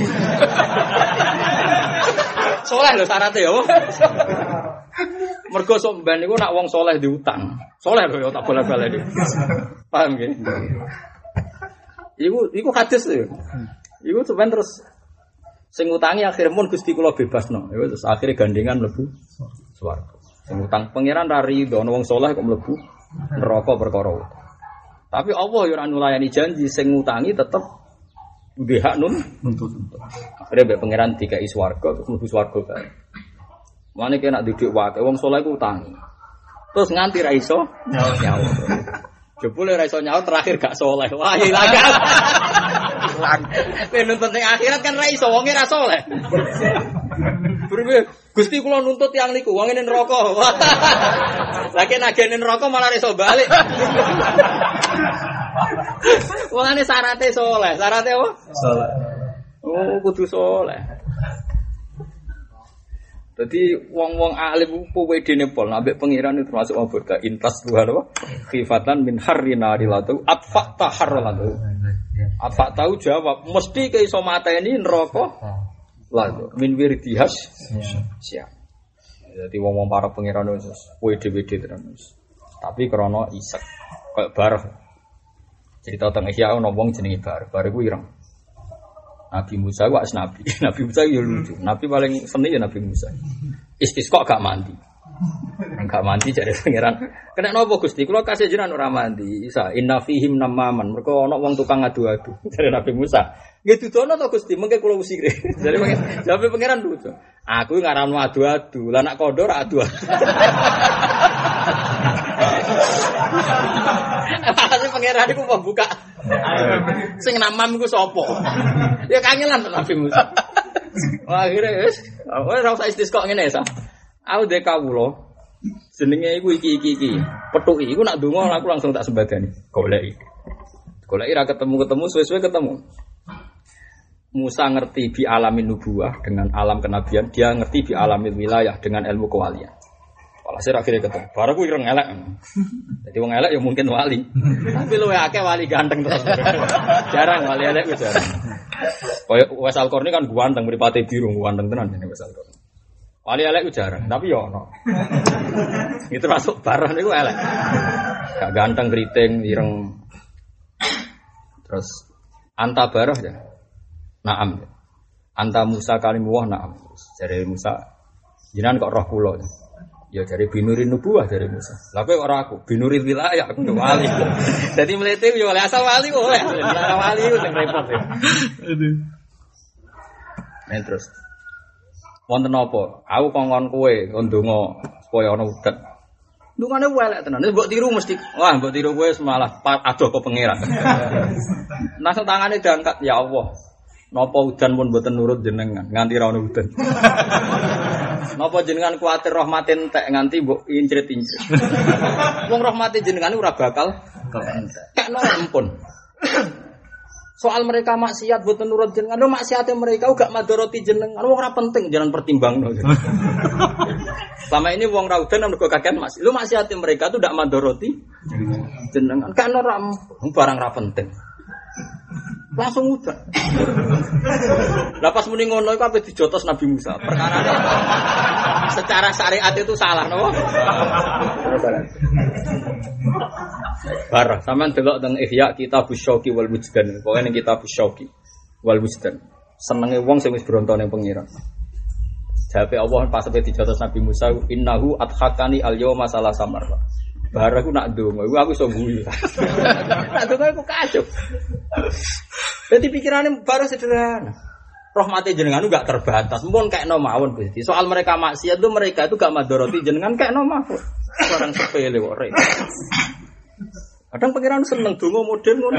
Speaker 1: Saleh lho syaratnya ya. Mergo sampean niku nak wong saleh diutang. Saleh lho ya tak bola-bali iki. Paham nggih? Iku hadis lho. Iku sampean terus sing ngutangi akhir mun Gusti kula bebasno. Ya terus akhire gandengan mlebu swarga. Utang pangeran rari do wong saleh kok mlebu neraka perkara utang. Tapi Allah yo ora nulayani janji sing ngutangi tetep duwe hak nuntut. Akhire mbek pangeran dikai swarga terus mlebu swarga kae. Mane kena didik wae wong saleh ku utangi. Terus nganti ra iso nyaur. Jebule ra iso nyaur terakhir gak saleh. Wah ilang. Penuntut ning akhirat kan ra iso wonge ra saleh. Gusti kula nuntut yang niku wong ngene neraka. Lagi nagene neraka malah iso balik. Wongane syaraté saleh. Syaraté apa? Saleh. Oh, kudu saleh. Dadi wong-wong alim ku wedene pol ambek pangeran itu termasuk wong burda intas Tuhan apa? Khifatan min harrina rilatu atfa taharralatu. Apa tahu jawab mesti ke iso mateni neraka. Lalu min wirdihas siap. Jadi wong-wong para pangeran wis dhewe-dhewe terus. Tapi krana isek kayak bareng. Cerita tentang Ihya ono wong jenenge Bar iku ireng. Nabi Musa ku nabi. Nabi Musa yo lucu. Nabi paling seni ya Nabi Musa. Istisqa gak mandi. Enggak mandi jare pangeran. Kena napa Gusti? Kula kasih jenengan ora mandi. Isa inna fihim namaman. Mergo ana wong tukang adu-adu. Jare Nabi Musa. Nggih dudono to Gusti, mengke kula usire. Jare jawabe pangeran lucu. Aku ngaranmu adu-adu. Lah nek kandha ora adu-adu. Asli pangeran iku membuka. Sing namam iku sapa? Ya kangelan Nabi Musa. Wah, akhire wis ora usah istisqa ngene ya. Aku dek kawula jenenge iku iki. Petuki iku nak ndonga aku langsung tak sembadani. Goleki ra ketemu suwe-suwe ketemu. Musa ngerti bi alamin nubuwah dengan alam kenabian, dia ngerti bi alamin wilayah dengan ilmu kewalian. Walhasil akhirnya ketemu. Baru aku ireng elek. Jadi wong elek ya mungkin wali. Tapi luwe akeh wali ganteng terus. Jarang wali elek wis jarang. Kayak Wes Al-Qarni kan ganteng mripate biru ganteng tenan jenenge Wes Al-Qarni. Wali elek itu jarang, tapi ya ono. Itu masuk barang itu elek. Gak ganteng, keriting, ireng. Terus anta barah ya. Naam. Anta Musa kalimuwah naam. Jare Musa, jenengan kok roh kula. Ya jare binurin nubuwah jare Musa. Lah kowe ora aku, binurin wilayah aku wali. Dadi mlete yo oleh asal wali kok oleh. Wali ku sing repot ya. Aduh. Terus wonten apa? Aku kongkon kowe ndonga supaya ana udet. Ndungane welek tenan. Wis mbok tiru mesti. Wah, mbok tiru kowe malah adoh ke pangeran. Langsung tangane diangkat, ya Allah. Napa udan pun mboten nurut jenengan, nganti ra ono udan. Napa jenengan kuwatir rahmate entek nganti mbok incrit-incrit. Wong rahmate jenengan ora bakal entek. Kekno ampun. Soal mereka maksiat buat nurut jenengan, lo maksiatnya mereka gak madoroti jenengan, wong ora penting jangan pertimbang no. Selama ini wong raudan nang mergo kakean maksiat, lo maksiatnya mereka tuh gak madoroti jenengan, kan ora barang ora penting. Langsung udah. Lah pas muni ngono iku ape dijotos Nabi Musa. Perkarane secara syariat itu salah, no? Barah, sampean delok teng Ihya Kitabus Syauqi wal Wujdan. Pokoke ning Kitabus Syauqi wal Wujdan. Senenge wong sing wis bronto ning pengiran. Jawabe Allah pas sampe dijotos Nabi Musa, innahu adhakani al-yauma salasa marra. Barah ku nak ndonga, aku iso guyu. Nak ndonga aku kacau. Jadi pikirannya baru sederhana. Rahmati jenengan itu gak terbatas. Mungkin kayak no mawon Gusti. Soal mereka maksiat itu mereka itu gak madoroti jenengan kayak no mawon. Orang sepele kok rek. Kadang pikiran seneng donga modern ngono.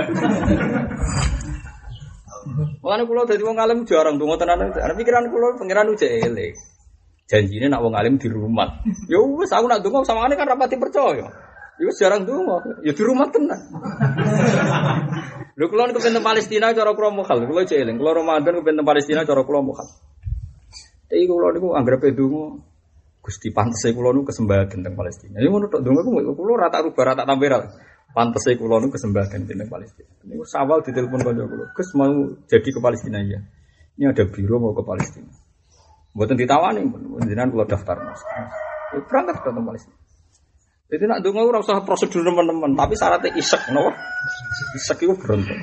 Speaker 1: Mulane kula dadi wong alim jarang donga tenan. Pikiran kula pikiran uje elek. Janjine nak wong alim di rumah. Ya wis aku nak donga samane kan rapati percaya. Ya wis jarang donga. Ya di rumah tenan. Lho kula niku pengen Palestina cara kula mukhal. Kula cek eling. Kula Ramadan pengen Palestina cara kula mukhal. Iki kula niku anggere donga Gusti pantese kula niku kesembahan teng Palestina. Ya ngono tok donga kula ora tak rubah ora tak tambah. Pantese kula niku kesembahan teng Palestina. Niku sawal ditelepon kanca kula. Gus mau jadi ke Palestina ya. Ini ada biro mau ke Palestina. Mboten ditawani, jenengan kula daftar Mas. Berangkat ke Palestina. Jadi nak donga ora usah prosedur teman-teman, tapi syaratnya isek napa? Isek iku beruntung.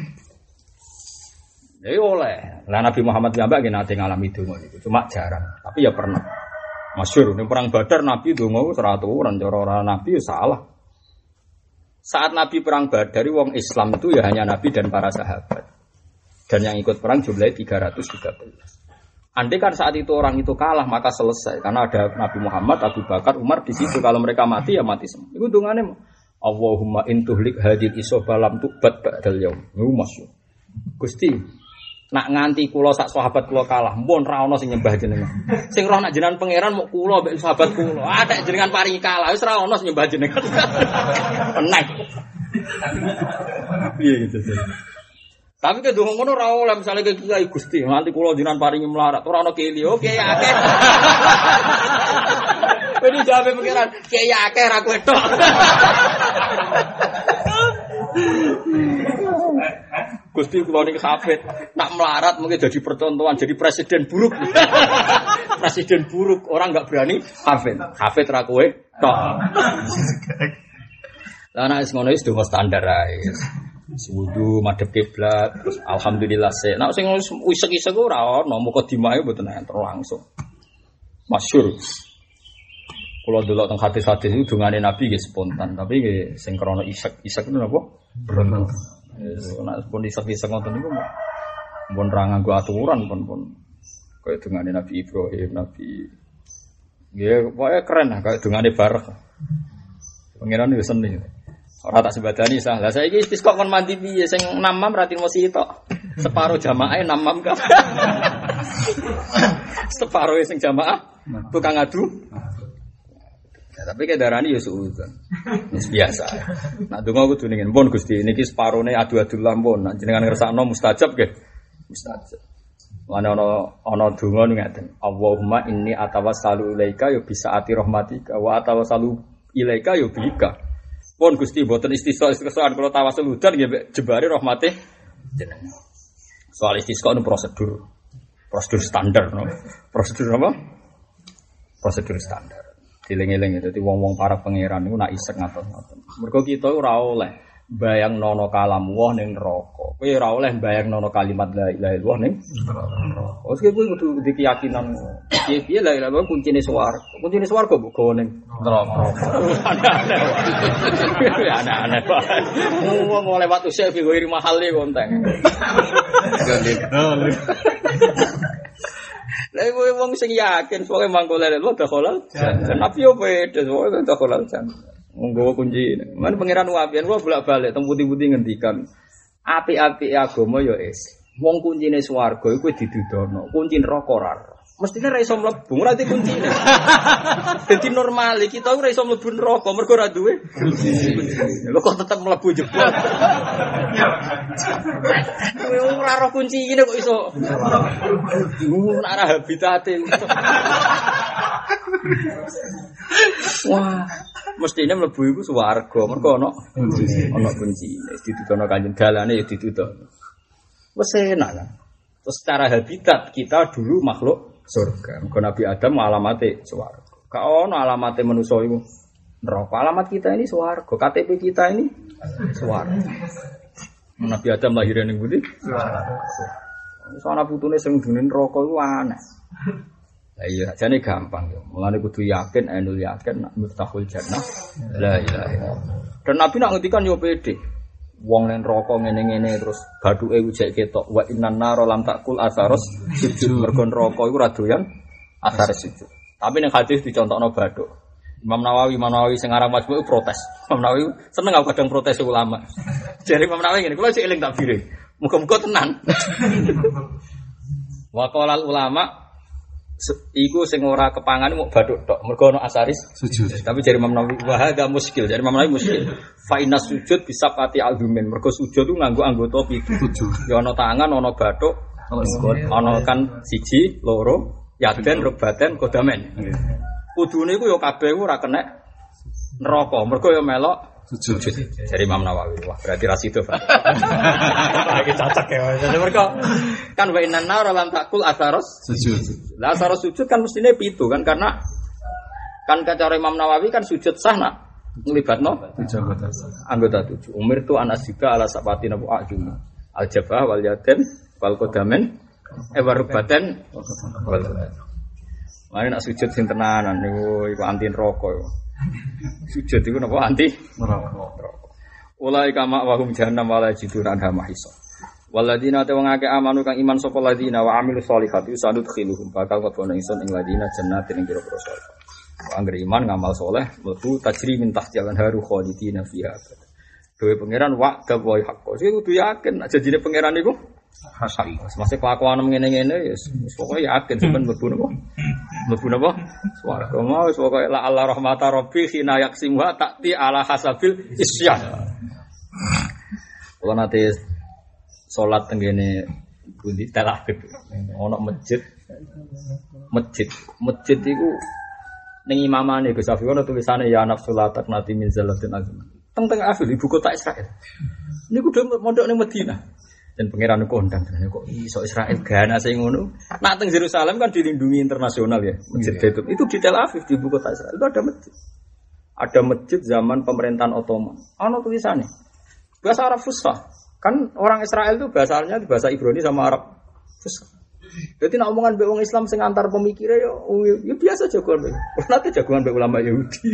Speaker 1: Ya oleh. Lah Nabi Muhammad piyambak nggih nate ngalami donga niku, cuma jarang, tapi ya pernah. Masyhur ning perang Badar Nabi donga wis ora aturan, cara ora Nabi ya salah. Saat Nabi perang Badar wong Islam itu ya hanya Nabi dan para sahabat. Dan yang ikut perang jumlahnya 313. Andai kan saat itu orang itu kalah maka selesai karena ada Nabi Muhammad, Abu Bakar, Umar di situ. Kalau mereka mati ya mati semua. Itu dungane Allahumma intuhlik hadil isoba lam tubat ba'dal yaum. Niku masyhur. Gusti, nak nganti kula sak sahabat kula kalah, mpun ra ono sing nyembah jenengan. Sing roh nak jenengan pangeran mok kula mbek sahabat kula. Ada jenengan paringi kalah wis ra ono sing nyembah jenengan. Enak. Iya gitu sih. Tapi ke donga ngono ora oleh misale ke Kiai Gusti, nanti kula jenengan paringi melarat, ora ono keli. Oke akeh. Wedi jawabe pengiran, Kiai akeh ra kowe tok. Gusti kula niki hafid, nak melarat mungkin jadi percontohan, jadi presiden buruk. Presiden buruk, orang enggak berani hafid. Hafid ra kowe tok. Lah nek wis ngono wis donga standar ae. Wudu madhep kiblat terus alhamdulillah sik. Nek sing isek-isek ora ono mukadimah mboten enten langsung. Masyhur. Kula delok teng hadis-hadis itu dungane Nabi nggih spontan, tapi nggih sing krana isek-isek itu napa? Berontak. Nek pun isek-isek ngoten niku mun ra nganggo aturan pun kaya dungane Nabi Ibrahim, Nabi nggih pokoke keren lah kaya dungane Barak. Pangeran wis seneng. Ora tak sebadani sah. Lah saiki istisqa kon mandi piye sing namam ra timo sitok. Separo jamaah namam ka. Separo sing jamaah tukang adu. Ya, tapi kedarani ya suudzon. Wis biasa. Nak donga kudu ningen pun Gusti niki separone adu-adu lampun. Nek jenengan ngersakno mustajab nggih. Mustajab. Ana donga ngaten. Allahumma inni atawassalu ilaika ya bisa ati rahmatika wa atawassalu ilaika ya bika. Pun Gusti mboten istisqa-istisqaan kula tawasul udan nggih jebare rahmate jenengan. Soal istisqa itu prosedur standar no. Prosedur apa? Prosedur standar. Dileng-eleng dadi wong-wong para pangeran niku nak isek ngatos-ngatos. Mergo kita ora oleh bayang nono kalam wah ning neraka. Kowe ora oleh bayang nono kalimat la ilaha illallah ning neraka. Wes kowe kudu keyakinan piye-piye la ilaha illallah kuncine swarga. Kuncine swarga mbok gawa ning neraka. Ana-ana. Wong lewat usah fi ghairi mahalli konteng. Lah wong sing yakin pokoke mangko lele lho dakhalal. Nabi yo beda pokoke dakhalal jan. Nggawa kunci. Man pangeran wapian kula bolak-balik teng putih-putih ngendikan apik-apik agama yo es. Wong kuncine swarga iku didudono, kunci neraka ora. Mestine ra iso mlebu, ora di kuncine. Dadi normal kita ora iso mlebu neraka mergo ora duwe kunci. Lho kok tetep mlebu jebol. Ora ora kuncine kok iso. Ora habitate. Wah, mestine mlebu iku swarga mergo ana kuncine. Ditudono kanjeng dalane ya ditudono. Wes enak kan. Terus secara habitat kita dulu makhluk surga. Mergo Nabi Adam alamate swarga. Ka ono alamate manusa iku neraka. Alamat kita ini swarga. KTP kita ini swarga. Nabi Adam lahir ning pundi? Swarga. Soale putune sing dene neraka iku aneh. Lah iya, jane gampang yo. Mulane kudu yakin, ainul yakin nak miftahul jannah. La ilaha illallah. Dan Nabi nak ngendikan yo pede. Wong ning neraka ngene-ngene terus bathuke ujek ketok wa innan nar lam takul asaros sujud mergo neraka iku ora doyan asar sujud. Tapi ning hadis dicontokno bathuk. Imam Nawawi sing aran Majmu' protes. Imam Nawawi seneng aku kadang protes ulama. Jare Imam Nawawi ngene, kula sik eling takbire. Muga-muga tenan. Wa qalal ulama iku sing ora kepangan mau bathuk tok mergo ana asaris sujud. Tapi jare Imam Nawawi wa hadza muskil. Jare Imam Nawawi muskil. Fa inna sujud bisa pati albumin. Mergo sujud ku nganggo anggota 7. Ya ana tangan, ana bathuk, ana kan siji, loro, yaden, rubaten, kodamen. Kudune iku ya kabeh ora kena neraka. Mergo ya melok sujud. Jare Imam Nawawi. Wah, berarti ra sida, Pak. Lagi cacak ya. Jadi mergo kan wa inna nar lam takul asaros sujud. Lah asaros sujud kan mestine 7 kan karena kan cara Imam Nawawi kan sujud sah nak nglibatno 7 anggota 7. Umir tu anasika ala sapati nabu ajum. Al jabah wal yaden wal kodamen warubatan wal. Mane nak sujud sing tenanan niku iku anti neraka. Sujud iku napa anti neraka. Ulai kama wa hum jahannam wala jiduna anha mahisa. Waladina te wong akeh amanu kang iman sapa ladina wa amilus sholihati usadukhiluhum bakal kebono ingsun ing ladina jannatin ing pira-pira surga. Angger iman ngamal soleh mlebu tajri min tahtial anharu khalidina fiha. Dewe pangeran wa gawe hakko. Sing kudu yakin nek janjine pangeran iku hak. Masih kelakuan ngene-ngene ya pokoke yakin sampean mlebu napa? Mlebu napa? Swarga mau wis pokoke la Allah rahmata rabbi khina yaksimha ta'ti ala hasabil isyan. Kula nate salat tengene pundi talahib ana masjid iku ning imamane Gus Afi ana tulisane ya nafsul latak nati min zalatin azim. Teng Afil ibu kota Israel. Niku dhewe mondok ning Madinah. Dan pangeran kondang kok iso Israel gana sing ngono. Nak teng Yerusalem kan dilindungi internasional ya. Masjid itu di Tel Aviv di ibu kota Israel itu ada masjid. Ada masjid zaman pemerintahan Ottoman. Ana tulisane. Bahasa Arab Fusha. Kan orang Israel itu bahasanya bahasa Ibrani sama Arab. Jadi nak omongan be wong Islam sing antar pemikire yo biasa jagoan. Nanti jagoan be ulama Yahudi.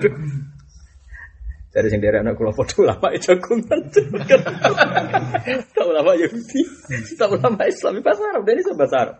Speaker 1: Dari sing derekno kula padha ulama jagongan. Tak ulama Yahudi, tak ulama Islam bahasa Arab, ini bahasa Arab.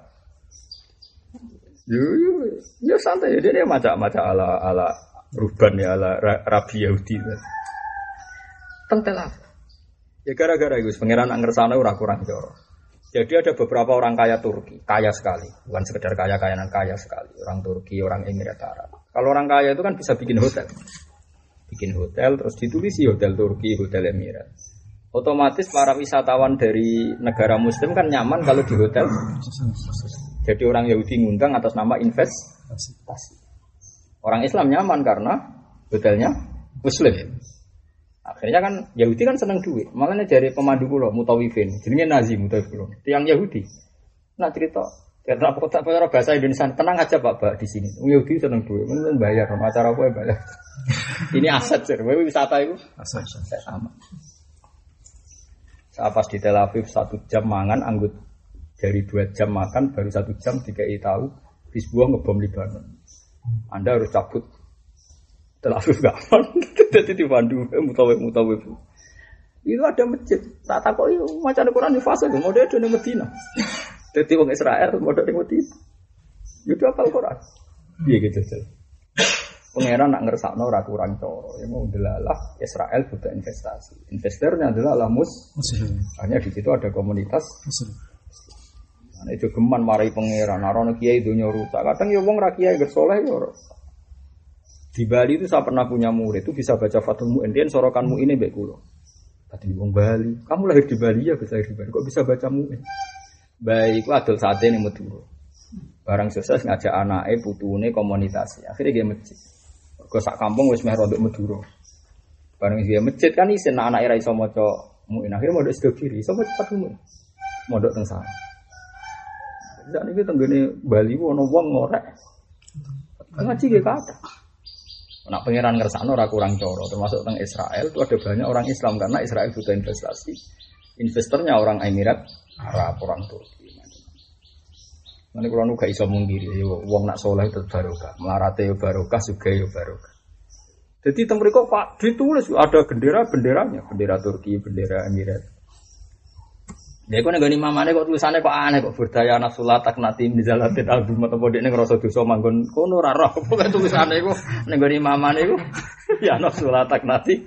Speaker 1: Yo santai ya dia macam-macam ala Ruban ya ala Rabi Yahudi. Tentelah. Ya gara-gara itu pangeran ngersane ora kurang joro. Jadi ada beberapa orang kaya Turki, kaya sekali, bukan sekedar kaya-kayaan kaya sekali. Orang Turki, orang Emirat Arab. Kalau orang kaya itu kan bisa bikin hotel. Bikin hotel terus ditulisi hotel Turki, hotel Emirat. Otomatis para wisatawan dari negara muslim kan nyaman kalau di hotel. Jadi orang Yahudi ngundang atas nama investasi. Orang Islam nyaman karena hotelnya muslim. Akhirnya kan Yahudi kan seneng duit. Makanya dari pemandu kula Mutawifin, jenenge Nazi Mutawifin. Tiang Yahudi. Nah cerita, karena kota bahasa Indonesia tenang aja Pak di sini. Yahudi seneng duit, men bayar acara apa bayar. Ini aset sih, wisata itu aset sama. Saya pas di Tel Aviv 1 jam mangan, anggut dari 2 jam makan baru 1 jam dikai tahu Hizbullah ngebom Libanon. Anda harus cabut Tel Aviv gak aman. Jadi di Bandung mutawif. Itu ada masjid. Tak takut itu macam Quran di fase itu. Model di Medina. Jadi orang Israel model di Medina. Itu apal Quran. Iya gitu. Pangeran nak ngersakno ora kurang coro. Yang mau delalah Israel butuh investasi. Investornya adalah Muslim. Hanya di situ ada komunitas Muslim. Nah, itu geman marai pangeran. Narono kiai dunia rusak. Kadang ya wong ra kiai gersoleh ya. Di Bali itu saya pernah punya murid itu bisa baca Fathul Mu'in. Dia sorokanmu ini mbek kula. Tadi wong Bali. Kamu lahir di Bali ya, bisa lahir di Bali. Kok bisa baca Mu'in? Baik, adol sate ning Madura. Barang sukses ngajak anake putune komunitas. Akhirnya dia masjid. Kok sak kampung wis meh rodok Madura. Barang dia masjid kan isin anake ra iso maca Mu'in. Akhirnya modok sedo kiri, iso maca Fathul Mu'in. Modok teng sana. Sak niki tenggene Bali ono wong ngorek. Ngaji ge kathah. Nak pangeran ngersakno ora kurang coro, termasuk teng Israel itu ada banyak orang Islam karena Israel butuh investasi. Investornya orang Emirat Arab, orang Turki. Nanti kalau gak iso mungkiri, wong nak soleh itu barokah, melarate yo barokah, juga yo barokah. Jadi teng mriku Pak ditulis ada benderanya, bendera Turki, bendera Emirat. Dia kok nenggoni mamane kok tulisannya kok aneh kok berdaya nafsulat taknati mizalatin album atau dekne ngrasa dosa manggon kono ora roh kok tulisane kok nenggoni mamane kok ya nafsulat taknati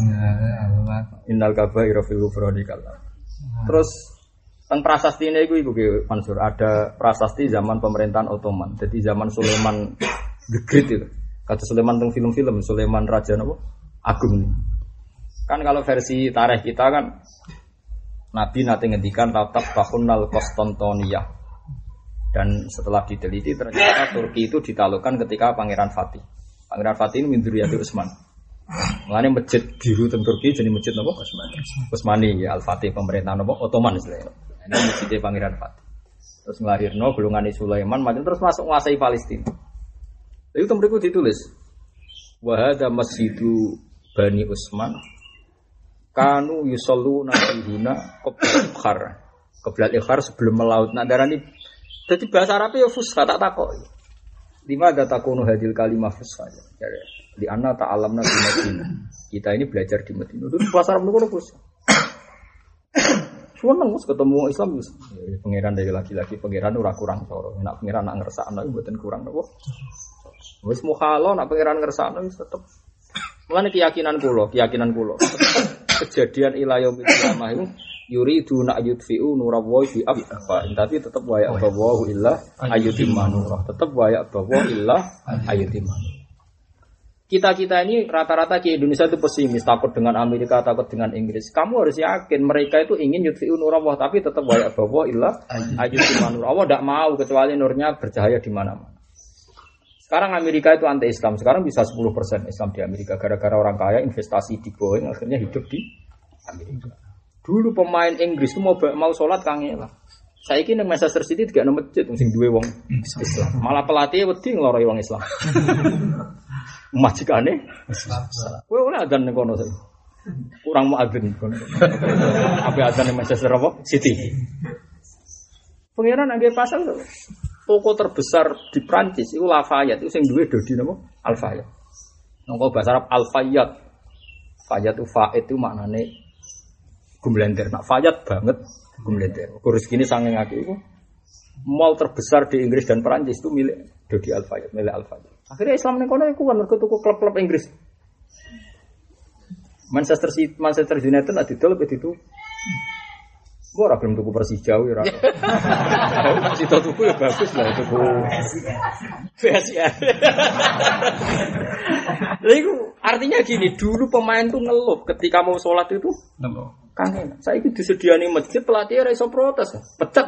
Speaker 1: innal kabaira fil ghufrani kallah. Terus teng prasastine iku ki Mansur ada prasasti zaman pemerintahan Ottoman. Jadi zaman Sulaiman the Great itu. Kata Sulaiman teng film-film Sulaiman Raja napa? Agung nih. Kan kalau versi tarikh kita kan Nabi nanti ngendikan tatap bahunnal Konstantiniyah. Dan setelah diteliti ternyata Turki itu ditaklukkan ketika Pangeran Fatih. Pangeran Fatih ini min dzurriyyati Utsman. Mulane masjid biru teng Turki jadi masjid napa? Utsmani ya Al-Fatih pemerintahan napa? Ottoman istilahnya. Ini masjid Pangeran Fatih. Terus nglahirno golongane Sulaiman macam terus masuk nguasai Palestina. Itu temriku ditulis wa hadza masjidu Bani Utsman kanu yusalluna fihuna qabla al-ikhar sebelum melaut. Nak darani dadi bahasa Arab ya fusha tak takok. Lima ada takunu hadil kalimah fusha. Di anna ta'alamna di Madinah. Kita ini belajar di Madinah. Itu bahasa Arab ngono fusha. Seneng Mus ketemu Islam Mus. Pangeran dari laki-laki pangeran ora kurang coro. Nak pangeran nak ngersakno mboten kurang napa. Wis mukhalo nak pangeran ngersakno wis tetep. Mulane keyakinan kula. Kejadian ila yaumil qiyamah itu yuridu nak yudfi'u nurallahi bi afwa. Tapi tetap wa ya bawahu illa ayyutimma nurah. Tetap wa ya bawahu illa ayyutimma. Kita ini rata-rata di Indonesia itu pesimis, takut dengan Amerika, takut dengan Inggris. Kamu harus yakin mereka itu ingin yudfi'u nurallah tapi tetap wa ya bawahu illa ayyutimma nurah. Allah tidak mau kecuali nurnya bercahaya di mana-mana. Sekarang Amerika itu anti-Islam. Sekarang bisa 10% Islam di Amerika. Gara-gara orang kaya investasi di Boeing akhirnya hidup di Amerika. Dulu pemain Inggris itu mau sholat kangelan. Saya kira Manchester City tidak ada masjid sing duwe wong Islam. Malah pelatih wedi ngloroi wong Islam. Majikane Islam. Kowe ora adzan ning kono saiki. Kurang muadzin. Apa adzan Manchester apa? City. Pengiran angge pasal to. Toko terbesar di Prancis itu Lafayette itu sing duwe Dodi napa? Al-Fayed. Nangko bahasa Arab Al-Fayed. Fayed itu faid itu maknane gumlender. Nak Fayed banget gumlender. Kurus gini saking akeh iku mall terbesar di Inggris dan Prancis itu milik Dodi Al-Fayed, milik Al-Fayed. Akhirnya Islam ning kono iku kan mergo tuku klub-klub Inggris. Manchester United nak didol pe ditu. Gua ora gelem tuku Persija ora. Masih tuku ya bagus lah tuku. PSIS. Lha iku artinya gini, dulu pemain tuh ngeluh ketika mau sholat itu ngeluh. Kangen. Saiki disediani masjid pelatih ora iso protes, pecat.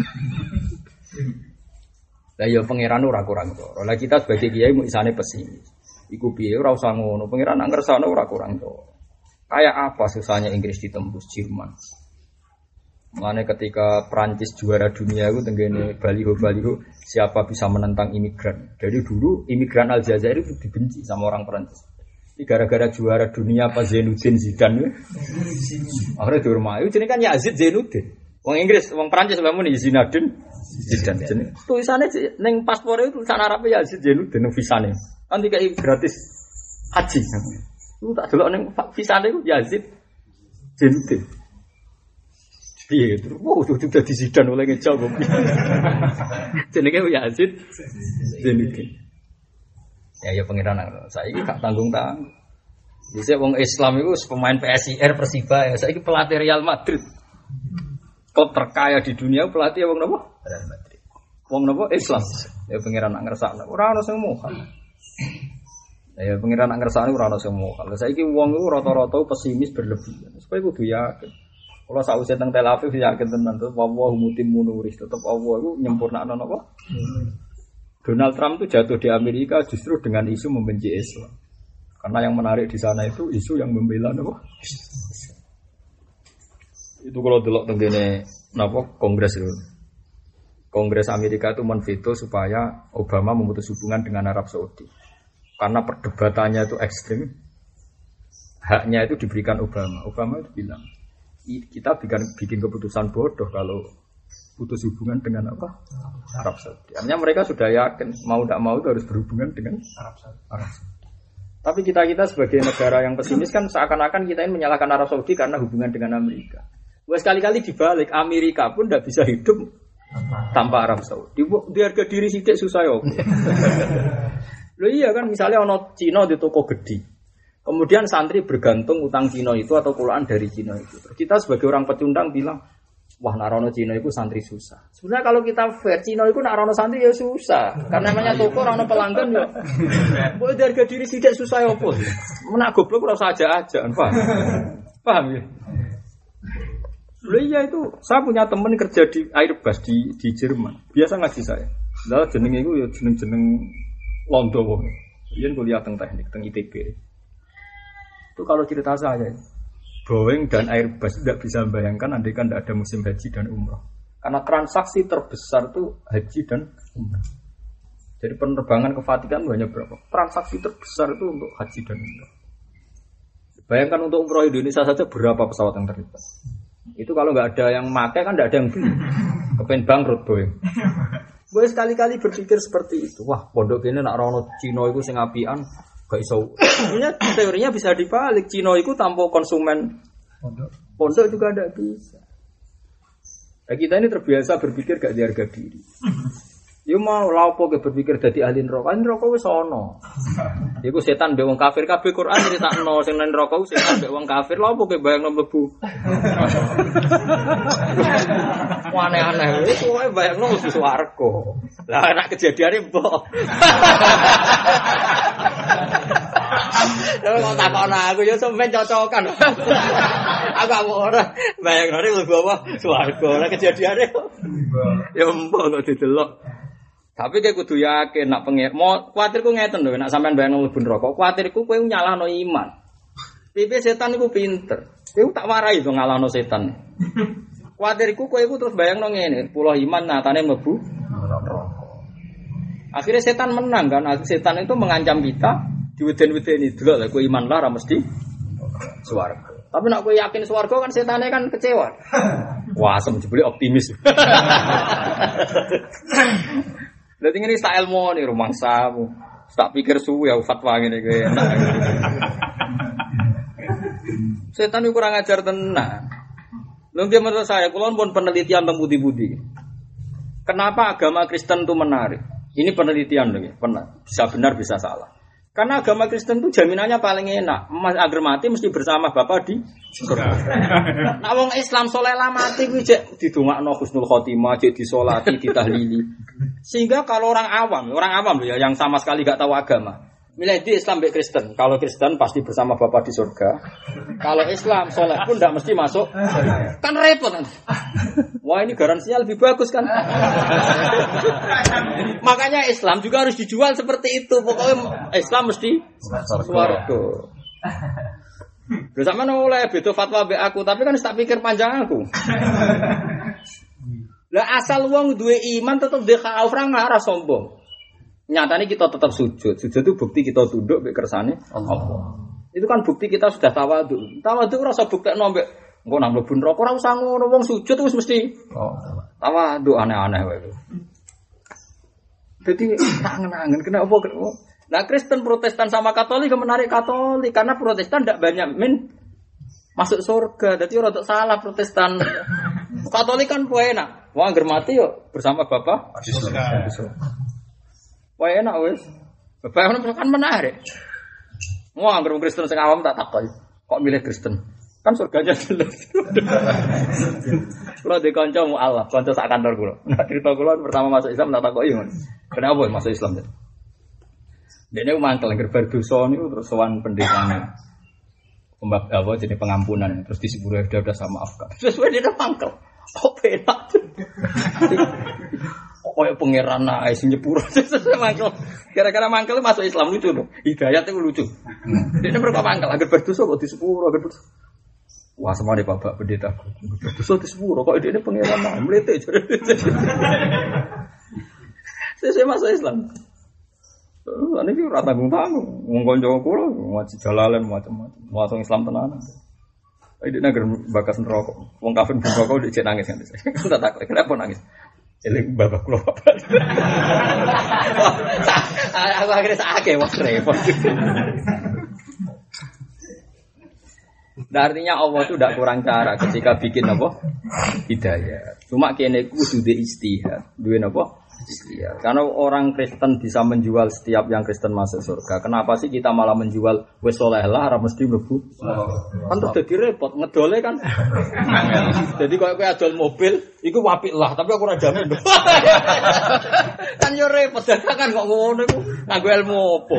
Speaker 1: Lah ya pangeran ora kurang to. Lah kita sebagai kiai mau isane pesimis. Iku piye ora usah ngono, pangeran nak ngersane ora kurang to. Kayak apa susahnya Inggris ditembus Jerman. Makanya ketika Prancis juara dunia itu tenggene baliho siapa bisa menentang imigran. Dari dulu imigran Aljazair itu dibenci sama orang Prancis. Ini gara-gara juara dunia apa Zainuddin Zidane. Akhirnya dihormati. Jadi kan Yazid Zainuddin. Wong Inggris, wong Prancis lamun Zinedine Zidane. Jeneng tulisannya ning paspore itu tulisan Arab Yazid Zainuddin visane. Kan dikai gratis haji. Lu tak delok ning visane iku Yazid Zainuddin. Piye terus sudah disidan oleh ngejal kok. Jenenge Yazid Zainuddin. Ya pengiran saiki gak tanggung-tanggung. Dhisik wong Islam iku pemain PSIR Persiba ya saiki pelatih Real Madrid. Klub terkaya di dunia pelatih wong napa? Real Madrid. Wong napa? Islam. Ya pengiran nak ngersakno ora ono sing mokal. Ya pengiran nak ngersakno ora ono sing mokal. Saiki wong iku rata-rata pesimis berlebihan. Supaya kudu yakin. Kalau sausé teng Tel Aviv yakin tenan to wallahu mutimmu nuri tetep Allah iku nyempurnakno napa? Donald Trump itu jatuh di Amerika justru dengan isu membenci Islam. Karena yang menarik di sana itu isu yang membela napa? Itu kalau delok tengene napa Kongres itu. Kongres Amerika itu menveto supaya Obama memutus hubungan dengan Arab Saudi. Karena perdebatannya itu ekstrim. Haknya itu diberikan Obama. Obama itu bilang kita bikin keputusan bodoh kalau putus hubungan dengan apa? Arab Saudi. Artinya mereka sudah yakin mau tidak mau itu harus berhubungan dengan Arab Saudi. Tapi kita sebagai negara yang pesimis kan seakan-akan kita ini menyalahkan Arab Saudi karena hubungan dengan Amerika. Wah sekali-kali dibalik Amerika pun tidak bisa hidup tanpa Arab Saudi. Di harga diri sidik susah ya. Loh iya kan misalnya ono Cina di toko gede. Kemudian santri bergantung utang Cina itu atau kulaan dari Cina itu. Kita sebagai orang pecundang bilang, wah narono Cina itu santri susah. Sebenarnya kalau kita fair, Cina itu narono santri ya susah. Karena namanya toko narono pelanggan ya. Boleh harga diri sidik susah ya apa? Menak goblok ora usah aja-aja, paham ya? Loh iya itu, saya punya teman kerja di Airbus di Jerman. Biasa ngaji saya. Lah jenenge iku ya jeneng-jeneng londo wong. Yen kuliah teng teknik, teng ITB. Itu kalau cerita saya, Boeing dan Airbus tidak bisa membayangkan andai kan tidak ada musim haji dan umrah. Karena transaksi terbesar itu haji dan umrah. Jadi penerbangan ke Vatikan banyak berapa? Transaksi terbesar itu untuk haji dan umrah. Bayangkan untuk umrah Indonesia saja berapa pesawat yang terlibat. Itu kalau nggak ada yang makai kan tidak ada yang beli. Kepen bangkrut Boeing. Gue sekali-kali berpikir seperti itu. Wah, pondok ini nak rono Cina itu sing apian. Gak iso. Sebenarnya teorinya bisa dibalik. Cina itu tanpa konsumen pondok juga tidak bisa. Nah, kita ini terbiasa berpikir gak di harga diri. Ya mau lapo ke berpikir dadi ahli neraka. Neraka wis ana. Iku setan mbek wong kafir kabeh Quran critakno sing nang neraka setan mbek wong kafir. Lapo ke bayangno mlebu. Aneh-aneh wis kowe bayangno mlebu swarga. Lah nek kejadiane mbok. Lha kok takon aku ya sampean cocokan. Aku ora bayangno mlebu apa swarga. Nek kejadiane ya mbok kok didelok. Tapi kowe kudu yakin nak pengen mau kuwatirku ngeten lho nek sampean bayang mlebu neraka kuwatirku kowe nyalahno iman. Piye setan iku pinter. Kowe tak warai to ngalahno setan. Kuwatirku kowe iku terus bayangno ngene, pulau iman nyatane mlebu neraka. Akhirnya setan menang kan. Setan itu mengancam kita diweden-wedeni delok lha kowe iman lah ora mesti swarga. Tapi nek kowe yakin swarga kan setane kan kecewa. Wah, asem jebule optimis. Dadi ngene sak ilmu ning rumangsamu. Tak pikir suwe ya fatwa ngene kowe enak. Setan itu kurang ajar tenan. Lho nggih menurut saya kula pun penelitian tentang budi-budi. Kenapa agama Kristen itu menarik? Ini penelitian lho, bisa benar bisa salah. Karena agama Kristen itu jaminannya paling enak. Agar mati mesti bersama Bapa di surga. Nah wong Islam soleh lah mati kuwi jek didongakno husnul khotimah, jek disolati, ditahlili. Sehingga kalau orang awam loh ya yang sama sekali gak tahu agama, milih di Islam mbek Kristen. Kalau Kristen pasti bersama Bapa di surga. Kalau Islam soleh pun tidak mesti masuk. Kan repot nanti. Wah ini garansinya lebih bagus kan. Makanya Islam juga harus dijual seperti itu. Pokoknya Islam mesti swarga. Lho sampean oleh beda fatwa mbek aku, tapi kan tak pikir panjang aku. Lah asal wong duwe iman tetep duwe khauf ora sombong. Nyatanya kita tetap sujud. Sujud itu bukti kita tunduk mbek kersane Allah. Itu kan bukti kita sudah tawadhu. Tawadhu ora usah buktekno mbek engko nang mlebu neraka ora usah ngono, wong sujud wis mesti tawadhu aneh-aneh wae. Jadi tak ngenangen kenapa? Nah Kristen, Protestan sama Katolik menarik Katolik karena Protestan tidak banyak masuk surga. Jadi orang salah Protestan. Katolik kan enak. Wah angger mati yo bersama Bapa di surga. Wah enak wes. Bapak kan menarik. Wah angger Kristen sing awam tak takoi. Kok milih Kristen? Kan surganya jelas. Kalau di kanca mu'alaf, kanca sak kantor kula. Nah, cerita kula pertama masuk Islam tak takoki ngono. Kenapa masuk Islam? Dene mangkel gerbar dosa niku terus sowan pendetane. Pembab apa jenis pengampunan terus disepuro udah sama maafkan. Sesuai dia mangkel. Kok penak. Kok ya pangeran ae sing nyepuro sesuai mangkel. Gara-gara mangkel masuk Islam lucu lho. Hidayat itu lucu. Dene mereka mangkel agar berdosa kok disepuro agar berdosa. Wah semua di bapak pendeta. Berdosa disepuro kok dene pangeran ae mlete. Sesuai masuk Islam. Ini ki ora tanggung-tanggung. Wong kanca kula ngaji jalalan macam-macam. Masuk Islam tenan. Iki negeri bakas neraka. Wong kafir neraka dicek nangis kan. Tak takut kenapa nangis. Eling bapak kula bapak. Aku akhirnya sakit wong repot. Nah, artinya Allah itu tidak kurang cara ketika bikin apa? Hidayah. Cuma kene kudu di istihad. Duwe napa? Ya, karena orang Kristen bisa menjual setiap yang Kristen masuk surga. Kenapa sih kita malah menjual wis saleh lah ora mesti mlebu? Kan terus dadi repot ngedole kan. Jadi koyo kowe adol mobil iku apik lah, tapi aku ora jamin. Kan yo repot kan kok ngono iku nganggo ilmu opo.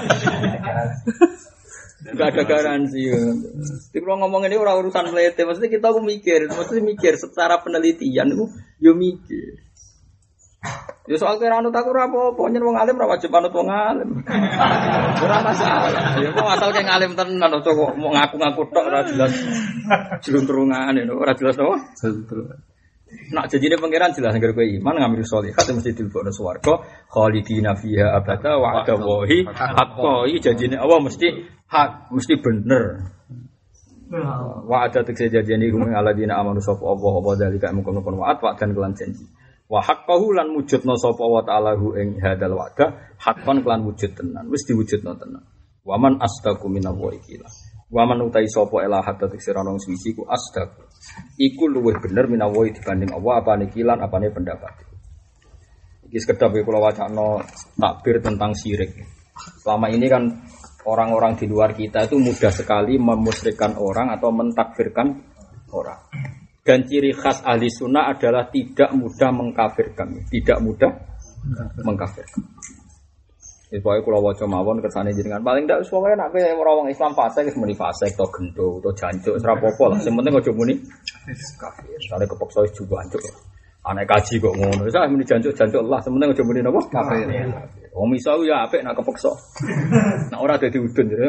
Speaker 1: Enggak ada garansi. Jadi kalau ngomong ini orang urusan melete, maksudnya kita mikir secara penelitian itu yo mikir. Ya soal kira anut aku ora apa-apa, nyen wong alim ora wajib anut wong alim. Ora masalah. Ya mau asal keng alim tenan aja kok mau ngaku-ngaku tok ora jelas jeluntrungane ora jelas to. Nak janjine pangeran jelas ngger kowe iman ngambil sholihat mesti dilebokno swarga khalidina fiha abada wa adawahi haqqo. Iki janjine Allah mesti hak, mesti bener. Wa ada tekse janjine ing aladina amanu sapa apa dalika mungkon wa'at wa dan kelan janji. Wa haqqahu lan wujudna sapa wa ta'ala hu ing hadal wa'da haqqan kelan wujud tenan wis diwujudna tenan. Wa man astaqu minallahi qila. Wa man utai sapa ila hatta tiksira nang suci ku astaq. Iku luwih bener minallahi dibanding Allah apane kilan apane pendapat. Iki sekedap kula wacana takbir tentang syirik. Selama ini kan orang-orang di luar kita itu mudah sekali memusyrikkan orang atau mentakfirkan orang. Dan ciri khas ahli sunnah adalah tidak mudah mengkafirkan, tidak mudah mengkafirkan. Supaya kalau waca mawon kersane jenengan paling ndak supaya nek orang Islam fasik wis muni fasik to gendo to jancuk ora apa-apa lah. Sing penting aja muni kafir. Sare kepeksa wis jancuk. Anak kaji kok ngono. Wis muni jancuk Allah, sing penting aja muni napa? Kafir. Wong iso ya apik nek kepeksa. Nek ora dadi udun ya.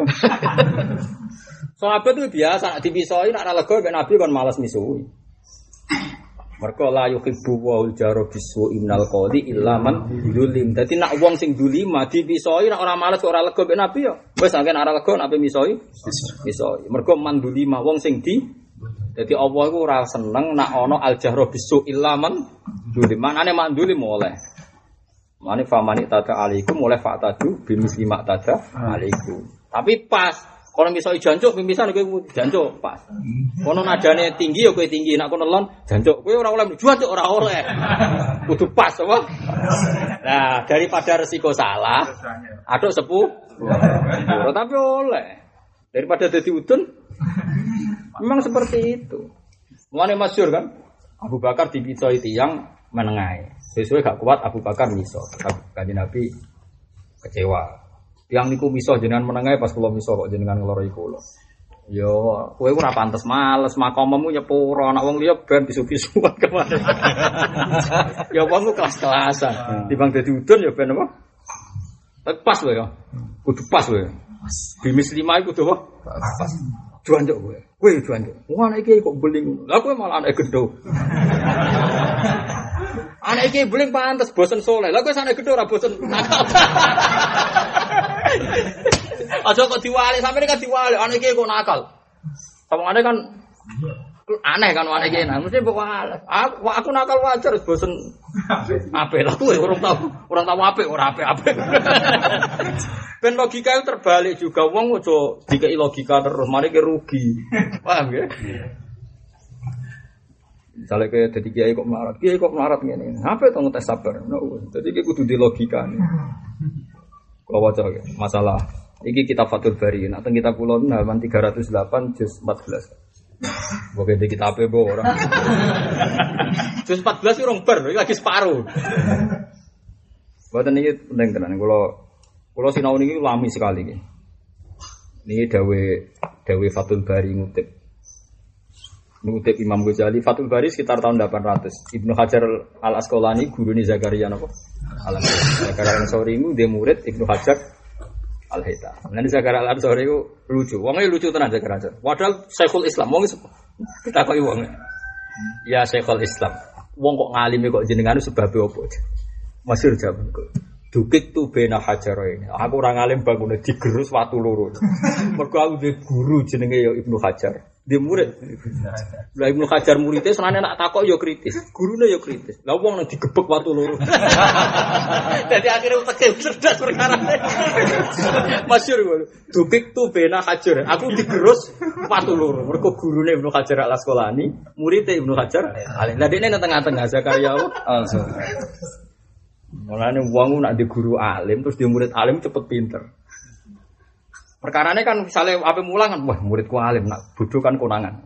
Speaker 1: Sahabat itu biasa nek dipisoi nek ora lega mek Nabi kon malas misuhi. Mergo la yuhibbu wal jaru bisu innal qadi illa man zulim. Dadi nak wong sing zulima dipisoi nek ora males ora lega mek Nabi ya. Wis anggen ora lega nek misoi. Misoi. Mergo man zulima wong sing di dadi Allah iku ora seneng nak ana al jahru bisu illa man zulim. Manane man zulim oleh. Mane famani tada alaikum oleh fatadu bimisli mak tada alaikum. Tapi pas kalau misoi jancuk pimisan kowe jancuk pas. Kono nadane tinggi ya kowe tinggi, nek kono lon jancuk kowe ora oleh jancuk ora oleh. Kudu pas apa? Nah, daripada resiko salah, aduk sepuh. Tapi oleh. Daripada dadi udun memang seperti itu. Mulane masyhur kan? Abu Bakar dipicoi tiyang menengae. Sesuai gak kuat Abu Bakar miso. Kanjeng Nabi kecewa. Yang niku miso jenengan menengae pas kula miso kok jenengan ngloroi kula. Yo, kowe ora pantes males makommu nyepuro nek wong liya ben bisu-bisuan kemana. Ya wong kelas-kelasan. Timbang dadi udun ya ben apa? Pas wae ya. Kudu pas wae. Bimis 5 iku kudu apa? Pas. Juanjuk kowe. Kowe juanjuk. Wong anak iki kok beling. Lah kowe malah anak gendho. Anak iki beling pantes bosen soleh. Lah kowe anak gendho ora bosen nakal. Aja kok diwali, sampeyan kan diwali, anak iki kok nakal. Sampeyan kan aneh kan anak iki, mesti mbok wales. Aku nakal wajar bosen apik. Lah kowe urung tau apik ora apik-apik. Ben logika itu terbalik juga, wong aja dikei logika terus, mari ki rugi. Paham ya? Misalnya kayak jadi kiai kok melarat ngene. Apa itu ngetes sabar? Jadi kita kudu di logika nih. Kalau wajar masalah. Iki kitab Fathul Bari. Nah, kita pulau halaman 308 juz 14. Boke di kitab apa orang? Juz 14 itu orang ber, lagi separuh. Buatan ini penting tenan. Kalau sinau ini lami sekali. Ini dawe Fathul Bari ngutip Imam Ghazali. Fathul Bari sekitar tahun 800. Ibnu Hajar al-Asqalani gurune Zakaria napa? Zakaria al-Ansori itu dia murid Ibnu Hajar al-Haytham. Nanti Zakaria al-Ansori itu lucu. Wongnya lucu tenan Zakaria. Padahal Syekhul Islam. Wong kita kok wong. Ya Syekhul Islam. Wong kok ngalime kok jenengan sebab apa? Masyhur jaman kok. Dukik tu bena Hajaroin. Aku ora ngalim bangune digerus watu loro. Mergo aku duwe guru jenenge ya Ibnu Hajar. Dia murid. Lah Ibnu Hajar muridé senane nak takok ya kritis, gurune ya kritis. Lah wong nang digebek watu loro. Dadi akhire uteke cerdas perkara. Masyhur ngono. Dukik tu bena Hajar. Aku digerus watu loro. Mergo gurune Ibnu Hajar al-Asqalani, muridé Ibnu Hajar. Lah dekne nang tengah-tengah Zakaria langsung. Mulane wong nak di guru alim terus dia murid alim cepet pinter. Perkarane kan misalnya ape mulang kan wah muridku alim nak bodoh kan konangan.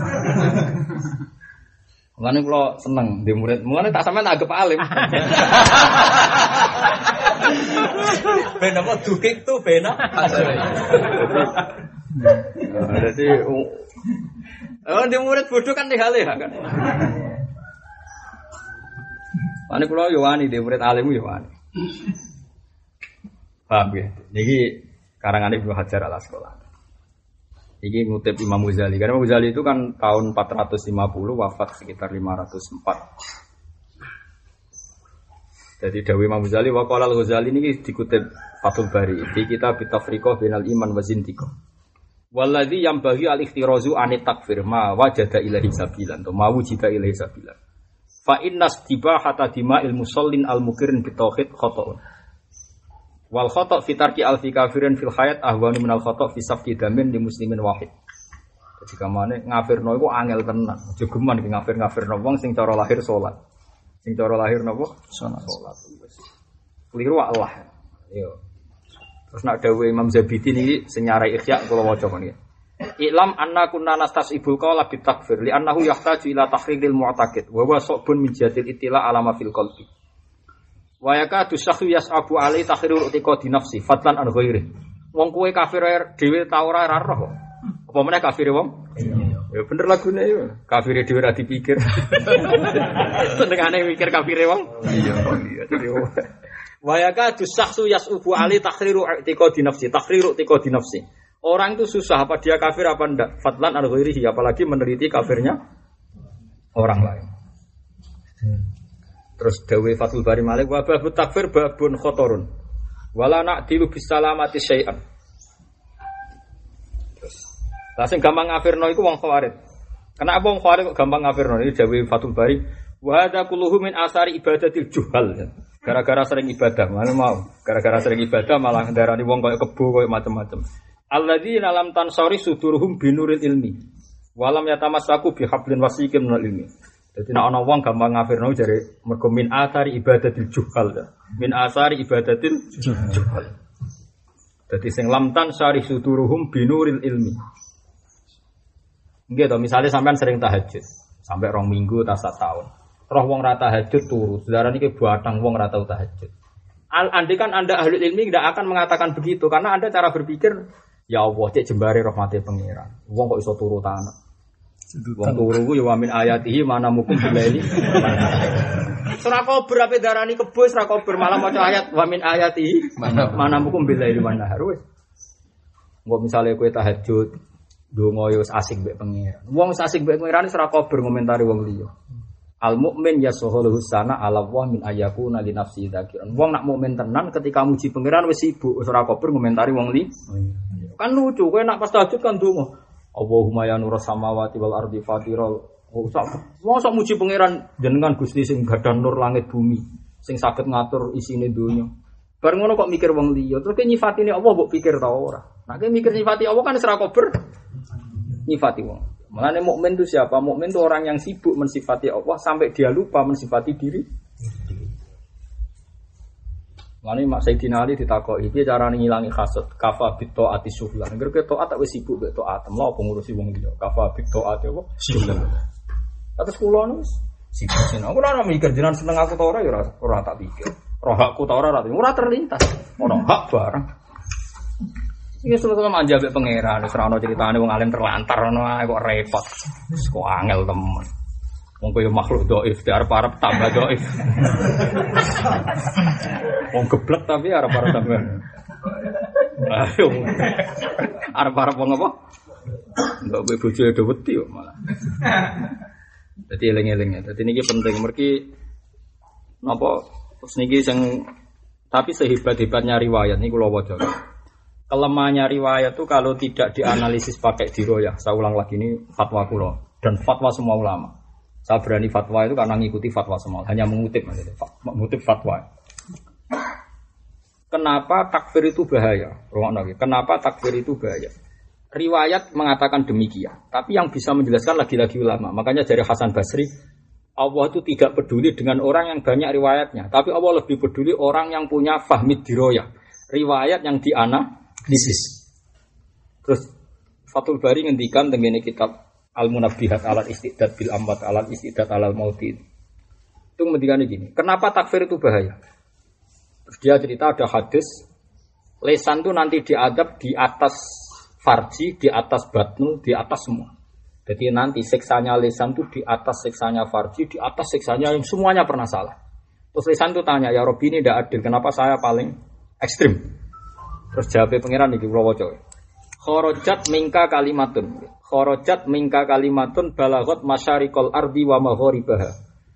Speaker 1: Mulane kula seneng di murid. Mulane tak sampean anggap alim. Ben apa dukik tuh bena. Jadi di murid bodoh kan dihale kan. Ane kula yo wani di murid alim yo wani. Paham ya? Niki karangan Ibnu Hajar al-Asqalani. Ini ngutip Imam Ghazali. Karena Imam Ghazali itu kan tahun 450 wafat sekitar 504. Jadi Dawi Imam Ghazali wa qala al-Ghazali ini dikutip Fathul Bari. Di kitab Tafriqah bainal iman wa zindiqah. Walladzi yambaghi al-ikhtirazu anit takfir ma wajada ilahi sabilan atau ma wujida ilahi sabilan. Fa innas tibahata dima'il musallin al-mukirin bitauhid khata'un. Wal khata' fi tarki alfi kafirin fil hayat ahwanu minal khata' fi safki damin li muslimin wahid. Jadi kamane ngafirno iku angel tenan. Aja geman ki ngafirno wong sing cara lahir salat. Sing cara lahir napa? Salat. Keliru Allah. Yo. Terus nak dawuh Imam Zabidi niki sing nyarai Ihya kula waca kon iki. I'lam anna kunna nastasibul qawla bi takfir li annahu yahtaju ila tahriril mu'taqid wa huwa sabun min jadil itila alama fil qalbi. Wa yakadu syakhu yas'abu alai tahrirul i'tiqadi nafsi fadlan an ghairi. Wong kowe kafir dhewe ta ora roh. Apa meneh kafir wong? Ya bener lagune yo. Kafir dhewe ora dipikir. Senengane mikir kafir wong. Iya. Wa yakadu syakhu yas'abu alai tahrirul i'tiqadi nafsi, tahrirul i'tiqadi nafsi. Orang itu susah apa dia kafir apa enggak? Fadlan an ghairihi apalagi meneliti kafirnya orang lain. Terus dawe Fathul Bari Malik wa babut takfir babun khotorun. Wala na'dilu bisalamati syai'an. Terus lah sing gampang ngafirno iku wong Khawarij. Kenapa wong Khawarij kok gampang ngafirno? Iki dawe Fathul Bari wa hadza kulluhu min asari ibadatil juhal. Gara-gara sering ibadah, mana mau. Gara-gara sering ibadah malah ndarani wong koyo kebo koyo macam-macam. Alladzina lam tansari suduruhum binuril ilmi. Walam yatamassaku bihablin wasiqin minal ilmi. Jadi nek ana wong gampang ngafirno jare mergo min asari ibadatil juhal. Min asari ibadatil juhal. Dadi sing lam tansari suduruhum binuril ilmi. Nggih to, misale sampean sering tahajud sampai 2 minggu ta 1 tahun. Roh wong ra tahajud turu, sedarane iki batang wong ra tau tahajud. Andai kan Anda ahli ilmi tidak akan mengatakan begitu karena Anda cara berpikir ya Allah cek jembare rahmate pangeran. Wong kok iso turu ta anak. Wong turu ku ya wa min ayatihi mana mukum bilaili. Surah Kober ape darani kebo surah Kober malah maca ayat wa min ayatihi mana mukum bilaili wan nahar wis. Engko misale kowe tahajud donga yo asik mbek pangeran. Wong asik mbek pangeran surah Kober ngomentari wong liya. Al mukmin yasahulu husana ala wa min ayakuna li nafsi dzakiran. Wong nak mukmin tenan ketika muji pangeran wis sibuk surah Kober ngomentari wong li. Kan lucu kowe nak pas tahajud kan donga Allahumma ya nurus samawati wal ardi fatiral. Mosok muji pangeran jenengan Gusti sing gadah nur langit bumi, sing saged ngatur isine donya. Bar ngono kok mikir wong liya, terus ke nyifatine Allah mbok pikir ta ora. Nek mikir nyifati Allah kan ora kober nyifati wong. Makane mukmin itu siapa? Mukmin itu orang yang sibuk mensifati Allah sampai dia lupa mensifati diri. Mane Mak Sayyidina Ali ditakoki piye carane ngilangi hasud kafa bit taati syuhlan. Ngerke taat tak wis sibuk mek taat, lha apa ngurusi wong liya. Kafa bit taati apa? Syuhlan. Atus kula nus sibuk sing aku ora mikir jenengan seneng aku ta ora ya ora tak pikir. Roh hakku ta ora terlintas. Ora hak barang. Iki selalu manja mek pangeran, wis ora ono critane wong alim terlantar ngono ae kok repot. Wis kok angel temen. Wong koyo makhluk dhaif, arep-arep tambah dhaif. Wong geblek tapi arep-arep tambah. Ayo. Arep-arep wong apa? Enggak kowe bojone do wedi kok malah. Dadi eling-eling ya. Dadi niki penting mergi napa niki sing tapi sehebat-hebatnya riwayat niku kula waca. Kelemahannya riwayat itu kalau tidak dianalisis pakai diroyah. Saya ulang lagi ini fatwa kula dan fatwa semua ulama. Saya berani fatwa itu karena mengikuti fatwa semua, hanya mengutip fatwa. Kenapa takfir itu bahaya? Kenapa takfir itu bahaya? Riwayat mengatakan demikian, tapi yang bisa menjelaskan lagi-lagi ulama. Makanya dari Hasan Basri, Allah itu tidak peduli dengan orang yang banyak riwayatnya, tapi Allah lebih peduli orang yang punya fahmid diroyah, riwayat yang dianalisis. Terus Fathul Bari ngendikan tengene kitab Al-Munabbihat alal istidad bil amwat alal istidad alal mauti. Itu ngendikane gini, kenapa takfir itu bahaya? Terus dia cerita ada hadis lesan itu nanti diadab di atas farji, di atas batnu, di atas semua. Jadi nanti siksanya lesan itu di atas siksanya farji, di atas siksanya yang semuanya pernah salah. Terus lesan itu tanya, ya Robbi ini tidak adil, kenapa saya paling ekstrim? Terus jawabnya pangeran iki kula waca. Kharajat mingka kalimatun balagot masyariqal ardi wa magharibaha.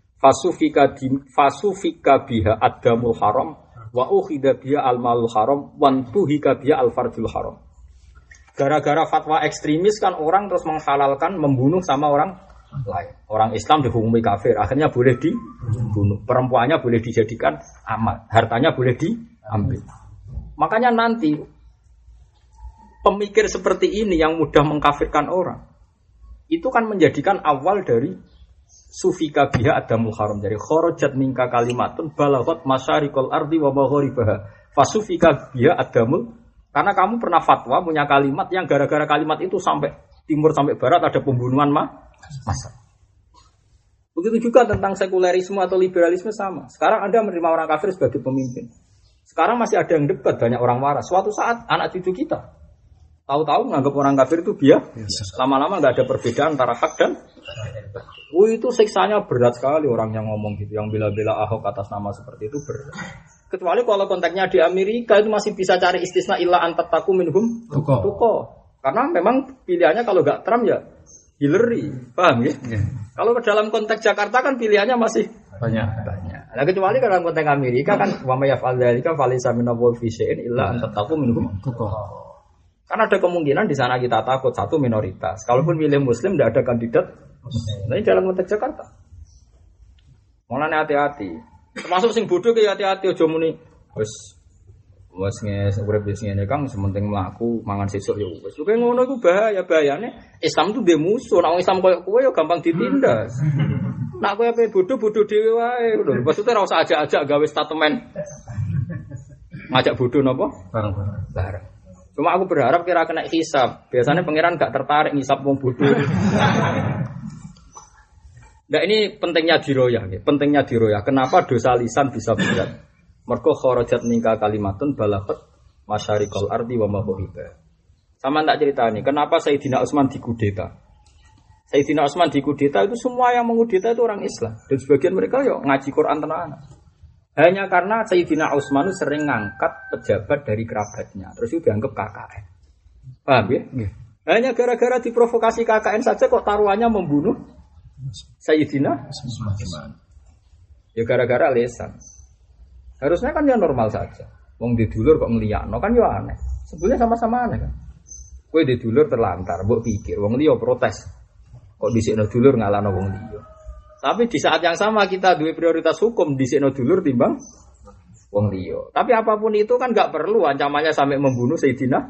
Speaker 1: Fasufika biha adamul haram wa ukhida biha almalul haram wan tuhika biha alfarjul haram. Gara-gara fatwa ekstremis kan orang terus menghalalkan membunuh sama orang lain. Orang Islam dihukumi kafir, akhirnya boleh dibunuh. Perempuannya boleh dijadikan amat, hartanya boleh diambil. Makanya nanti pemikir seperti ini yang mudah mengkafirkan orang itu kan menjadikan awal dari sufika biha adamul haram, dari kharajat minka kalimatun balagot masyariqal ardi wa magharibaha fasufika biha adamul, karena kamu pernah fatwa punya kalimat yang gara-gara kalimat itu sampai timur sampai barat ada pembunuhan massal. Begitu juga tentang sekulerisme atau liberalisme sama. Sekarang Anda menerima orang kafir sebagai pemimpin. Sekarang masih ada yang debat, banyak orang waras. Suatu saat anak cucu kita tahu-tahu menganggap orang kafir itu biasa. Lama-lama nggak ada perbedaan antara hak dan itu siksanya berat sekali orang yang ngomong gitu, yang bela-bela Ahok atas nama seperti itu berat. Kecuali kalau konteksnya di Amerika itu masih bisa cari istisna illa antataku minhum tuko. Karena memang pilihannya kalau nggak Trump ya Hillary, paham ya? Kalau ke dalam konteks Jakarta kan pilihannya masih
Speaker 3: banyak.
Speaker 1: Nah kecuali dalam konteks Amerika kan wa may yaf'al dzalika falaysa minhu fi syai'in illa an tattaqu minhum tuqah. Karena ada kemungkinan di sana kita takut satu minoritas. Kalaupun milih muslim tidak ada kandidat. Nah ini dalam konteks Jakarta. Mulane hati-hati. Termasuk sing bodoh ki hati-hati aja muni wis urip wis ngene Kang sementing mlaku mangan sesuk ya wis. Kuwi ngono iku bahayane Islam itu ndek musuh. Nek Islam koyo kowe ya gampang ditindas. Nek kowe ape bodoh-bodoh dhewe wae lho. Maksudnya ora usah ajak-ajak gawe statement. Ngajak bodoh napa? Bareng. Cuma aku berharap kira kena hisab. Biasanya pangeran gak tertarik ngisap wong bodoh. Nah ini pentingnya diroyah, pentingnya diroyah. Kenapa dosa lisan bisa berat? Mergo kharajat mingka kalimatun balaghat masyariqal ardi wa maghriba. Sama tak cerita nih, kenapa Sayyidina Utsman dikudeta? Sayyidina Utsman dikudeta itu semua yang mengudeta itu orang Islam dan sebagian mereka yo ngaji Quran tenan. Hanya karena Sayyidina Utsman sering ngangkat pejabat dari kerabatnya, terus itu dianggap KKN. Paham ya? Hanya gara-gara diprovokasi KKN saja kok taruhannya membunuh Sayyidina Utsman. Ya gara-gara lesan. Harusnya kan ya normal saja. Wong di dulur kok ngliyakno kan ya aneh. Sebenarnya sama-sama aneh kan. Kowe di dulur terlantar, mbok pikir wong liya protes. Kok dhisikno dulur ngalahno wong liya. Tapi di saat yang sama kita duwe prioritas hukum dhisikno dulur timbang wong liya. Tapi apapun itu kan enggak perlu ancamannya sampai membunuh Sayyidina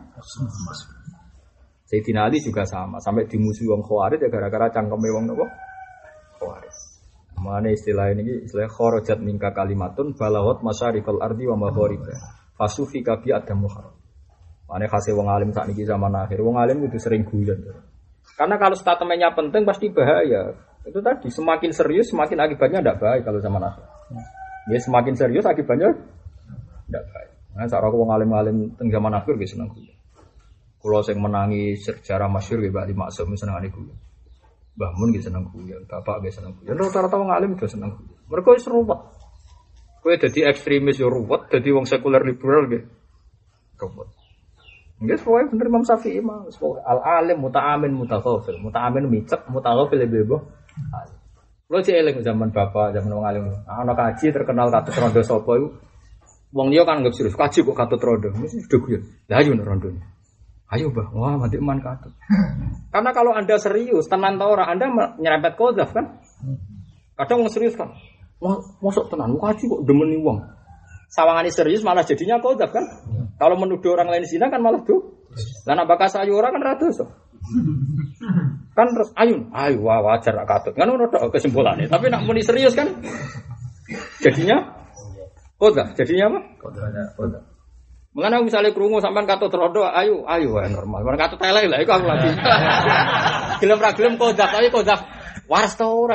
Speaker 1: Ali juga sama, sampai dimusuhi wong Khawarij ya gara-gara cangkeme wong napa? Khawarij. Mana istilah ini istilah kharajat minka kalimatun balawat masyariqal ardi wa maghriba fasufika bi adamu haram. Mane khase wong alim sak niki zaman akhir wong alim kudu sering guyon. Karena kalau statementnya penting pasti bahaya. Itu tadi semakin serius semakin akibatnya tidak baik kalau zaman akhir. Ya semakin serius akibatnya tidak baik. Nah sak wong alim-alim teng zaman akhir wis seneng guyon. Kula sing menangi sejarah masyhur nggih Mbak Ali Maksum senengane guyon. Mbah Mun nggih seneng guyon, bapak nggih seneng guyon. Rata-rata wong alim udah seneng guyon. Mergo wis ruwet. Kowe dadi ekstremis yo ruwet, dadi wong sekuler liberal nggih ruwet. Nggih pokoke bener Imam Syafi'i mah, al alim muta'amin mutaghafil. Muta'amin micek, mutaghafil bebo. Kulo cek eling zaman bapak, zaman wong alim. Ana kaji terkenal katut rondo sapa iku. Wong liya kan anggap serius, kaji kok katut rondo. Mesti udah guyon. Lah ayo rondone. Ayo bah, wah mati iman katut. Karena kalau anda serius, tenan tau orang anda nyerempet kodaf kan? Kadang mau serius kan? Masuk tenan, mau kaji kok demeni uang. Sawangane serius malah jadinya kodaf kan? Kalau menuduh orang lain zina kan malah tuh. Lah nak bakas ayu orang kan ratus. Kan terus ayo wah wajar katut. Kan ono kesimpulannya. Tapi nak muni serius kan? Jadinya kodaf. Jadinya apa? Kodaf. Mengenai misalnya kerungu sampean katut rodo, ayo normal. Mereka katut telek lah, itu aku lagi. Gelem ra gelem kodak, tapi kodak waras ta ora.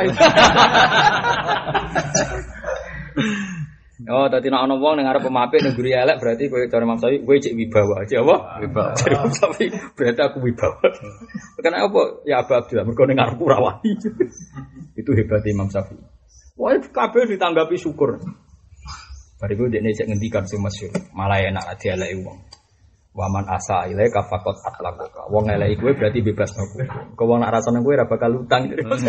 Speaker 1: Oh, dadi nek ana wong ning arep pemapik ning guri elek berarti kowe cara Imam Syafi'i kowe cek wibawa aja apa? Wibawa. Tapi berarti aku wibawa. Karena apa? Ya Abu Abdullah mergo ning arepku ora wani. Itu hebat Imam Syafi'i. Wah, kabeh ditanggapi syukur. Bariku dekne cek ngendikan sing masyhur, malah enak dieleki wong. Waman asa ilaika faqat atlaqaka. Wong eleki kowe berarti bebas aku. Kok wong nak rasane kowe ora bakal utang.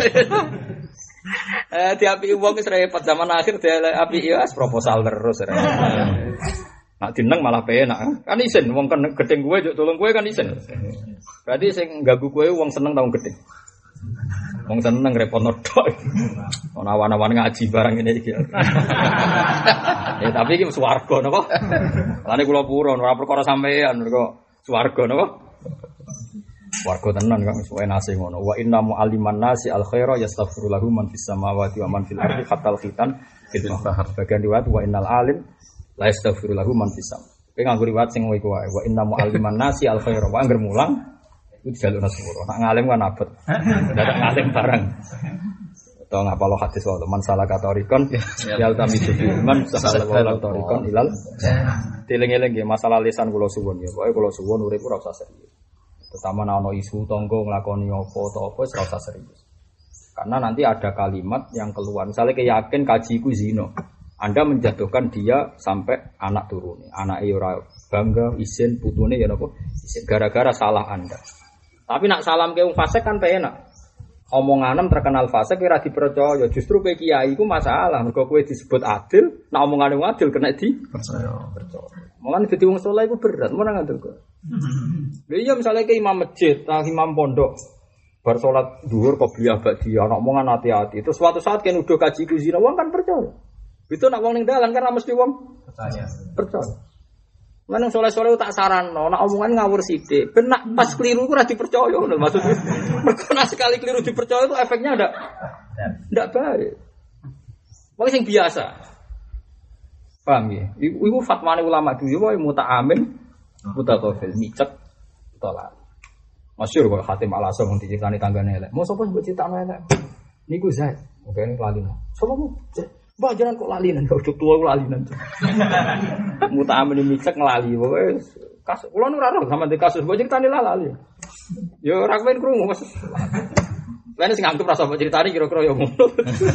Speaker 1: Diapi wong wis repot zaman akhir diapi ya proposal terus. Nak dineng malah penak. Kan isin wong gedeng kowe njuk tolong kowe kan isin. Berarti sing ganggu kowe wong seneng ta wong gedeng. Wong seneng repotno tok. Ana awan-awan ngaji barang ngene iki. Ya tapi iki swarga napa? Lane kula purun ora perkara sampean mergo swarga napa? Swarga tenan kok suwe nase ngono. Wa inna mu'alliman nasi al khaira yastaghfiru lahu man fis samawati wa man fil ardi hatal khitan fil bahr. Bagian riwayat wa innal alim la yastaghfiru lahu man fis sam. Kowe nganggo riwayat sing iku wae. Wa inna mu'alliman nasi al khaira wa angger mulang itu jalur nasburo. Nak ngalim kan abot. Dadak ngalim barang. Atau ngapalo hadis wae man salah katorikon yal tami man salah katorikon ilal. Dileng-eleng nggih masalah lisan kula suwun ya. Pokoke kula suwun urip ora usah serius. Terutama ana isu tangga nglakoni apa utawa apa ora usah serius. Karena nanti ada kalimat yang keluar. Misalnya keyakin kaji ku zina. Anda menjatuhkan dia sampai anak turune. Anake ora bangga isin putune ya napa? Isin gara-gara salah Anda. Tapi nak salam ke wong fasik kan penak. omonganem terkenal fasik ora dipercaya. Justru kowe kiai iku masalah. Mergo kowe disebut adil, nek omongane adil kena dipercaya. Mulane dadi wong saleh iku berat, ora ngoten kok. Lha iya misale ke imam masjid, imam pondok bar salat dhuwur qobliyah ba'diyah, ana omongan hati-hati. Terus suatu saat kan udah kaji kuzina, wong kan percaya. Itu nak wong ning dalan kan mesti wong percaya. Mana soleh-soleh tak saranno, nak omongan ngawur sithik. Ben nak pas keliru ku ora dipercaya ngono maksudnya. Mergo nak sekali keliru dipercaya itu efeknya ndak baik. Wong sing biasa. Paham ya? Iku fatwane ulama dulu wae muta'amin, mutaqafil micet tolak. Masyhur kok Hatim Al-Asam wong diceritani tanggane elek. Mau sapa mbok critakno elek? Niku Zaid. Oke ini lalinan. Sapa mu? Mbah jangan kok lalinan, kok tua kok lalinan. Muta'amin micet nglali pokoke kasus kula nu ora sama di kasus mbok critani lali. Yo ora kepen krungu Mas. Lan sing anggap rasa mbok critani kira-kira yo ngono.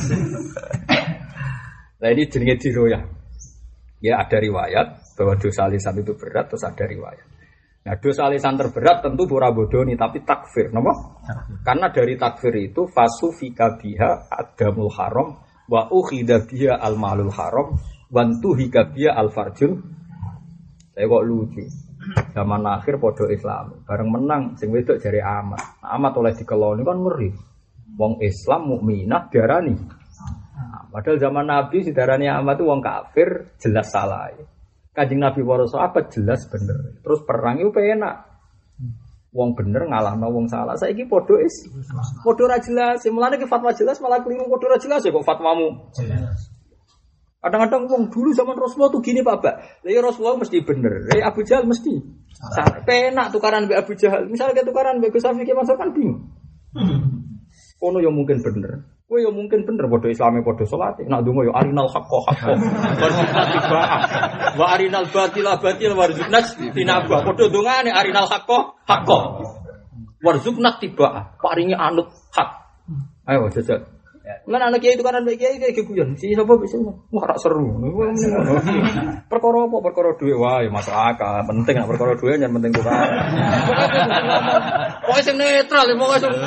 Speaker 1: Lah ini jenenge diroyah. Ya ada riwayat bahwa dosa lisan itu berat, terus ada riwayat. Nah dosa lisan terberat tentu pura bodoni tapi takfir, napa? Karena dari takfir itu fasufika biha adamul haram wa ukhida biha al malul haram wa tuhika biha al farjul. Saya kok lucu. Zaman akhir podo Islam, bareng menang sing wedok jare amat. Amat oleh dikeloni kan ngeri. Wong Islam mukminah diarani. Padahal zaman Nabi sidarane amat itu wong kafir jelas salah. Kanjeng Nabi para sahabat jelas bener. Terus perang itu enak. Wong bener ngalahno wong salah. Saiki padha ora jelas. Mulane ki fatwa jelas malah keliru padha ora jelas ya kok fatwamu jelas. Kadang-kadang wong dulu zaman Rasulullah tuh gini Pak Bak. Lah ya Rasulullah mesti bener. Abu Jahal mesti salah. Penak tukaran mbek Abu Jahal. Misalnya kayak tukaran mbek Gus Safi ki masuk kan bingung. Kono yang mungkin bener. Kowe yo mungkin bener padha Islame padha salat. Nek ndonga yo arinal haqqo warzuqna tibaa. Wa arinal batila batil warzuqna tinaba. Padha ndongane arinal haqqo warzuqna tibaa. Paringi anut hak. Ayo jajal. Lan anak kiai itu kan mbek kiai kayak guyon. Si sapa bisa. Wah rak seru. Perkara apa? Perkara dhuwit wae masuk akal. Penting nek perkara dhuwit yen penting tukar. Pokoke sing netral, pokoke sing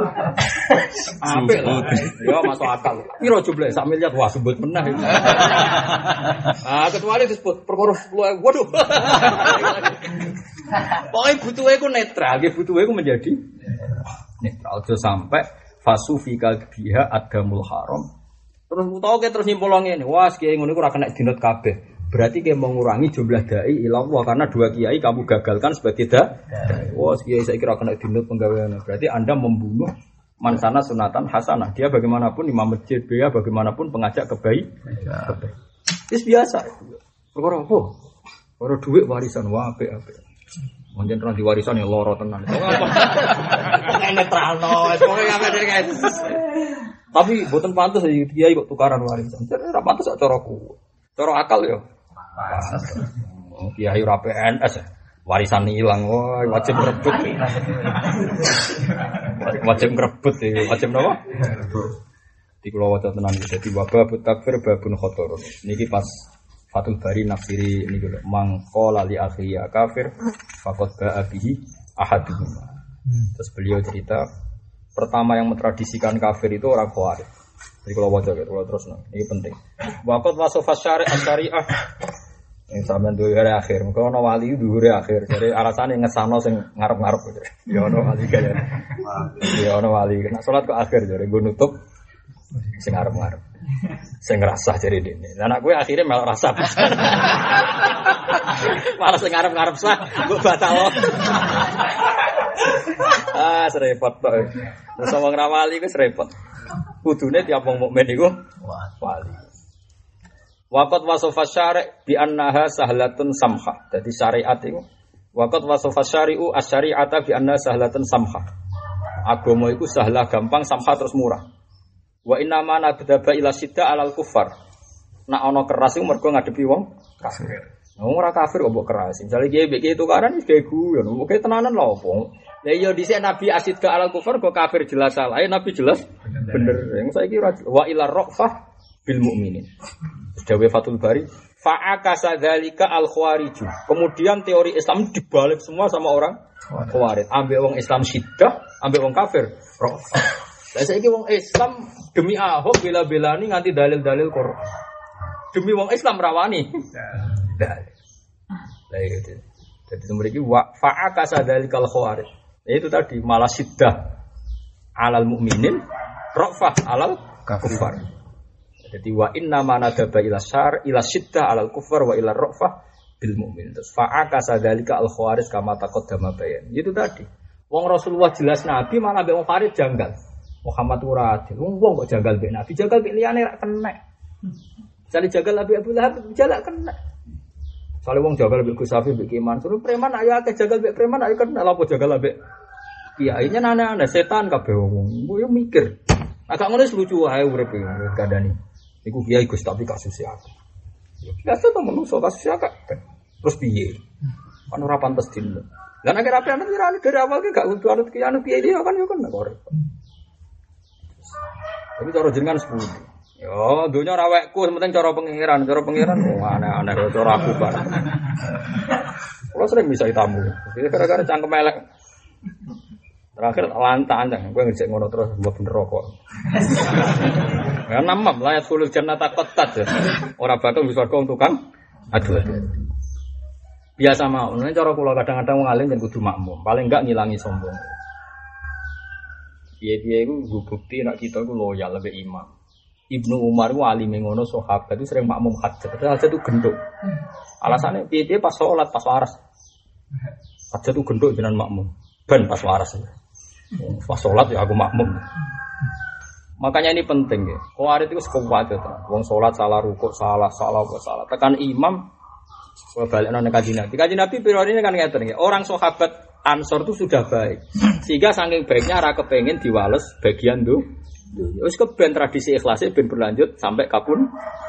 Speaker 1: apik lah. Yo masuk akal. Piro jumlahe sak miliar wah sebut menah iki. Kecuali disebut perkara 10.000. Waduh. Pokoke butuhe ku netral, nggih butuhe ku menjadi netral aja sampai fasufika biha adamul haram. Terus utawa terus nyimpul ngene, wah kiai ngono iku ora kena dinut kabeh. Berarti kiai mengurangi jumlah dai ila Allah karena dua kiai kamu gagalkan sebagai dai. Wah kiai saya kira kena dinut penggawean. Berarti Anda membunuh mansana sunatan hasanah. Dia bagaimanapun imam masjid, dia bagaimanapun pengajak kebaikan. Itu biasa. Perkara apa? Perkara duit warisan wah apik-apik. Mungkin orang diwarisan ya loro tenan. Pokoke netralno, pokoke kabeh kae. Tapi mboten pantes kiai kok tukaran warisan. Ora pantes kok caraku. Cara akal ya. Kiai ora PNS warisan ilang wah wajib ngrebut. Wajib ngrebut iki, wajib napa? Di kula waca tenan iki dadi wabah takfir babun khotor. Niki pas Fathul Bari nafsiri ini gitu. Mangkola li akhiya kafir, fakot ba'a bihi ahaduhum. Terus beliau cerita pertama yang mentradisikan kafir itu orang Khawarij. Jadi kalau wajah gitu, kalau terus ini penting. Wakot wasofas syariah. Yang sampean duwe hari akhir, mengko ana wali duwe akhir. Jadi alasan yang ngesano sing ngarep-ngarep gitu. Ya ana wali kaya. Ya ana wali. Nek salat kok akhir jare nggo nutup sing ngarep-ngarep. Sing ngrasah jare dene. Lah anak kowe akhire malah rasa. Malah sing ngarep-ngarep sah mbok batal. Serepot tok. Terus wong ra wali wis repot. Kudune tiap wong mukmin iku wali. Waqat wasofa syari' bi annaha sahlatun samha. Dadi syariat iku waqat wasofa syari'u asy-syari'ata bi annaha sahlatun samha. Agama iku sahlah gampang, samha terus murah. Wa inna ma nabdaba ila sidda alal kufar. Nek ana keras iku mergo ngadepi wong kafir. Wong ora kafir kok mbok keras. Misale kiye tukaran wis gawe guyon. Oke tenanan lho opo. Lah iya dhisik Nabi asidda alal kufar kok kafir jelas salah. Nabi jelas bener. Yang saiki wa ila raqfah bil mukminin. Dawe Fathul Bari fa'akasa dzalika al-khawarij. Kemudian teori Islam dibalik semua sama orang Khawarij. Ambek wong Islam siddah, ambek wong kafir raqfah. Lah saiki wong Islam demi Ahok bela-belani nganti dalil-dalil Quran. Demi wong Islam rawani. Dalil. Lah itu. Jadi mriki wa fa'aka sadalikal khawarij. Itu tadi malah siddah alal mukminin, rafah alal kufar. Jadi wa inna ma nadaba ila syar ila siddah alal kufar wa ila rafah bil mukmin. Terus fa'aka sadalika al khawarij kama taqaddama bayan. Itu tadi. Wong Rasulullah jelas nabi malah mbek wong khawarij janggal. Muhammad ora adil. Wong kok janggal mbek nabi, janggal mbek liyane ra kena. Jale janggal Abi Abu Lahab jalak kena. Soale wong janggal mbek Gus Safi mbek Iman, suruh preman ayo akeh janggal mbek preman ayo kena lha apa janggal mbek kiai nya aneh-aneh setan kabeh wong. Yo mikir. Agak ngono lucu wae urip kandhani. Iku kiai Gus tapi kasus akeh. Ya biasa to menungso kasus akeh. Terus piye? Kan ora pantes dino. Lah nek rapi anut kira dari awal ki gak kudu anut kiai anu piye dia kan yo kan kok. Tapi cara jenengan sepundi. Yo donya ora wekku penting cara pengiran aneh-aneh cara aku kan. Kalau sering bisa tamu. Gara-gara cangkem elek. Terakhir lantaan gue ngejek ngono terus mbok bener rokok. Ya namam layat sulul jannata qattat. Ora bakal wis warga tukang aduh. Biasa mau, nek cara kula kadang-kadang wong alim yen kudu makmum, paling enggak ngilangi sombong. Piye-piye iku nggo bukti nek kita iku loyal mbek imam. Ibnu Umar ku alime ngono sahabat itu sering makmum hajat. Hajat itu genduk. Alasannya piye-piye pas salat pas waras. Hajat itu genduk jenengan makmum. Ben pas waras. Pas sholat ya aku makmum. Makanya ini penting ya. Khawarij itu sekuat itu. Wong sholat salah rukuk, salah. Tekan imam, balik nang Kanjeng Nabi. Kanjeng Nabi periodenya kan ngeten ya. Orang sahabat Ansor itu sudah baik. Sehingga saking baiknya ra kepengin diwales bagian tuh. Wis keben tradisi ikhlasnya ben berlanjut sampai kapun.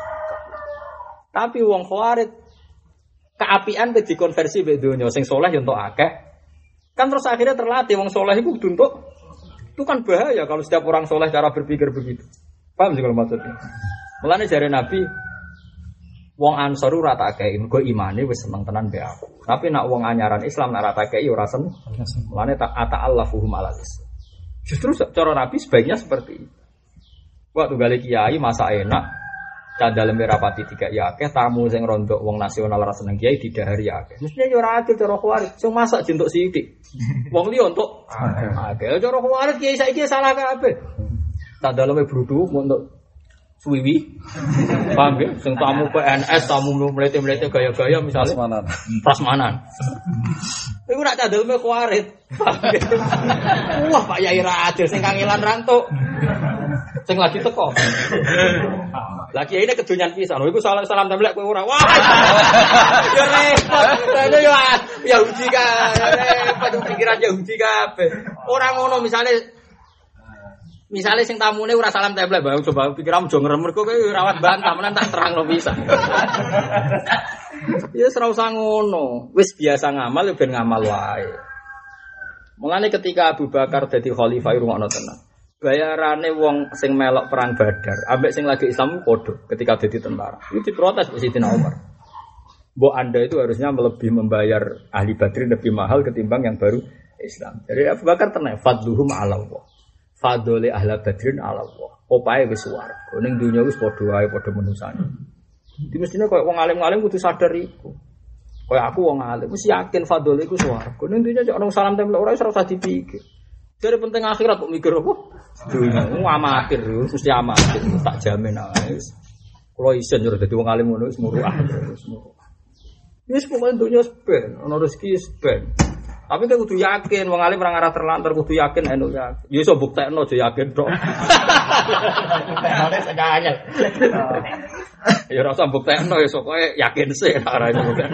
Speaker 1: Tapi wong Khawarij keapian ke dikonversi mbek donya sing saleh yo entuk akeh. Kan terus akhirnya terlatih wong soleh itu untuk itu kan bahaya kalau setiap orang soleh cara berpikir begitu. Paham sih kalau maksudnya? Mulane jare Nabi wong Ansor ora tak kei mergo imane wis seneng tenan mbek aku. Tapi nak wong anyaran Islam nak ora tak kei ora seneng. Mulane tak ata'allafuhum alalis. Justru cara Nabi sebaiknya seperti itu. Waktu gale kiai masa enak cadal merapati tiga ya akeh tamu sing rondok wong nasional ra seneng kiai didahari akeh. Mestinya yo ora adil cara Khawarij. Sing masak jentuk sithik. Wong liya entuk akeh. Cara Khawarij kiai saiki salah kabeh. Cadal brudhu untuk suwiwi. Paham ya? Sing tamu PNS, tamu mlete-mlete gaya-gaya misalnya prasmanan. Iku nak cadal Khawarij. Wah, Pak Yai ra adil sing kangelan rantuk. Sing lagi teko. Lagi ini kedunyan pisan. Iku salam templek kowe ora. Wah. Ya repot. Lha yo Yahudi ka. Repot pikiran Yahudi kabeh. Ora ngono misale sing tamune ora salam templek, Bang. Coba pikiranmu jo ngremur kok kowe rawat bantah menan tak terangno pisan. Ya ora usah ngono. Wis biasa ngamal ben ngamal wae. Mulane ketika Abu Bakar dadi khalifah rungokno tenan. Bayarane wong sing melok perang Badar, ambek sing lagi Islam padha ketika dadi tentara. Itu diprotes Sayyidina Umar. Mbok Anda itu harusnya lebih membayar ahli Badrin lebih mahal ketimbang yang baru Islam. Jadi Abu Bakar tenang, fadluhum 'ala Allah. Fadlul ahli Badrin 'ala Allah. Opae wis swarga. Ning donya wis padha wae padha menusane. Di mestine koyo wong alim-alim kudu sadar iku. Koyo aku wong alim wis yakin fadlul iku swarga. Ning donya cok ono salam tempel ora iso usah dipikir. Dari penting akhirat kok mikir apa? Dunia, amatir, mesti amatir, tak jamin aja. Kalau isen jurus jadi wong alim ngono, semua ini semua dunia seben, ono rezeki seben. Tapi kita kudu yakin, wong alim orang arah terlantar kudu yakin, eno yakin. Ya so buktekno aja yakin dok. Buktekno seganya. Ya rasa buktekno ya so kowe yakin sih, arah itu buktekno.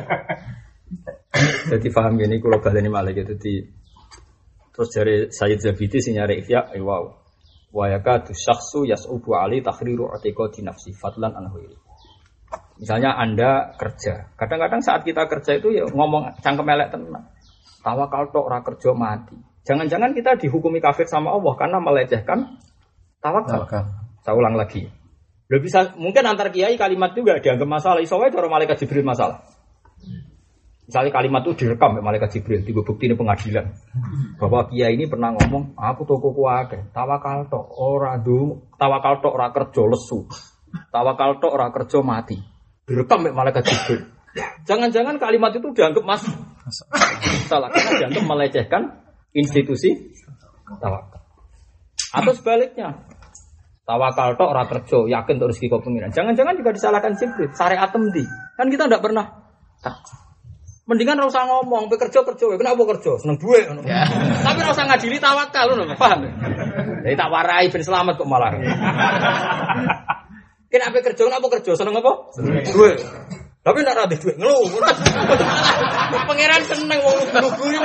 Speaker 1: Jadi paham gini, kalau baleni malah gitu di. Terus dari Sayyid Zabidi sing nyari ihya wow. Wa yakatu syakhsu yas'ubu ali takhriru i'tiqadi nafsi fadlan an ghairi. Misalnya Anda kerja. Kadang-kadang saat kita kerja itu ya ngomong cangkem elek tenan. Tawakal tok ora kerja mati. Jangan-jangan kita dihukumi kafir sama Allah karena melecehkan tawakal. Saya ulang lagi. Loh bisa mungkin antar kiai kalimat juga dianggap masalah. Iso wae cara malaikat Jibril masalah. Misalnya kalimat itu direkam oleh malaikat Jibril, tiga bukti ini pengadilan. Bahwa kiai ini pernah ngomong, aku tokoku akeh, tawakal tok ora kerja lesu. Tawakal tok ora kerja mati. Direkam oleh malaikat Jibril. Jangan-jangan kalimat itu dianggap salah karena dianggap melecehkan institusi tawakal. Atau sebaliknya, tawakal tok ora kerja, yakin terus rezeki kok pengiran. Jangan-jangan juga disalahkan Jibril, syariat temdi. Kan kita tidak pernah. Mendingan ora usah ngomong, kerja. Kenapa kerja? Seneng duit ngono. Tapi ora usah ngadili tawakal ngono, paham? Jadi tak warai ben selamat kok malah. Kenapa kerja? Seneng apa? Duit. Tapi ndak ra duit ngeluh. Pangeran seneng wong lugu-lugu.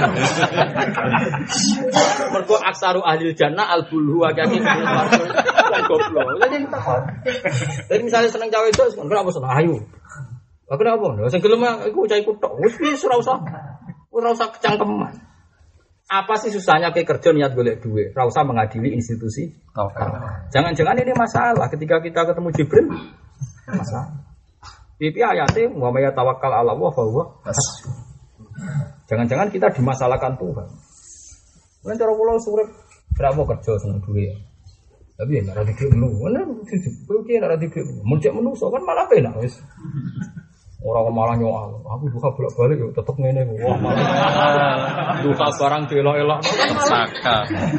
Speaker 1: Mergo aksaru ahli jannah al-bulhu akeh goblok. Jadi misalnya seneng cawe itu, kenapa seneng ayu? Kenapa? Sing gelem iku cah iku tok. Wis ora usah kecangkeman. Apa sih susahnya kayak kerja niat golek duit? Ora usah mengadili institusi. Jangan-jangan ini masalah ketika kita ketemu Jibril. Masalah. Pipi ayatnya wa may tawakkal 'ala Allah fa huwa hasbuh. Jangan-jangan kita dimasalahkan Tuhan. Kan cara kula urip berapa kerja seneng duit. Tapi nek ora dikek lu, ana kuwi nek ora dikek muncak menungso kan malah penak wis. Ora malah nyoal. Aku duka bolak-balik yo tetep ngene. Wah, malah duka barang delok-elok kan saka.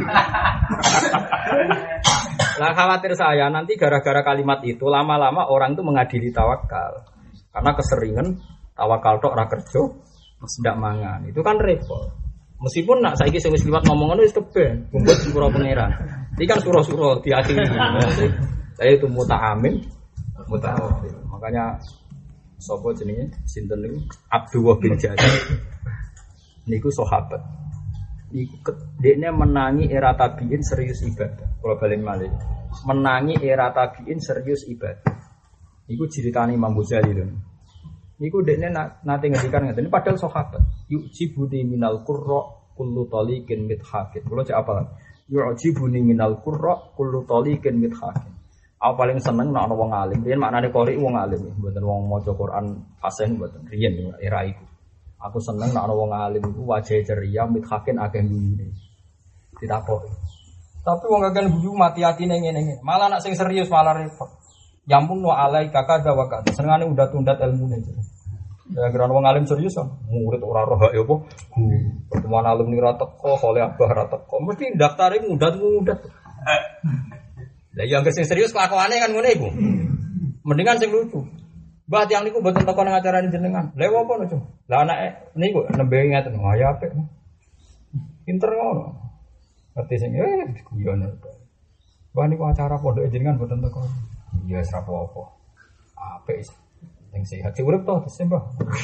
Speaker 1: Lah khawatir saya nanti gara-gara kalimat itu lama-lama orang itu mengadili tawakal. Karena keseringan tawakal tok ora kerja, ndak mangan. Itu kan repot. Meskipun nak saiki sing wis liwat ngomong ngono wis keben, kumpul surah pangeran. Iki kan surah-surah diakhiri. Saya itu muta'amin, muta'awil. Makanya sapa jenenge sinten niku Abdullah bin Jabir. Niku sahabat. Iku dekne menangi era tabiin serius ibadah. Kalau balen malih. Menangi era tabiin serius ibadah. Iku ceritane Imam Ghazali lho. Niku dekne nate ngendikan ngeten padahal sahabat. Yu'jibuni minal qurra kullu taliqin mithaqin. Kulo cek apa? Yu'jibuni minal qurra kullu taliqin mithaqin. Aku paling seneng nek ana wong alim. Riyen maknane qori wong alim, mboten wong maca Quran fasih mboten. Riyen era iku. Aku seneng nek ana wong alim iku wajahe ceria, mithaqin akeh guyune. Ditakoki. Tapi wong akeh guyu mati-atine ngene-ngene. Malah nek sing serius malah repot. Yamun wa alaika kadza wa kadza. Senengane undat-undat ilmune. Ya kira wong alim serius kan. Murid ora roh ya apa. Pertemuan alumni ra teko, oleh abah ra teko. Mesti daftare mundat. Lah yang sing serius kelakuane kan ngene iku. Mendingan sing lucu. Mbah tiyang niku mboten teko nang acarane jenengan. Lha apa niku? Lah anake niku nembe ngaten. Wah ya apik. Pinter ngono. Ngerti sing guyon. Mbah niku acara pondok jenengan mboten teko. Ya wis ra apa-apa. Apik sing sehat urip to Mbah.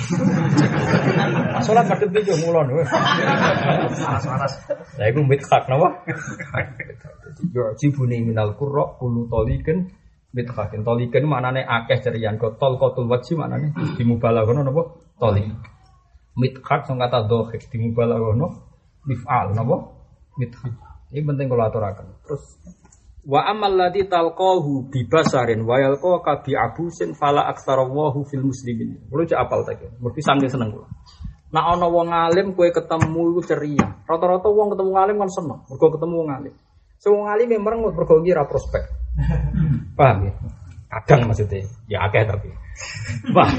Speaker 1: Salat madhep iki mulon wis. Saras. Lah iku mithaq napa? Yu'jibuni minal qurra kullu taliqin mithaqin. Taliqin maknane akeh cerian, qatol wajhi maknane dimubalaghana napa? Taliq. Mithaq sing kata dhahik dimubalaghana mif'al napa? Mithaq. Ini penting kula aturaken. Terus wa amal ladzi talqahu bi basarin wa yalqa bi abusin fala aktsarahu fil muslimin. Kulo cek apal ta iki. Mesti sange seneng kula. Nek ana wong alim kowe ketemu iku ceria. Rata-rata wong ketemu alim kan seneng. Mergo ketemu wong alim. Sing wong alim merengut mergo iki ra prospek. Paham ya? Kadang maksudnya ya akeh tapi. Paham.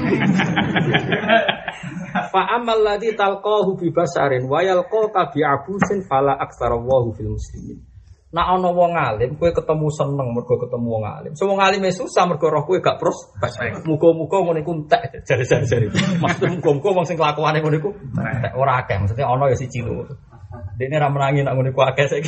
Speaker 1: Fa amal ladzi talqahu bi basarin wa yalqa bi abusin fala aktsarahu fil muslimin. Nek ana wong alim kowe ketemu seneng mergo ketemu wong alim. Sing wong alime susah mergo roh kowe gak prospek. Muga-muga ngono iku entek jare-jare. Maksud muga-muga wong sing kelakuane ngono iku entek ora akeh. Maksudnya ana ya siji lho. Dekne ra menangi nek ngono iku akeh saiki.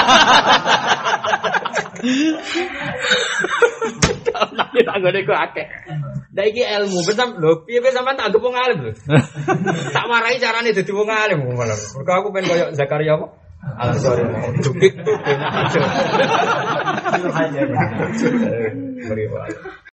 Speaker 1: Nang tak ngene iku akeh. Lah iki ilmu, bener lho. Piye sampean tak anggap wong alim lho. Tak warai carane dadi wong alim malah. Mergo aku pengen koyo Zakaria apa? Al-Ansari. Dukik tuh benar aja.